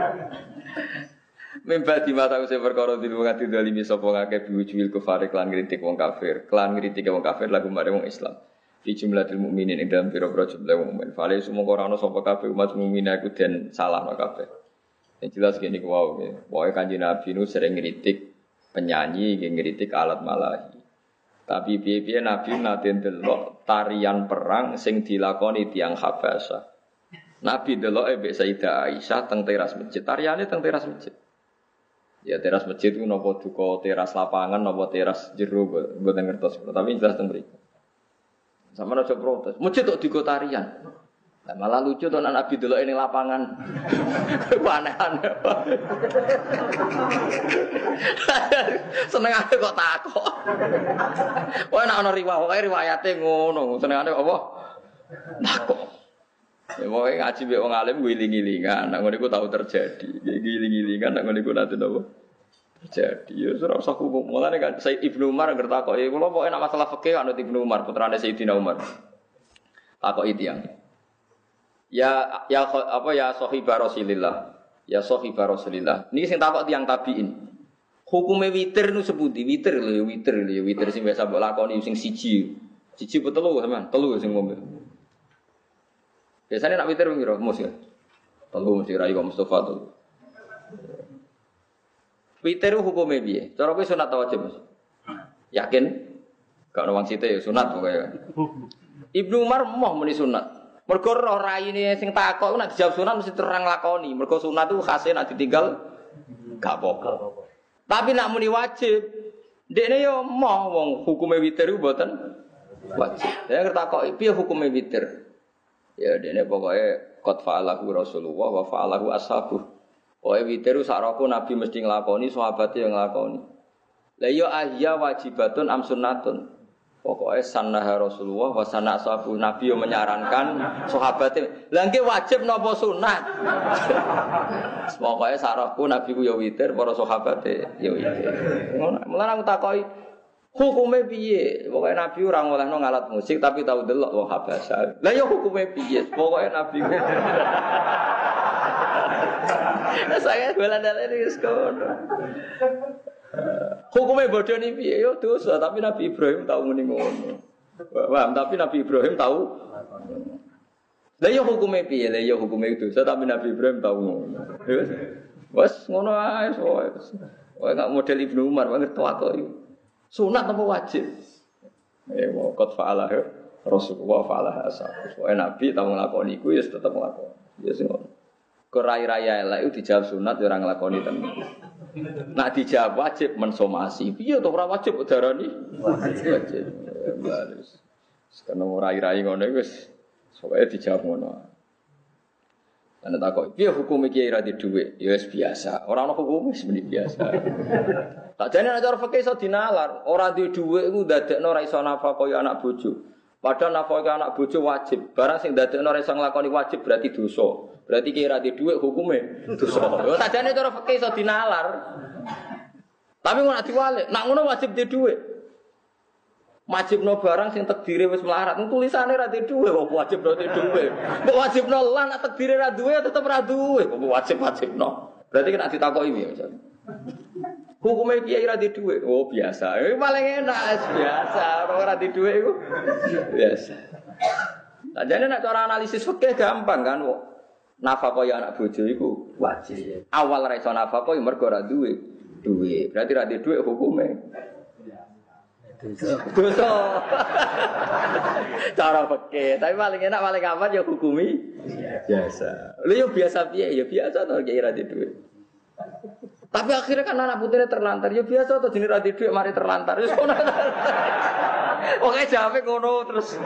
Mimba di mata usia perkara di luar hati dalimi sopong akeh biwujul kufar klan kritik wong kafir, klan kritik wong kafir lagu mare wong Islam. Di jumlah ilmu mukminin ing dalam pira-pira jumlah wong mukmin. Fale semua ora ana sapa kafir umat mukmin iku den salahno kabeh. Yang jelas gini ku wae. Wae Kanjeng Nabi nu sering ngritik penyanyi, ngritik alat malahi. Tapi piye-piye Nabi nate ndelok tarian perang sing dilakoni tiyang Habasyah. Nabi ndeloke mbek Sayyidah Aisyah teng teras masjid. Tariane teng teras masjid. Ya teras masjid itu nopo duka teras lapangan nopo teras jero mboten ngertos tapi jelas teng mriku. Sampeyan aja protes. Masjid kok duka tarian. Nah, malah lucu tuh Nabi delok ning lapangan. Aneh-aneh. Senengane kok takok. Wah nek ana riwayate ngono, senengane apa? Takok. Ya mau ngaji mbek wong alim ngiling-ngilingan, nek ngono iku tau terjadi. Ngiling-ngilingan nek ngono iku nanti napa? Terjadi. Ya ora usah hukum. Mulane kan Said Ibnu Umar ngertakoki, kula pokoke nek masalah fikih anut Ibnu Umar, putrane Sayyidina Umar. Takoki tiyang. Ya sahibah Rasulillah. Ya sahibah Rasulillah. Niki sing takok tiyang tabiin. Hukume witir nu sepundi? Witir sing biasa mbok lakoni sing siji. Siji apa telu sampean? Telu sing ngombe. Biasane nak witir piro? Mus ya. Telu mesti rai kok Mustofa telu. Witir hukume piye? Cara kowe sunat ta wajib, Mas? Yakin? Gak ono wong sithik ya sunat pokoke. Ibnu Umar moh muni sunat. Mergo roh raine sing takok nek dijawab sunat mesti terang lakoni. Mergo sunat itu khase nek ditinggal gak apa-apa. Tapi nek muni wajib, ndekne yo moh wong hukume witir iku mboten wajib. Ya takok piye hukume witir? Ya ndekne pokoke qad fa'alahu Rasulullah wa fa'alahu ashabuh. Pokoke witir sak roko Nabi mesti nglakoni, sahabate yo nglakoni. Lah yo ahya wajibatun am sunnatun. Pokoknya sannaha Rasulullah wa sanna ashabu Nabi yang menyarankan sahabatnya. Lah nggih wajib napa sunat? Pokoknya sarahku Nabi ku ya witir, para sahabate ya witir. Ngono. Mulane aku takoki hukume piye? Pokoke Nabi ora ngolehno ngalat musik tapi tau delok wong habasa. Lah ya hukume piye? Pokoke Nabi ku. Saya golan-golan wis kono. Hukumnya bodoh nih piye yo dosa, tapi Nabi Ibrahim tahu muni ngono. Paham, tapi Nabi Ibrahim tahu. Lah yo hukumnya piye? Lah yo hukumnya dosa, tapi Nabi Ibrahim tahu ngono. Wes ngono ae wes. Wae gak model Ibnu Umar banget kok iki. Sunat apa wajib? Wa qad fa'ala Rasulullah fa'ala ashabu. Wae Nabi tahu nglakoni iku ya tetep nglakoni. Ya sing ngono. Kerai-raya elek itu dijawab sunat ya ora nglakoni tenan. Nak dijawab wajib mensomasi. Piye to ora wajib darani? Wajib. Baris. Sekarang rai-rai ngono wis pokoke dijawab ngono. Ana takok, piye hukum iki ora di dhuwit? Ya wis biasa. Ora ana hukum wis biasa. Tak jane nek cara fikih iso dinalar, ora di dhuwit iku ndadekno ora iso nafkah kaya anak bojo. Padahal nafkah anak bojo wajib. Barang sing ndadekno ora iso nglakoni wajib berarti dosa. Berarti kira di dhuwit hukume dosa. Lho sajane cara fikih iso dinalar. Tapi ngono diwalik, nak ngono wajib di dhuwit. Wajibno barang sing takdire wis melarat, tulisane ra di dhuwit kok wajibno di dhuwit. Kok wajibno lan nak takdire ra duwe tetep ra duwe, kok wajibno. Berarti nek ditakoki piye misalnya. Hukume piye ra di dhuwit? Oh biasa. Paling enak biasa, ora di dhuwit iku biasa. Sajane nek cara analisis fikih gampang kan kok. Nafkah ya anak bojo iku wajib. Awal ra iso nafkah ya mergo ora duwe duwe. Berarti ra duwe hukume dosa. Cara fikih, tapi paling enak paling aman ya hukumi biasa. Lha yo biasa piye? Ya biasa to ki ra duwe. Tapi akhirnya kan anak putune terlantar. Ya biasa to jenenge ra duwe mari terlantar. Wis ngono. Oke jawabe ngono terus.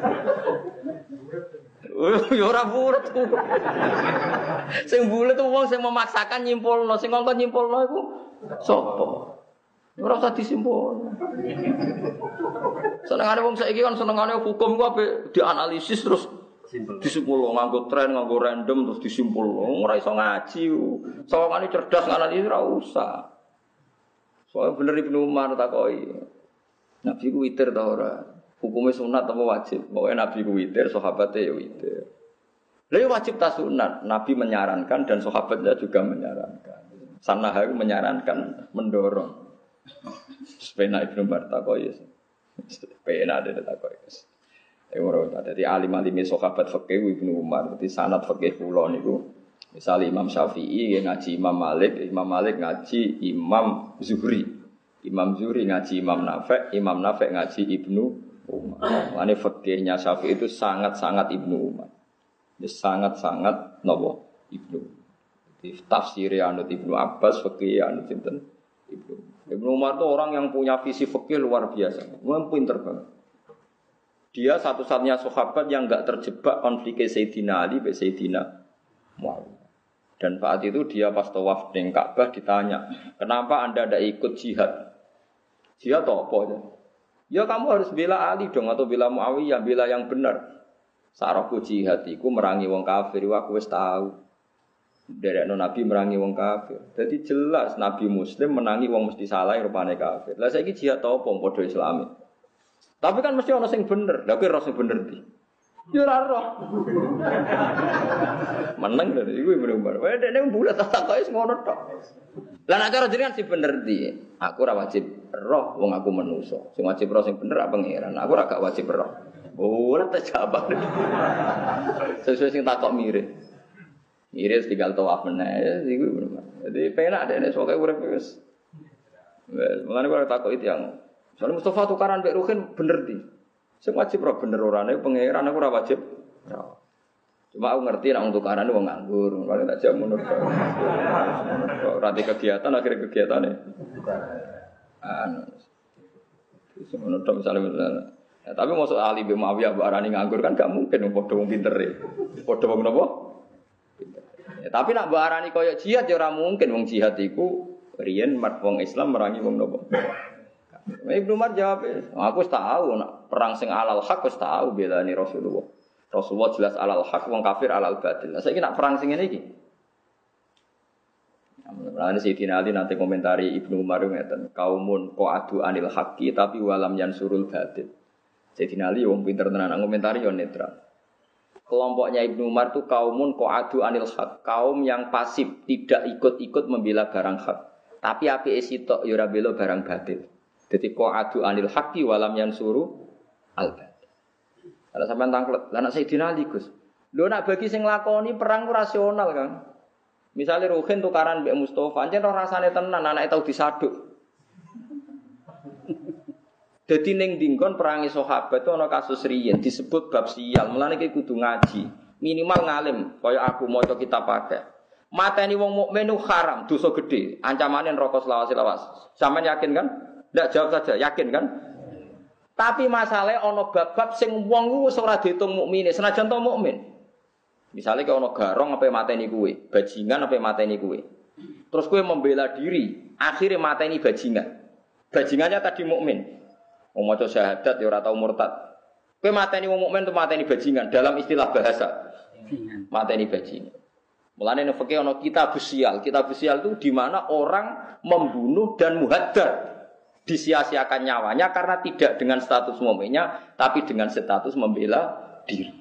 Ya ora bulet. Sing bulet tuh wong sing memaksakan nyimpulno, sing ngongkon nyimpulno iku sapa? Ora usah disimpulno. Senengane wong saiki kan senengane hukum ku ape dianalisis terus disimpulno nganggo tren, nganggo random terus disimpulno. Ora iso ngaji. Sawangane cerdas nganalisis ora usah. Soale bener Ibnu Umar takoki. Nabi ku witir ta ora? Hukumnya sunat atau wajib? Pokoknya Nabi ku witir, sahabatnya ya witir. Lalu wajib tak sunat? Nabi menyarankan dan sahabatnya juga menyarankan. Sanah itu menyarankan, mendorong. Sepena Ibnu Umar takoki. Sepena ada takoki. Jadi alim-alim sahabat fikih Ibnu Umar. Jadi sanad fikih kula niku. Misal Imam Syafi'i ngaji Imam Malik ngaji Imam Zuhri. Imam Zuhri ngaji Imam Nafi' ngaji Ibnu Umar. Ini fikihnya Syafi'i itu sangat-sangat Ibnu Umar. Ini sangat-sangat nopo Ibnu. Di tafsir anut Ibnu Abbas, fikih anut sinten Ibnu. Ibnu Umar itu orang yang punya visi fikih luar biasa. Memang pinter banget. Dia satu-satunya sahabat yang enggak terjebak konflik Sayyidina Ali dengan Sayyidina Muawiyah. Dan saat itu dia pas tawaf di Ka'bah ditanya, kenapa Anda tidak ikut jihad? Jihad apa? Ya kamu harus bela Ali dong atau bela Muawiyah, bela yang benar. Saraku jihad iku merangi wong kafir, aku wis tahu. Derekno Nabi merangi wong kafir. Jadi jelas Nabi Muslim menangi wong mesti salah rupane kafir. Lah saiki jihad apa padha Islami. Tapi kan mesti ana sing bener. Lah kowe ora sing bener iki. Ya ora roh. Meneng lho iku bener-bener. Wae dekne bulat tak kok wis ngono tok. Lah nek cara jenengan sing bener ndi? Aku ora wajib roh wong aku manusa. Sing wajib roh sing bener apa pangeran. Aku ora gak wajib roh. Ora terjawab. Sesuai sing takok mirip. Mirip tinggal tawaf meneh iku bener. Jadi penak dekne sok urip wis. Wes, mulane kok takok itu yang soalnya Mustafa tukaran mbek Ruhin bener di. Sing wajib ora bener orane pangeran aku ora wajib. Cuma aku ngerti nek tukaran wong nganggur, kalau tak jam ngono. Ora di kegiatan akhirnya kegiatane. Wis ngono tok misalnya. Ya, tapi masuk Ali bin Muawiyah mbok arani nganggur kan gak mungkin padha wong pinter e. Padha wong napa? Ya, tapi nak mbok arani kaya jihad ya ora mungkin wong jihad iku riyen wong Islam merangi wong napa. Ibnu Umar jawab, aku tahu nak perang sing alal hak wis tahu belani Rasulullah. Rasulullah jelas alal hak, wong kafir alal batil. Saiki nak perang sing ngene iki. Nah, Sayyidina Ali nanti komentari Ibnu Umar ngeten, kaumun qa'adu anil haqqi tapi walam yansurul batil. Sayyidina Ali wong pinter tenan komentari yo netral. Kelompoknya Ibnu Umar itu kaumun qa'adu anil haq, kaum yang pasif, tidak ikut-ikut membela barang hak. Tapi apike sitok yo ora bela barang batil. Jadi qa'adu anil haqqi walam yansuru al-batil. Kalau sampean tanglet, lah nek Sayyidina Ali Gus. Lho nak bagi sing lakoni perang ku rasional, Kang. Misale Ruhin tukaran mbek Mustofa, ancen ora rasane tenan anake tau disaduk. Dadi ning dinggon perangi sahabat itu ana kasus riyen disebut bab sial. Mulane iki kudu ngaji, minimal ngalim kaya aku maca kitab pakai. Mateni wong mukmin itu haram, dosa gede, ancamane neraka selawas-lawas. Sampeyan yakin kan? Ndak jawab saja, yakin kan? Tapi masalahnya ana bab-bab sing wong ku wis ora diitung mukmine, senajan to mukmin. Misalnya kalau ono garong apa mateni kue, bajingan apa mateni kue. Terus kue membela diri, akhirnya mateni bajingan. Bajingannya tadi mukmin. Wong maca syahadat ya ora tau murtad. Kue mateni wong mukmin tuh mateni bajingan dalam istilah bahasa. Mateni bajingan. Mulane nek fikih ono kitab sial. Kitab sial itu di mana orang membunuh dan muhaddar. Disia-siakan nyawanya karena tidak dengan status mukminnya tapi dengan status membela diri.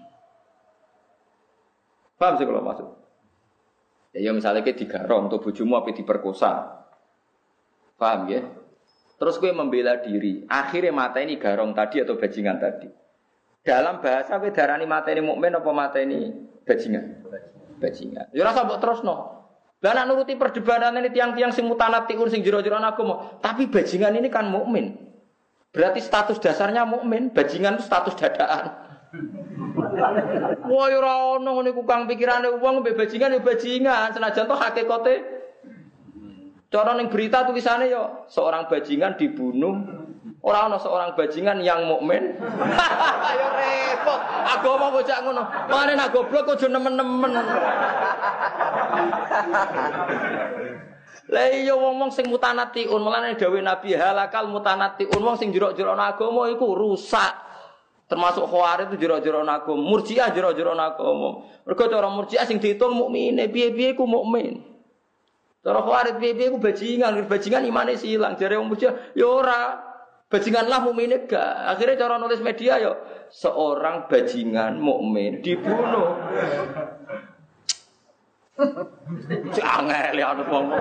Paham sih kalau maksud? Ya misalnya kayak digarong untuk bojomu apa diperkosa. Paham ya? Terus gue membela diri, akhirnya mata ini garong tadi atau bajingan tadi. Dalam bahasa gue darani mata ini mukmin apa mata ini bajingan? Bajingan. Ya rasa mbok terusno. Lah nek nuruti perdebatan ini tiang-tiang sing mutanatiun sing jero-jero agama, tapi bajingan ini kan mukmin. Berarti status dasarnya mukmin, bajingan itu status dadaan. Wah ora ono ngene ku kang pikirane wong mbek bajingan ya bajingan, senajan to hakikate. Cara ning berita tulisane ya seorang bajingan dibunuh. Ora ono seorang bajingan yang mukmin. Ya repot. Agama bocah ngono. Mane nak goblok aja nemen-nemen. Lah iya wong-wong sing mutanatiun, mulane dawuh Nabi halakal mutanatiun, wong sing jero-jero agama iku rusak. Termasuk Khawarij itu jero-jero agama, Murji'ah jero-jero agama. Mergo cara Murji'ah sing diitung mukmine, piye-piye iku mukmin. Cara Khawarij piye-piye iku bajingan imane silang. Jare wong Murji'ah ya ora. Bajinganlah mukmine gak. Akhirnya cara nulis media ya seorang bajingan mukmin dibunuh. Angel ya anu wong.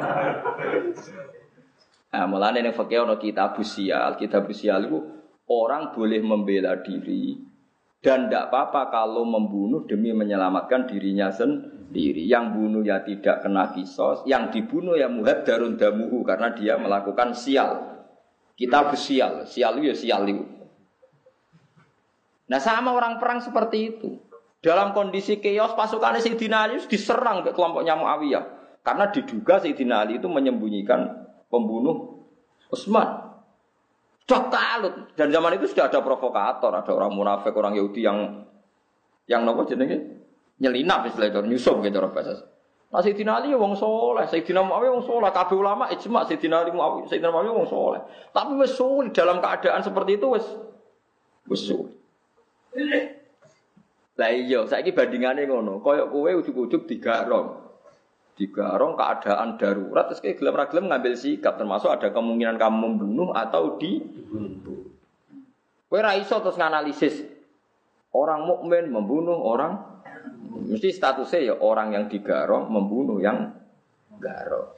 Nah, mulane ning fikih ana kitab sial itu orang boleh membela diri dan tidak apa-apa kalau membunuh demi menyelamatkan dirinya sendiri. Yang bunuh ya tidak kena kisos, yang dibunuh ya muhaddarun damuhu karena dia melakukan sial. Kitab sial itu ya sial itu. Nah sama orang perang seperti itu. Dalam kondisi chaos pasukan Sayyidina Ali diserang ke kelompoknya Muawiyah karena diduga Sayyidina Ali itu menyembunyikan pembunuh Utsman. Cok talut. Dan zaman itu sudah ada provokator, ada orang munafik, orang Yahudi yang nopo jenenge nyelinap istilah itu, nyusup gitu orang bahasa. Nah Sayyidina Ali wong soleh, Sayyidina Muawiyah wong soleh, kabeh ulama ijma Sayyidina Ali Muawiyah, Sayyidina Muawiyah wong soleh. Tapi wis sulit dalam keadaan seperti itu wis sulit. Lah iya, saiki bandingane ngono, kaya kowe ujug-ujug digarong keadaan darurat terus kayak gelem ra gelem ngambil sikap termasuk ada kemungkinan kamu membunuh atau dibunuh. Kowe ra iso terus nganalisis orang mukmin membunuh orang mesti statusnya ya orang yang digarong membunuh yang garong.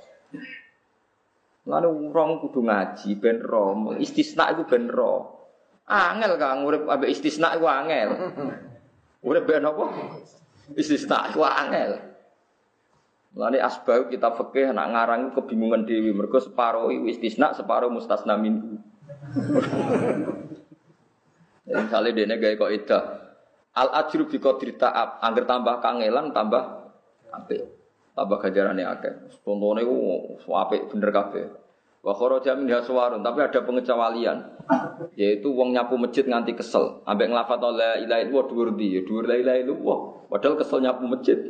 Lalu orang kudu ngaji ben ro, istisna iku ben ro. Angel Kang urip ambek istisna iku angel. Urip ben apa? Istisna iku angel. Mulane asbab kita fikih nak ngarang kebingungan dhewe mergo separo istisna, separo mustasna minhu. Misale dene gawe kok ida. Al ajru bi qadri ta'ab, angger tambah kangelan tambah apik. Tambah ganjarane akeh. Contone ku apik bener kabeh. Wa kharaja min haswarun, tapi ada pengecualian. Yaitu wong nyapu masjid nganti kesel, ambek nglafat la ilaha illallah dhuwur ndi? Ya dhuwur la ilaha illallah. Padahal kesel nyapu masjid.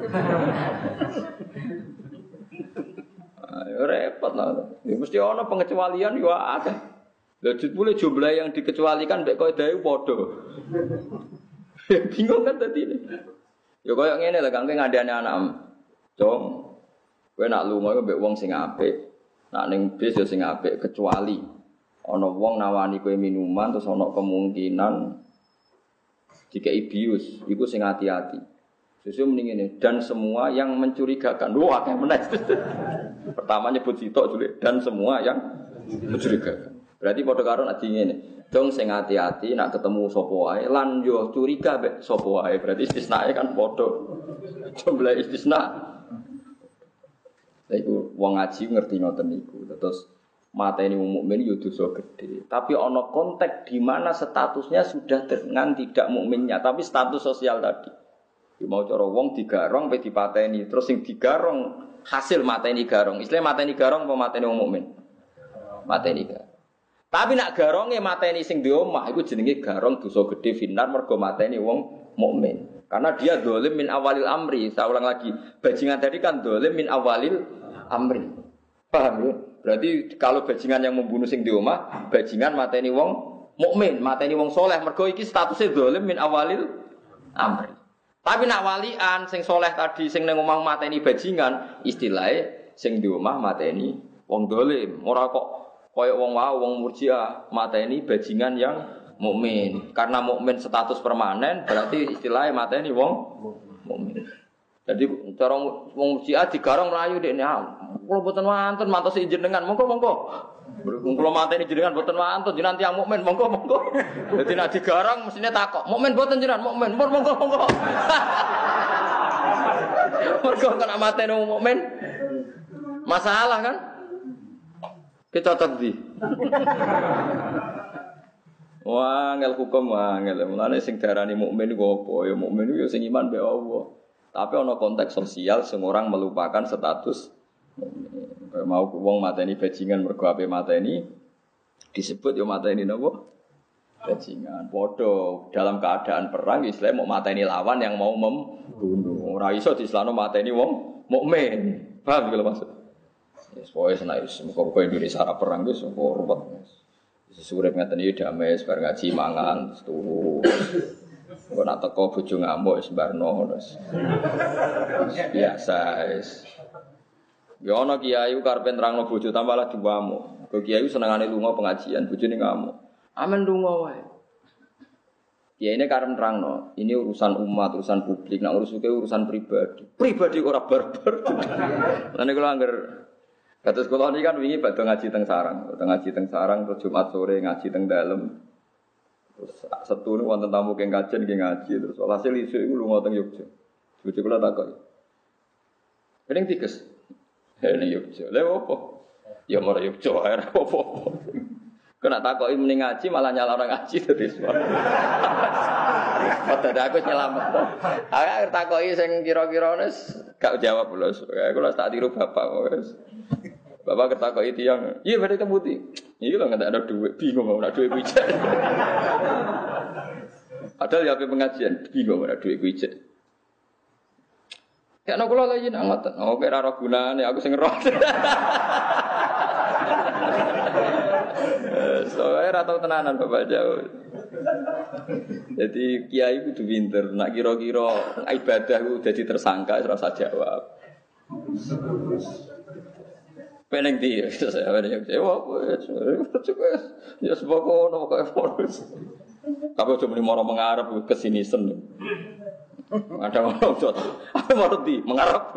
Ayo repot lah. Ya mesti ana pengecualian yo akeh. Lha jebule jumlah yang dikecualikan mbek kaidah padha. Bingung kan tadi ini. Ya koyo ngene lho Kang ngandani anak. Dong. Kowe nak lunga mbek wong sing apik. Nak ning bis ya sing apik kecuali ana wong nawani kowe minuman terus ana kemungkinan dikei bius, iku sing hati-hati. Susu mending ini dan semua yang mencurigakan. Wah, kayak menaik. Pertama nyebut sitok dulu dan semua yang mencurigakan. Berarti padha karo nek ngene. Dong sing hati-hati nak ketemu sapa wae lan yo curiga mek sapa wae. Berarti istisnae kan padha. Jumlah istisna. Lha iku wong ngaji ngerti ngoten niku. Terus mateni wong mukmin yo dosa gedhe. Tapi ana konteks di mana statusnya sudah dengan tidak mukminnya, tapi status sosial tadi. Ya mau cara wong digarong pe dipateni, terus sing digarong hasil mateni garong. Istilah mateni garong apa mateni wong mukmin? Mateni garong. Tapi nak garonge mateni sing di omah iku jenenge garong dosa gedhe finar mergo mateni wong mukmin. Karena dia dolim min awalil amri. Saya ulang lagi, bajingan tadi kan dolim min awalil amri. Paham ya? Berarti kalau bajingan yang membunuh sing di omah, bajingan mateni wong mukmin, mateni wong soleh mergo iki statusnya dolim min awalil amri. Tapi nak walian sing soleh tadi sing ning omah mateni bajingan, istilahnya sing di omah mateni wong dolim. Ora kok koyok wong wong murjiah mateni bajingan yang mukmin. Karena mukmin status permanen berarti istilahnya mateni wong mukmin. Jadi cara wong murjiah digarong mlayu dekne. Kula mboten wonten mantos jenengan. Monggo. Kula mateni jenengan mboten wonten jenengan tiyang mukmin. Monggo. Dadi nek digarong mestine takok. Mukmin mboten jenengan mukmin. Monggo. Mergo kena mateni wong mukmin. Masalah kan? Kita tadi. Wah, ngel hukum ngel. Mulane sing darani mukmin iku apa? Ya mukmin iku sing iman be Allah. Tapi ana konteks sosial sing orang melupakan status mukmin. Mau wong mateni bajingan mergo ape mateni disebut ya mateni napa? Bajingan. Padha dalam keadaan perang Islam mau mateni lawan yang mau membunuh. Ora iso diislano mateni wong mukmin. Paham kalau maksud? Yes, pokoke senai muga-muga Indonesia ora perang wis kok ruwet. Wis urip ngaten iki damai bar ngaji mangan terus turu. Kok nak teko bojo ngamuk wis barno terus. Biasa wis. Ya ana kiai karepe nerangno bojo tambah lah diwamu. Kok kiai senengane lunga pengajian bojone ngamuk. Amen lunga wae. Ya ini karena nerangno, ini urusan umat, urusan publik, nak urusan pribadi. Pribadi ora barbar. Lan niku angger kados kula niki kan wingi badhe ngaji teng sarang, terus Jumat sore ngaji teng dalem. Terus Sabtu niku wonten tamu keng kajen nggih ngaji, terus hasil isuk iku lunga teng Yogya. Bojo kula takon. Pening tikes. Ning Yogya. Lha opo? Ya mara Yogya ae opo. Kena takoki mending ngaji malah nyala orang ngaji dadi suara. Padahal aku nyelamet. Aku takoki sing kira-kira wis gak jawab lho. Aku tak tiru bapak wis. Bapak ketakoki tiyang, "Iya badhe kemuti." Iki lho nggak ada duit, bingung mau nak duit kuwi. Padahal ya pengajian, bingung ada duit kuwi. Ya nek kula lagi nak ngoten. Oh, kira ora gunane aku sing ngeroh. Soalnya ratau tenanan Bapak jauh. Jadi kiai kudu pinter. Nak kira-kira ibadah ku dadi tersangka ora usah jawab. Peneng dia, saya peneng jawab. Ya sebab ono kok forus. Tapi cuma ni mau mengarap kesini sen. Ada orang jod, apa marti mengarap.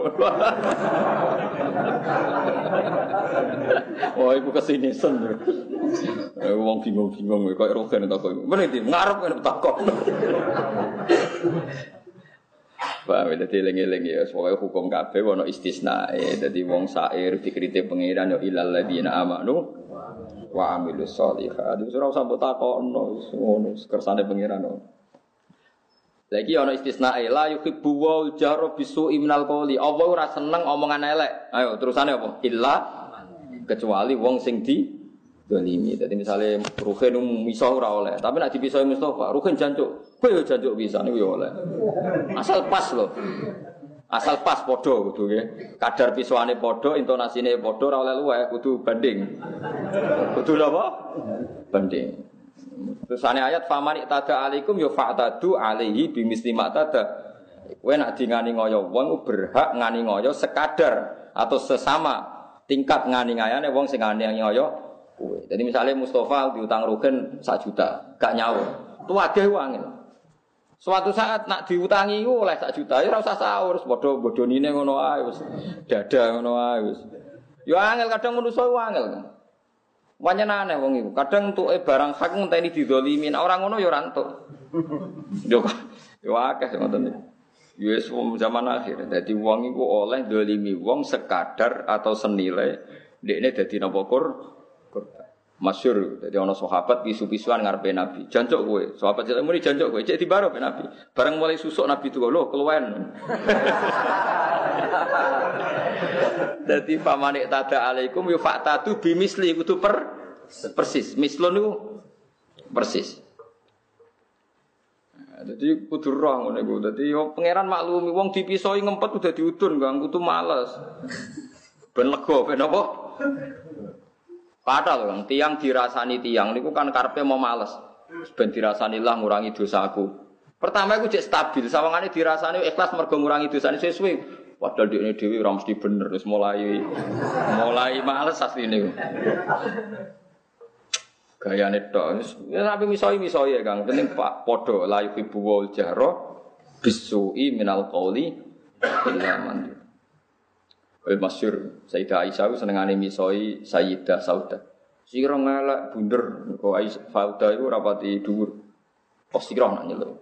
Oh, ibu kesini sen. Wong bingung-bingung, kau erogen tak kau. Mana itu mengarap kan tak kau. Pak, jadi lengi-lengi ya, soalnya hukum kabeh wono istisna. Jadi wong sair dikritik pengiran yo ilal ladina amanu wa amilus sholihat. Itu ora usah mbok takokno, ngono kersane pengiran. Lagi ana istisna la yuhibbu wal jahra bisu'i minal qawli. Allah ora seneng omongan elek. Ayo terusane apa? Illa kecuali wong sing di dolimi. Dadi misale Ruhin misah ora oleh, tapi nek dipisahi Mustofa, Ruhin jancuk. Kowe yo jancuk pisan iku yo oleh. Asal pas lho. Asal pas padha kudu nggih. Kadar pisuane padha, intonasine padha ora oleh luweh, kudu banding. Kudu napa? Banding. Terusane ayat faman itada alaikum ya fa'tadu alaihi bimisli ma tada. Kowe nek dingani ngoyo wong berhak ngani ngoyo sekadar atau sesama tingkat ngani ngayane wong sing ngani ngoyo kowe. Jadi misalnya Mustafa diutang Rugen 1 juta, gak nyaur. Tuwageh wangil. Suatu saat nak diutangi oleh 1 juta ya ora usah saur, padha bodonine ngono ae wis. Dada ngono ae wis. Ya angel kadang manusa angel. Wanya aneh wong iku. Kadang entuke barang hak ngenteni dizalimin. Ora ngono ya ora entuk. Yo akeh ngoten iki. Wis zaman akhir. Dadi wong iku oleh zalimi wong sekadar atau senilai dekne dadi napa korban. Masyhur. Dadi ana sahabat pisu-pisuan ngarepe Nabi. Jancuk kowe. Sahabat jelek muni jancuk kowe. Cek dibaro pe Nabi. Bareng mulai susuk Nabi tuwa lho keluwen. Dadi pamanik tada alaikum yu fa'tatu bimisli kudu persis. Mislun niku persis. Dadi kudu roh ngene iku. Dadi yo pangeran maklumi wong dipisoi ngempet udah diudun Kang kudu males. Ben lega ben apa? Padahal Kang tiang dirasani tiang niku kan karepe mau males. Ben dirasani lah ngurangi dosaku. Pertama iku cek stabil, sawangane dirasani ikhlas mergo ngurangi dosane sesuai. Padahal dekne dhewe ora mesti bener wis mulai males asline. Gayane tok. Ya sampe misoi ya Kang, penting Pak padha la yuhibbu wal jahra bisu'i minal qauli illa man. Masyhur Sayyidah Aisyah senengane misoi Sayyidah Saudah. Sira ngelak bunder kok Aisyah Saudah iku rapati dhuwur. Kok sira nak nyeluk.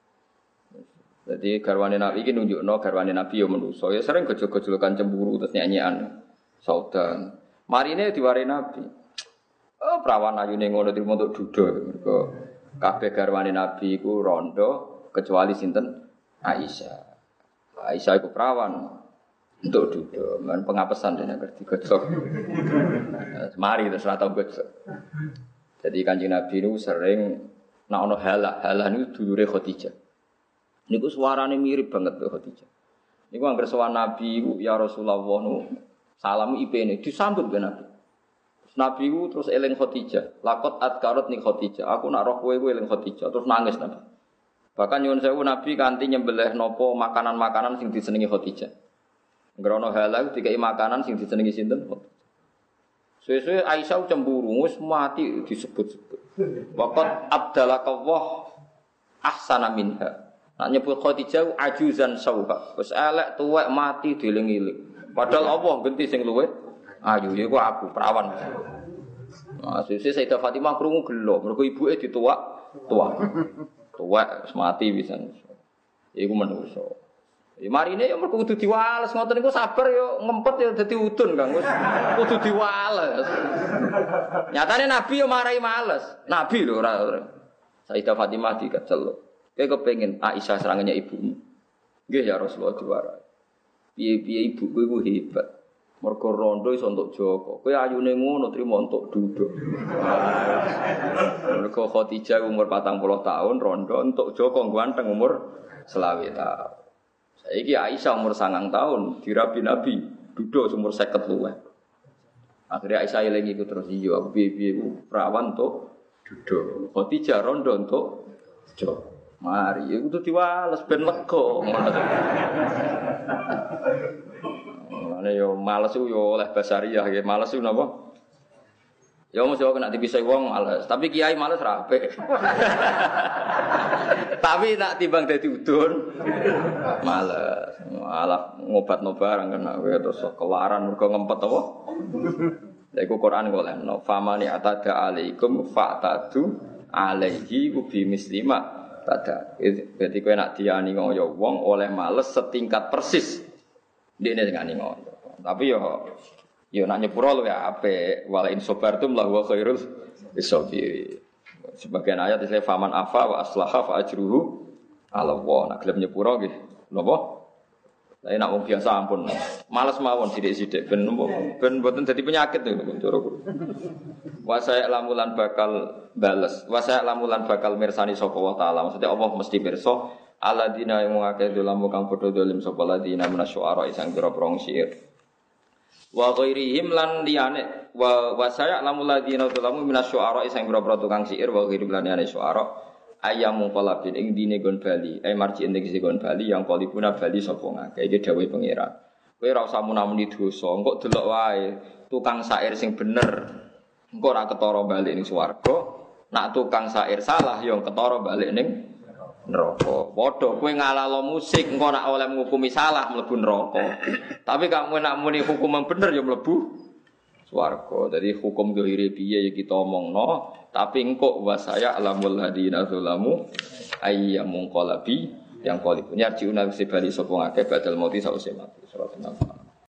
Jadi garwane Nabi iki nunjukno garwane Nabi yo manusa. Ya sering gejol-gejolokan cemburu terus nyanyian saudan. Marine diwari Nabi. Oh, perawan ayune ngono trimo untuk duda. Mergo kabeh garwane Nabi iku rondo kecuali sinten? Aisyah. Aisyah iku perawan untuk duda. Men pengapesan dene ngerti gejol. Mari terus ora tau gejol. Jadi Kanjeng Nabi niku sering nek ana halah niku dulure Khadijah. Niku suarane mirip banget karo Khadijah. Niku anggere sowan Nabi iku ya Rasulullah nu salam IP-ne disambut ben Nabi. Nabi ku terus eling Khadijah. Laqad adkarat ni Khadijah. Aku nak roh kowe eling Khadijah terus nangis Nabi. Bahkan nyuwun sewu Nabi kanthi nyembelih napa makanan-makanan sing disenengi Khadijah. Ngrono halal dikai makanan sing disenengi sinten? Suwe-suwe Aisyah cemburu wis mati disebut-sebut. Waqad abdalakallah ahsana minha. Nak nyebut Khadijah ajuzan sauha. Wis elek tuwek mati dieling-eling. Padahal Allah genti sing luwih ayu iku aku perawan. Nah, sesuk Sayyidah Fatimah krungu gelo, mergo ibuke dituwak. Tuwek wis mati pisan. Iku menungso. Ya marine ya mergo kudu diwales ngoten niku sabar ya ngempet ya dadi udun Kang. Wis kudu diwales. Nyatane Nabi ya marai males. Nabi lho ora. Sayyidah Fatimah dikecel. Kayak kepengen Aisyah serangannya ibumu. Nggih ya Rasulullah diwarai. Piye-piye ibuku iku hebat. Mergo rondo iso entuk Joko. Kowe ayune ngono trimo entuk duduk. Mergo Khadijah umur 40 tahun rondo entuk Joko ganteng umur 20 tahun. Saiki Aisyah umur 9 tahun dirabi Nabi duduk umur 50 luwih. Akhirnya Aisyah eling iku terus iya aku piye-piye perawan entuk duduk. Khadijah rondo entuk Joko. Mari iku tuh diwales ben lega. Ane yo males yo oleh basariah ya males ku napa? Ya mesti kok nek dipisah wong males, tapi kiai males ra apik. Tapi nak timbang dadi udun males. Malah ngobatno barang kena terus kelaran mergo ngempet apa? Lha iku Quran kok leno, famani atada alaikum fa'tadu alaihi bi mislima tada. Berarti kowe nak diani ngoyo wong oleh males setingkat persis. Dene ngani ngono. Tapi yo nak nyepuro luwih apik. Wala in sabartum la huwa khairul lisabirin. Sebagian ayat isih faman afa wa aslaha fa ajruhu ala Allah. Nak gelem nyepuro nggih. Napa? Lah nek wong biasa ampun. Males mawon sithik-sithik ben mboten dadi penyakit to cara kulo. Wa saya lamulan bakal bales. Wa saya lamulan bakal mirsani sapa wa taala. Maksudnya Allah mesti pirsa alladzina mu'akadu lamu kang padha dolim sapa ladina minasyuara isang pira-pira syair wa ghairihim lan liyane wa saya lamul ladina lamu minasyuara isang pira-pira tukang syair wa ghairihim lan liyane syuara ayam qalabin ing dine gon bali marji ing gon bali yang qalibuna bali sapa ngake iki dawuhe pangeran kowe ora usah munamuni dosa engko delok wae tukang syair sing bener engko ora ketara bali ning swarga nak tukang syair salah yo ketara bali ning neraka. Padha kowe ngalalo musik engko nek oleh ngukumi salah mlebu neraka. Tapi kamu nek muni hukum yang bener ya mlebu swarga. Jadi hukum zahire piye ya kita omongno, tapi engko wa saya alamul hadina zalamu ayyamun qalabi yang qalib. Nyarjiuna sibali sapa ngake badal mati sause mati. Surat 6.